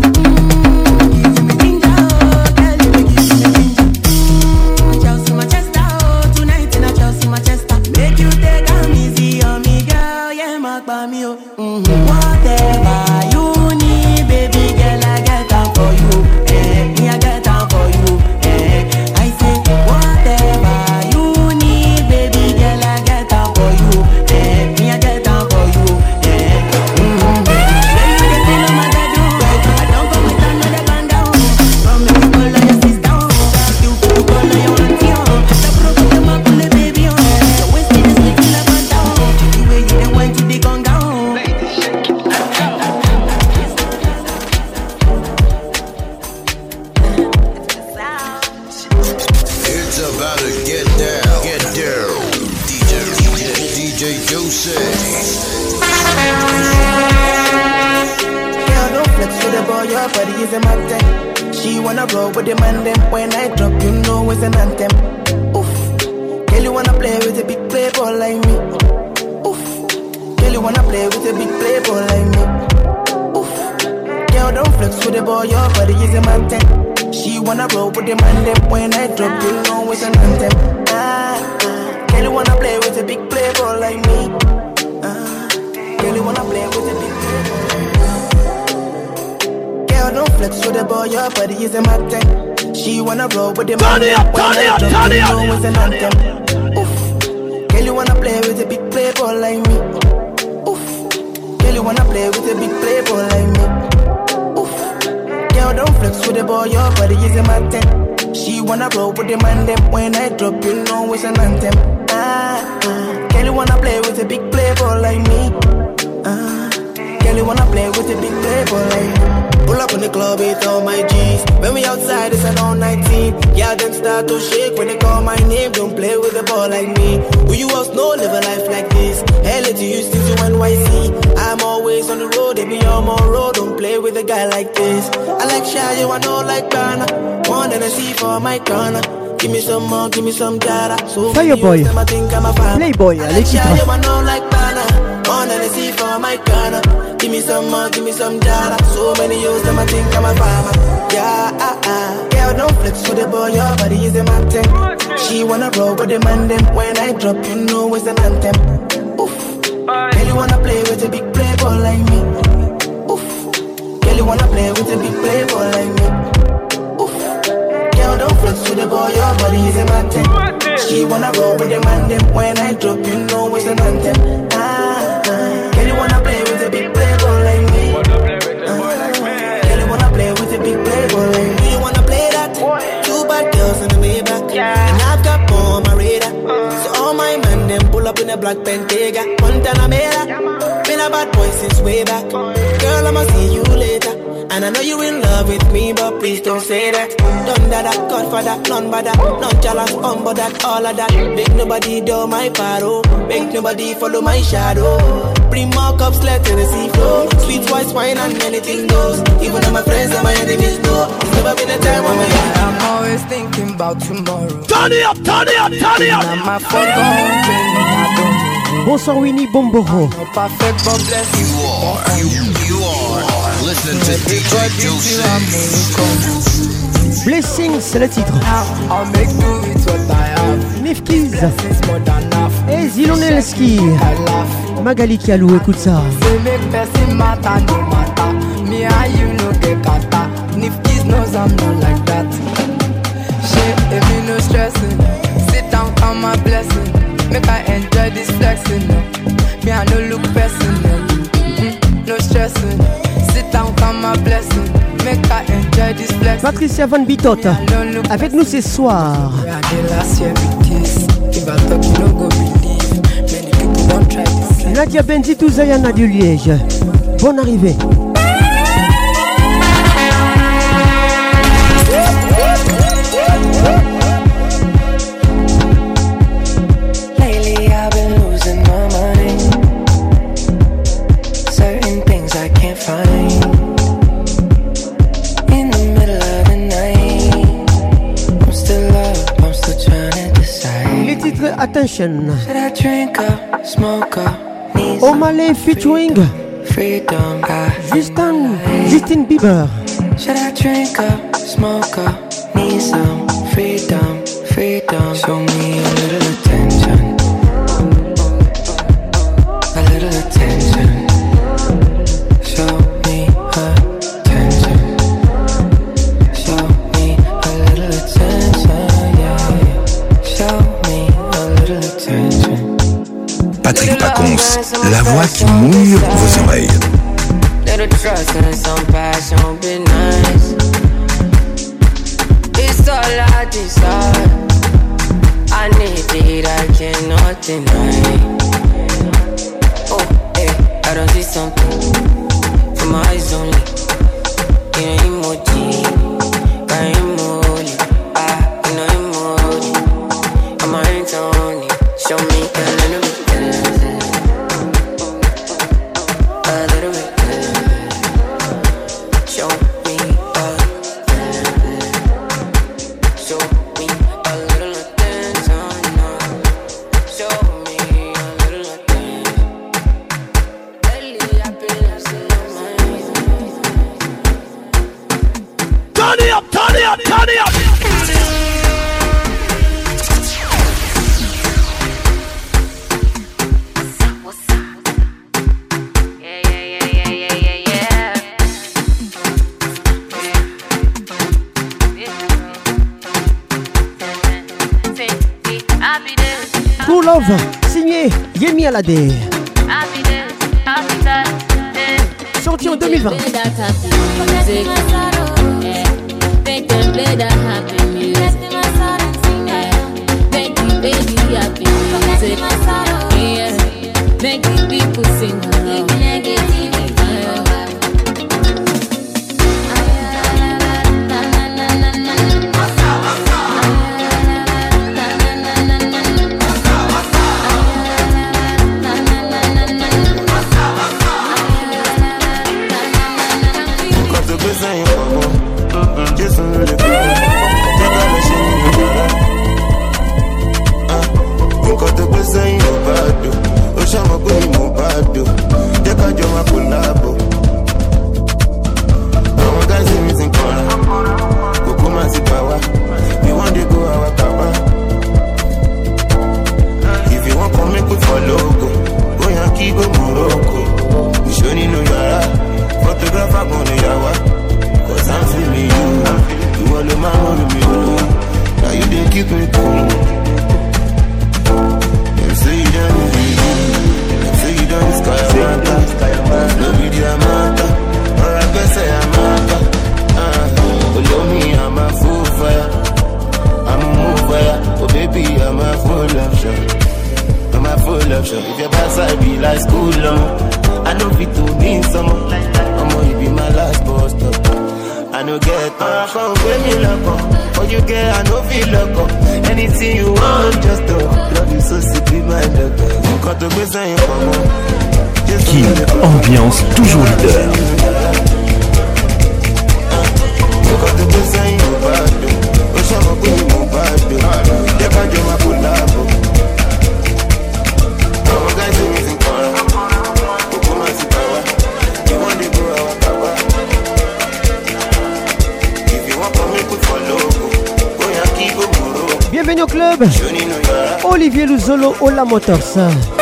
Give me some data. So Fireboy, Playboy, l'équipe. Give me some more, give me some data. So many years them I think I'm a farmer. Yeah, girl don't flex with the boy, your body is a mountain. She wanna roll with the man them. When I drop, you know it's an anthem. Oof, girl you wanna play with a big playboy like me. Oof, girl you wanna play with a big playboy like me. Don't flex with the boy, your body is a mountain. She wanna roll with the man them. When I drop, you know it's an anthem. Girl, you wanna play with a big playboy like me. Girl, you wanna play with a big playboy like me. You wanna play that? Two bad girls in the Maybach, and I've got more on my radar. So all my men them pull up in a black Bentayga. Montana Mera, been a bad boy since way back. Girl, I'ma see you later. And I know you in love with me, but please don't say that. Done that, God for that, none but that. Not jealous, but that, all of that. Make nobody do my paro. Make nobody follow my shadow. Bring more cups, let the sea flow. Sweet voice, wine, and anything goes. Even though my friends and my enemies know. It's never been a time when I'm always thinking about tomorrow. Turn it up, turn it up, turn it up. Now my phone gone, I don't. Bonsoir Winnie Bomboro. Perfect, but bless you. You are listening to DJ Juicy. Blessings, c'est le titre. I'll make do with what I have. Nifkiz. Blessings more than enough. Et Zilonelski. Magali Kialou, écoute ça. Say make person matter, no matter. Me and you no get kata. Nifkiz knows I'm not like that. Shit, if me no stressing. Sit down, count my blessing. Make I enjoy this flexing. Me I no look personal. No stressing. Sit down, count my blessing. Make I enjoy this flexing. Patricia Van Bitot avec nous ce soir. Nadia Benzitou Zayana du Liège. Bonne arrivée. Attention. O'Malley featuring Justin Bieber. Should I drink up, smoke up, need some freedom, freedom. Show me a little attention, a little attention. Show me attention, show me a little attention, yeah. Show me a little attention. Patrick Pacons, la voix qui mouille vos oreilles. Little trust and some passion be nice. It's all I desire. I need it, I cannot deny. Oh, hey, I don't see something from my eyes only. In an emoji, by emoji, in an emoji. I'm a hands only. Show me a little bit. Signé Yemi Alade. Sorti en 2020. Make the people sing along. If your backside be like school, I know fit to mean some. I'm gonna be my last bus stop. no get up. Come bring me lock up. All you get, I no feel lock up. Anything you want, just do. Love you so sick, be my doctor. Quand tu veux ça, il King, ambiance toujours leader. Quand tu veux ça, il va de. Au champ, on peut mon pas de. Y'a pas de ma pour la peau. Our guys are missing power. Ukuma si power. You want to go our power. If you want to make it for logo. Go Yankee, go Moro. Bienvenue au club. Olivier Luzolo, Ola Motors.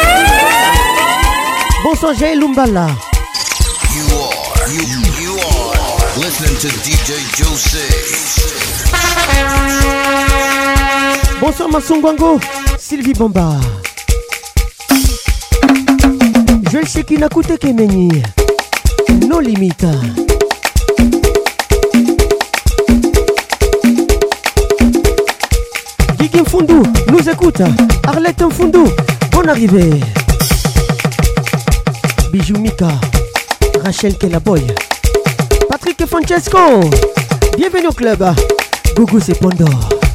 Bonsoir Jaël Lumbala. You are listening to DJ Jose. Bonsoir Masungwango, Sylvie Bomba. Joël Shekina Koute Kemeni. No limites. Guigui Mfundu nous écoute. Arlette Mfundu, bonne arrivée. Bijou Mika, Rachel Kelaboy, Patrick Francesco, bienvenue au club. Gougou c'est Pandore.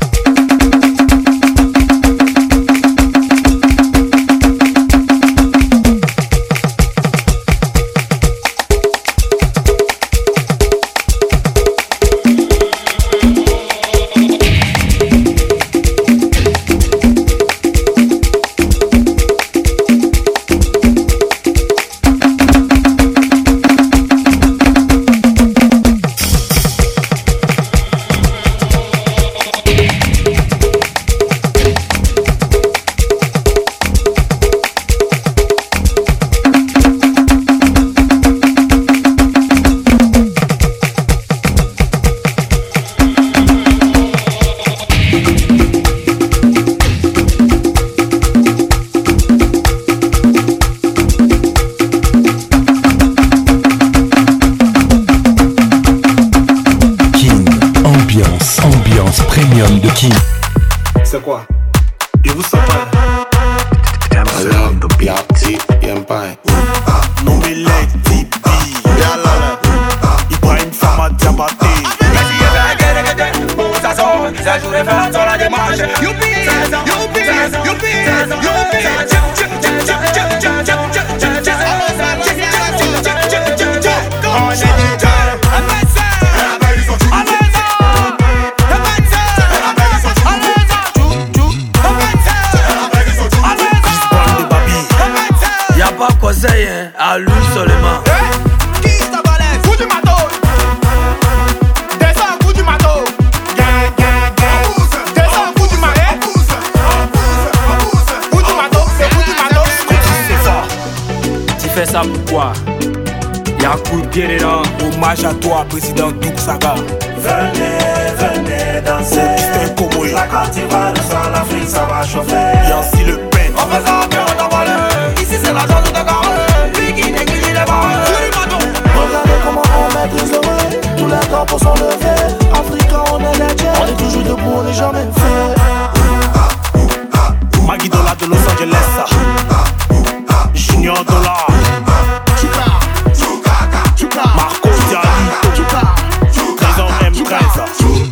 À lui seulement. Qui t'a balèze? Coup du matos. Descends, coup du matos. Descends, coup du marais. Coup du matos, c'est coup du matos. C'est fort. Tu fais ça pourquoi? Y'a coup de pied dedans. Hommage à toi, président Douk Saga. Venez danser. La Côte d'Ivoire, le sang, l'Afrique, ça va chauffer. Y'a aussi le pain. On fait ça, puis on t'envole. Ici, c'est la zone de carré. Regardez comment on maîtrise le vrai. Tous les drapeaux sont levés. Africain, on est les tiens. On est toujours debout, on n'est jamais fait. Maggie Dollar de Los Angeles. Junior Dollar. Marco Dialito. Prison M13.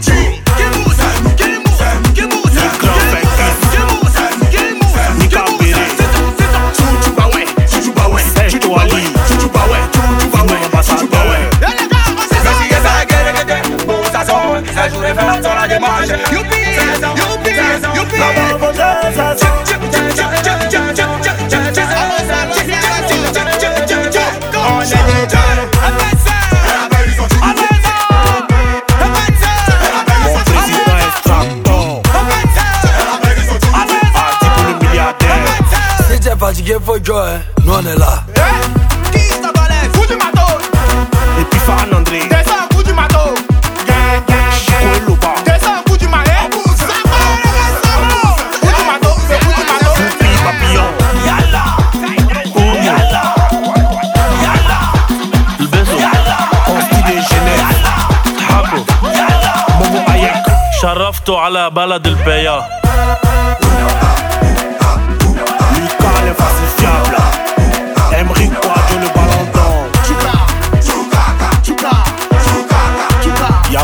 Fatigué, faut jouer, nous on est là. Qui t'a balèze? Coup du matos. Et puis Farhan André. Descends, coup du matos. Descends, coup du marais. Coup du matos, c'est coup du matos. Foupi papillon. Yalla. Yalla. Yalla. Le beso. Consti de Genève. Habo. Momo Ayek. شرفته على بلد البيا. Falsifiable. Emery Quadro le ballon d'or. Y'a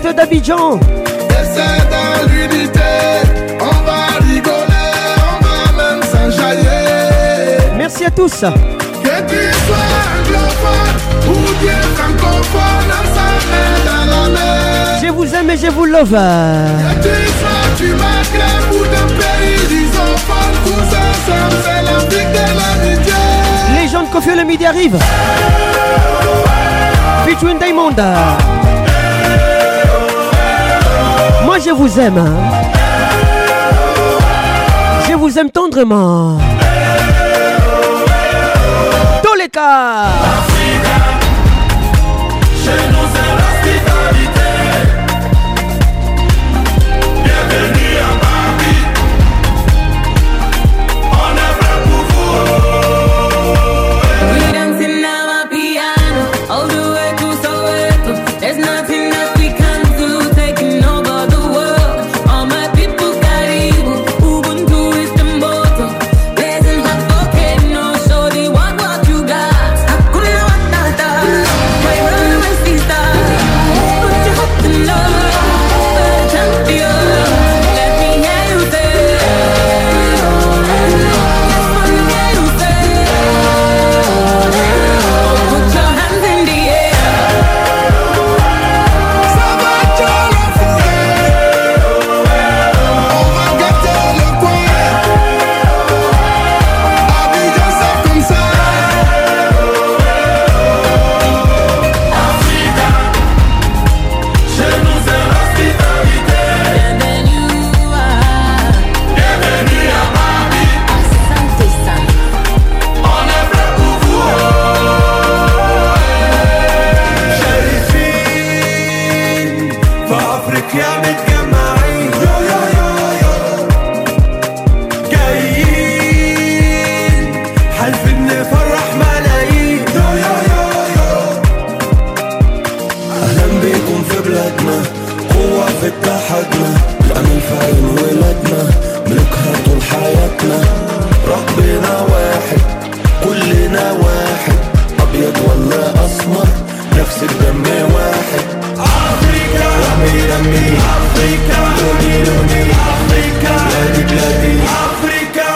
direct d'Abidjan. Essaie dans l'unité, on va rigoler, on va même s'enjailler. Merci à tous. Que tu sois anglophone ou bien francophone, ensemble dans la mer. Je vous aime et je vous love. Que tu sois du Maghreb ou d'un pays d'Isophone, tous ensemble c'est l'Afrique de l'amitié. Les gens de Kofi le midi arrivent. Featuring Diamond. Moi je vous aime. Je vous aime tendrement. Tous les cas. Chez nous c'est l'hospitalité. Bienvenue à Paris. On est prêt pour vous. We dancing now a piano all the way to Soweto. There's nothing that we can do, taking over the world. All my people Karibu, Ubuntu is the motto. Blazing hot volcano, show the what you got. Hakuna Matata, my runaway sister. Put your hope in love, champion. Let me hear you say. Let me hear you say. Put your hands in the air. Ça va dans la forêt. On va gâter le coin. Abidjan c'est comme ça. Africa, chez nous c'est l'hospitalité. Bienvenue à Paris. On est prêt pour vous. شايفين في افريقيا متجمعين يو يو يو يو جايين حالفين نفرح ملايين يو يو يو يو اهلا بيكم في بلادنا قوة في اتحادنا الامل في عيون ولادنا ملكها طول حياتنا ربنا واحد كلنا واحد ابيض ولا اسمر نفس الدم واحد افريكا دمي دمي افريكا لوني لوني افريكا بلادي بلادي افريكا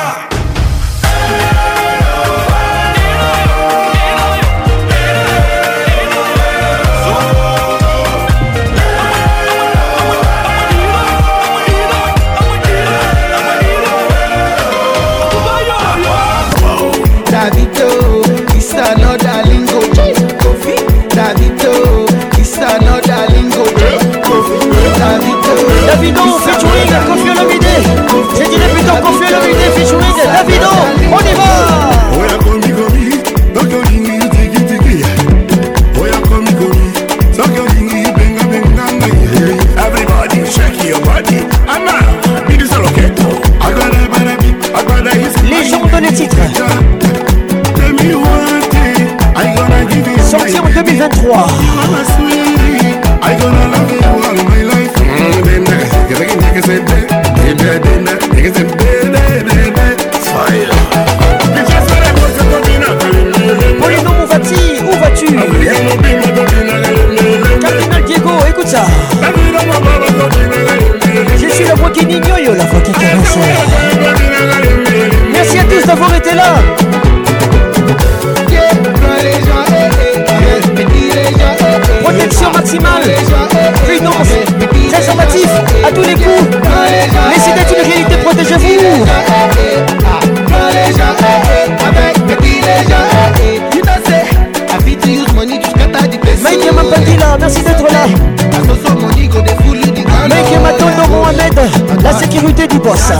Davido, it's another lingo. Kofi, Davido, it's another lingo. Kofi, Davido featuring Kofi Olomide. Je dirais plutôt Kofi Olomide featuring Davido. On y va. Oya komi komi, soko lingi tiki tiki. Oya komi komi, soko lingi benga benga ngai. Everybody shake your body. Ama, bidi solo keto. Agora barabi, agora is. Les gens donnent les titres. Tell me one thing, I gonna give you. Sorti en 2023. I gonna love you all my life. Polino Mouvati, où vas-tu? Cardinal Diego, écoute ça. Je suis la voix qui n'ignore, la voix qui caresse. Merci à tous d'avoir été là. Protection maximale, prudence, préservatif à tous les coups. Laissez d'être une réalité, protégez-vous. Mike Mapandila, merci d'être là. Mike Matondo Mohamed, la sécurité du boss.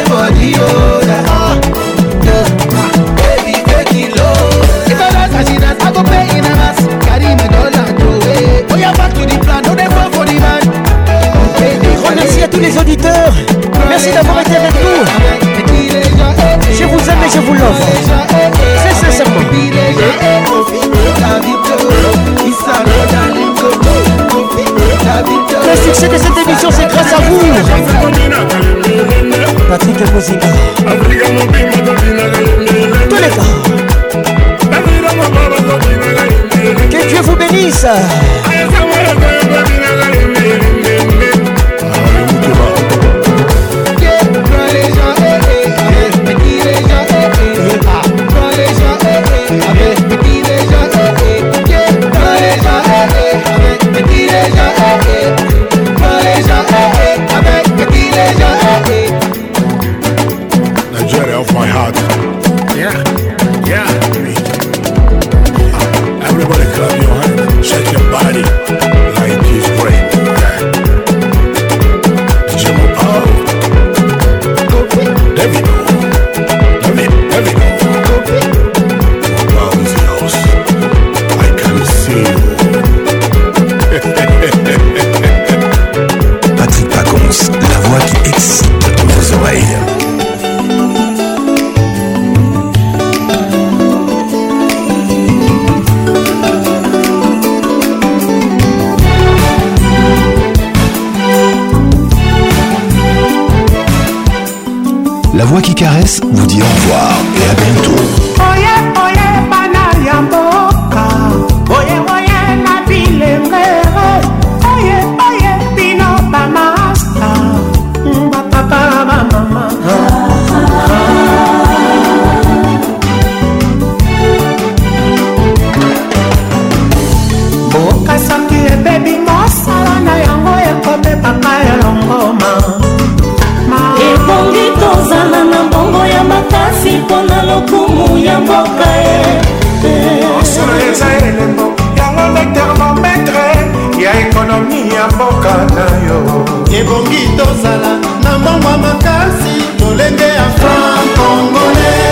Remercie à tous les auditeurs. Merci d'avoir été avec nous. Je vous aime et je vous love. Très sincèrement. Le succès de cette émission, c'est grâce à vous. Patrick Mozinga. Tous les gars. Que Dieu vous bénisse. La voix qui caresse vous dit au revoir et à bientôt. Oye, oye, bana ya mboka. Oye, oye, na bilenge. Oye, oye, bino ba master. Ba papa, ba mama. Mboka soki ebebi mosala na yango ekobebaka elongoma. ebongi tozala na mbongo ya makasi mpona lokumu ya mboka osolo eza elembo yango nde termometre ya ekonomi ya mboka na yo. ebongi tozala na mbongo ya makasi lolenge ya franc congolais.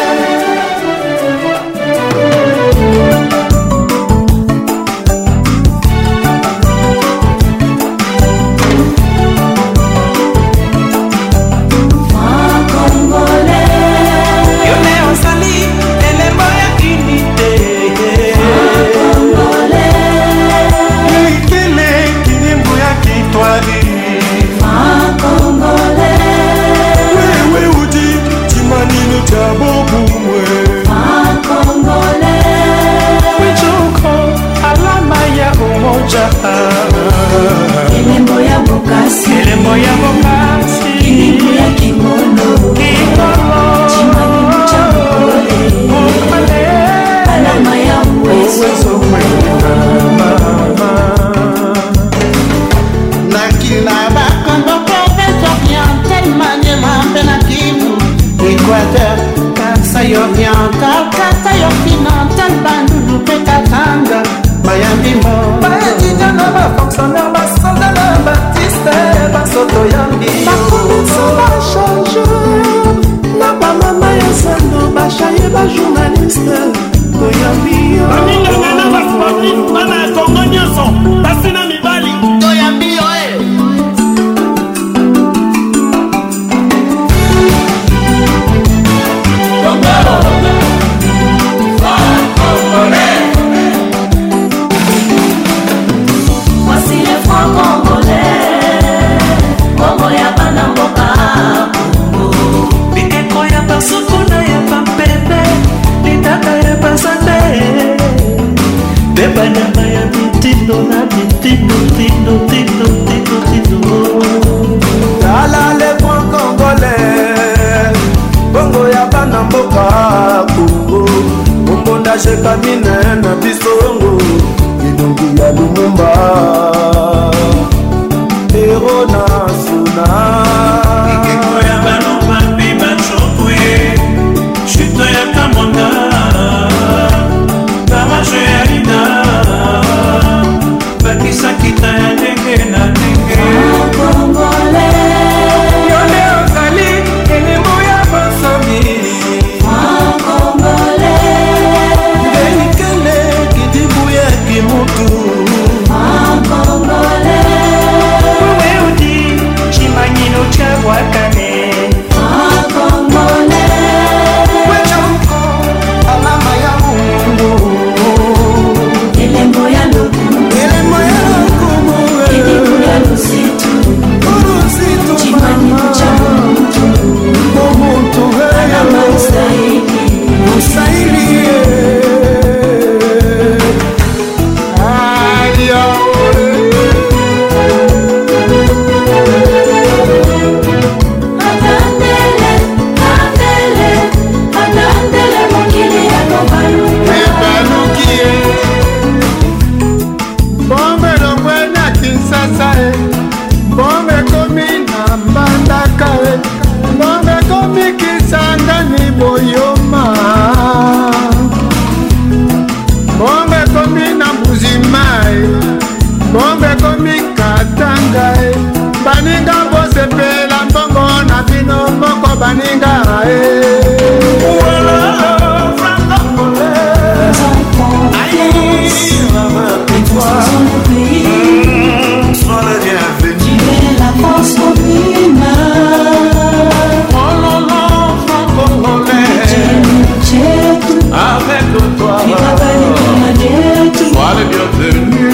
elembo ya bokasi kilingu ya kimono chimani cha mokole alama ya uwezo nakila bakongo province orientale maniema mpe na kivu équateur kasai oriental kasai occidental bandundu mpe katanga mayambimbo bayakija na bafonctionnaire basolda na batiste basoto yambi bakomisa bachange na bamama ya sando bashaye bajournaliste toyambi baninganga na basportif bana ya kongo nyonso basi na mibali toyambi yo voici les francs congolais bongo ya bana mboka bikeko ya basokona ya bampebe litaka ya basate mpe banyama ya mitindo na mitindo tala le franc congolais bongo ya bana mboka kongo ombonda shekamine na bisongo elongi ya lumumba ero national ekeko ya balomba mpe bacokwe chuto ya kamonda barage ya lina bakisakita ya ndenge na ndenge yone ozali elembo ya basomi benikele kidibu ya kimutu weudi chimanyino cha wakane wechoko alama ya mungu elembo ya lokumu kilingu ya lusitu chimani cha momuntu alama usaili atandele mokili ya ebalukie bombe longwe na kinsasa bombe komi na mbandaka bombe komi kisangani boyoma bombe komi na mbuzima bombe komi katanga baninga bosepela mbongo na bino moko baninga sois le bienvenu. Tu es la force commune. Oh non, non, franc-congolais. Avec toi, sois le bienvenu.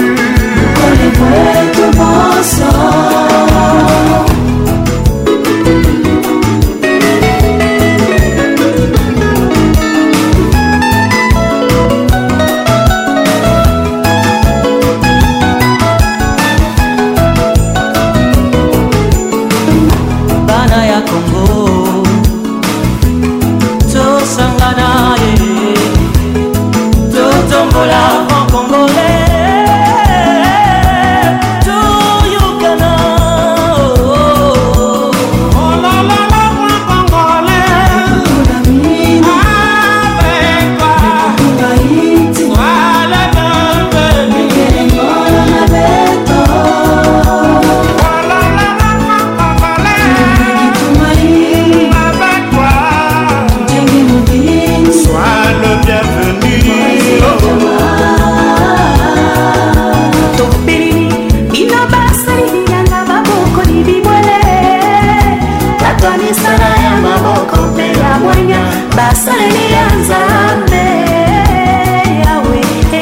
mwanya basaleli ya nzambe yawe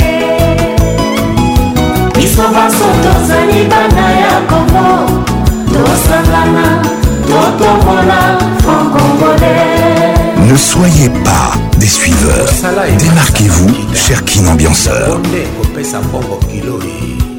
biso baso tozali bana ya Kongo tosangana totombola franc-congolais. Ne soyez pas des suiveurs. Démarquez-vous, cher Kin ambianceur.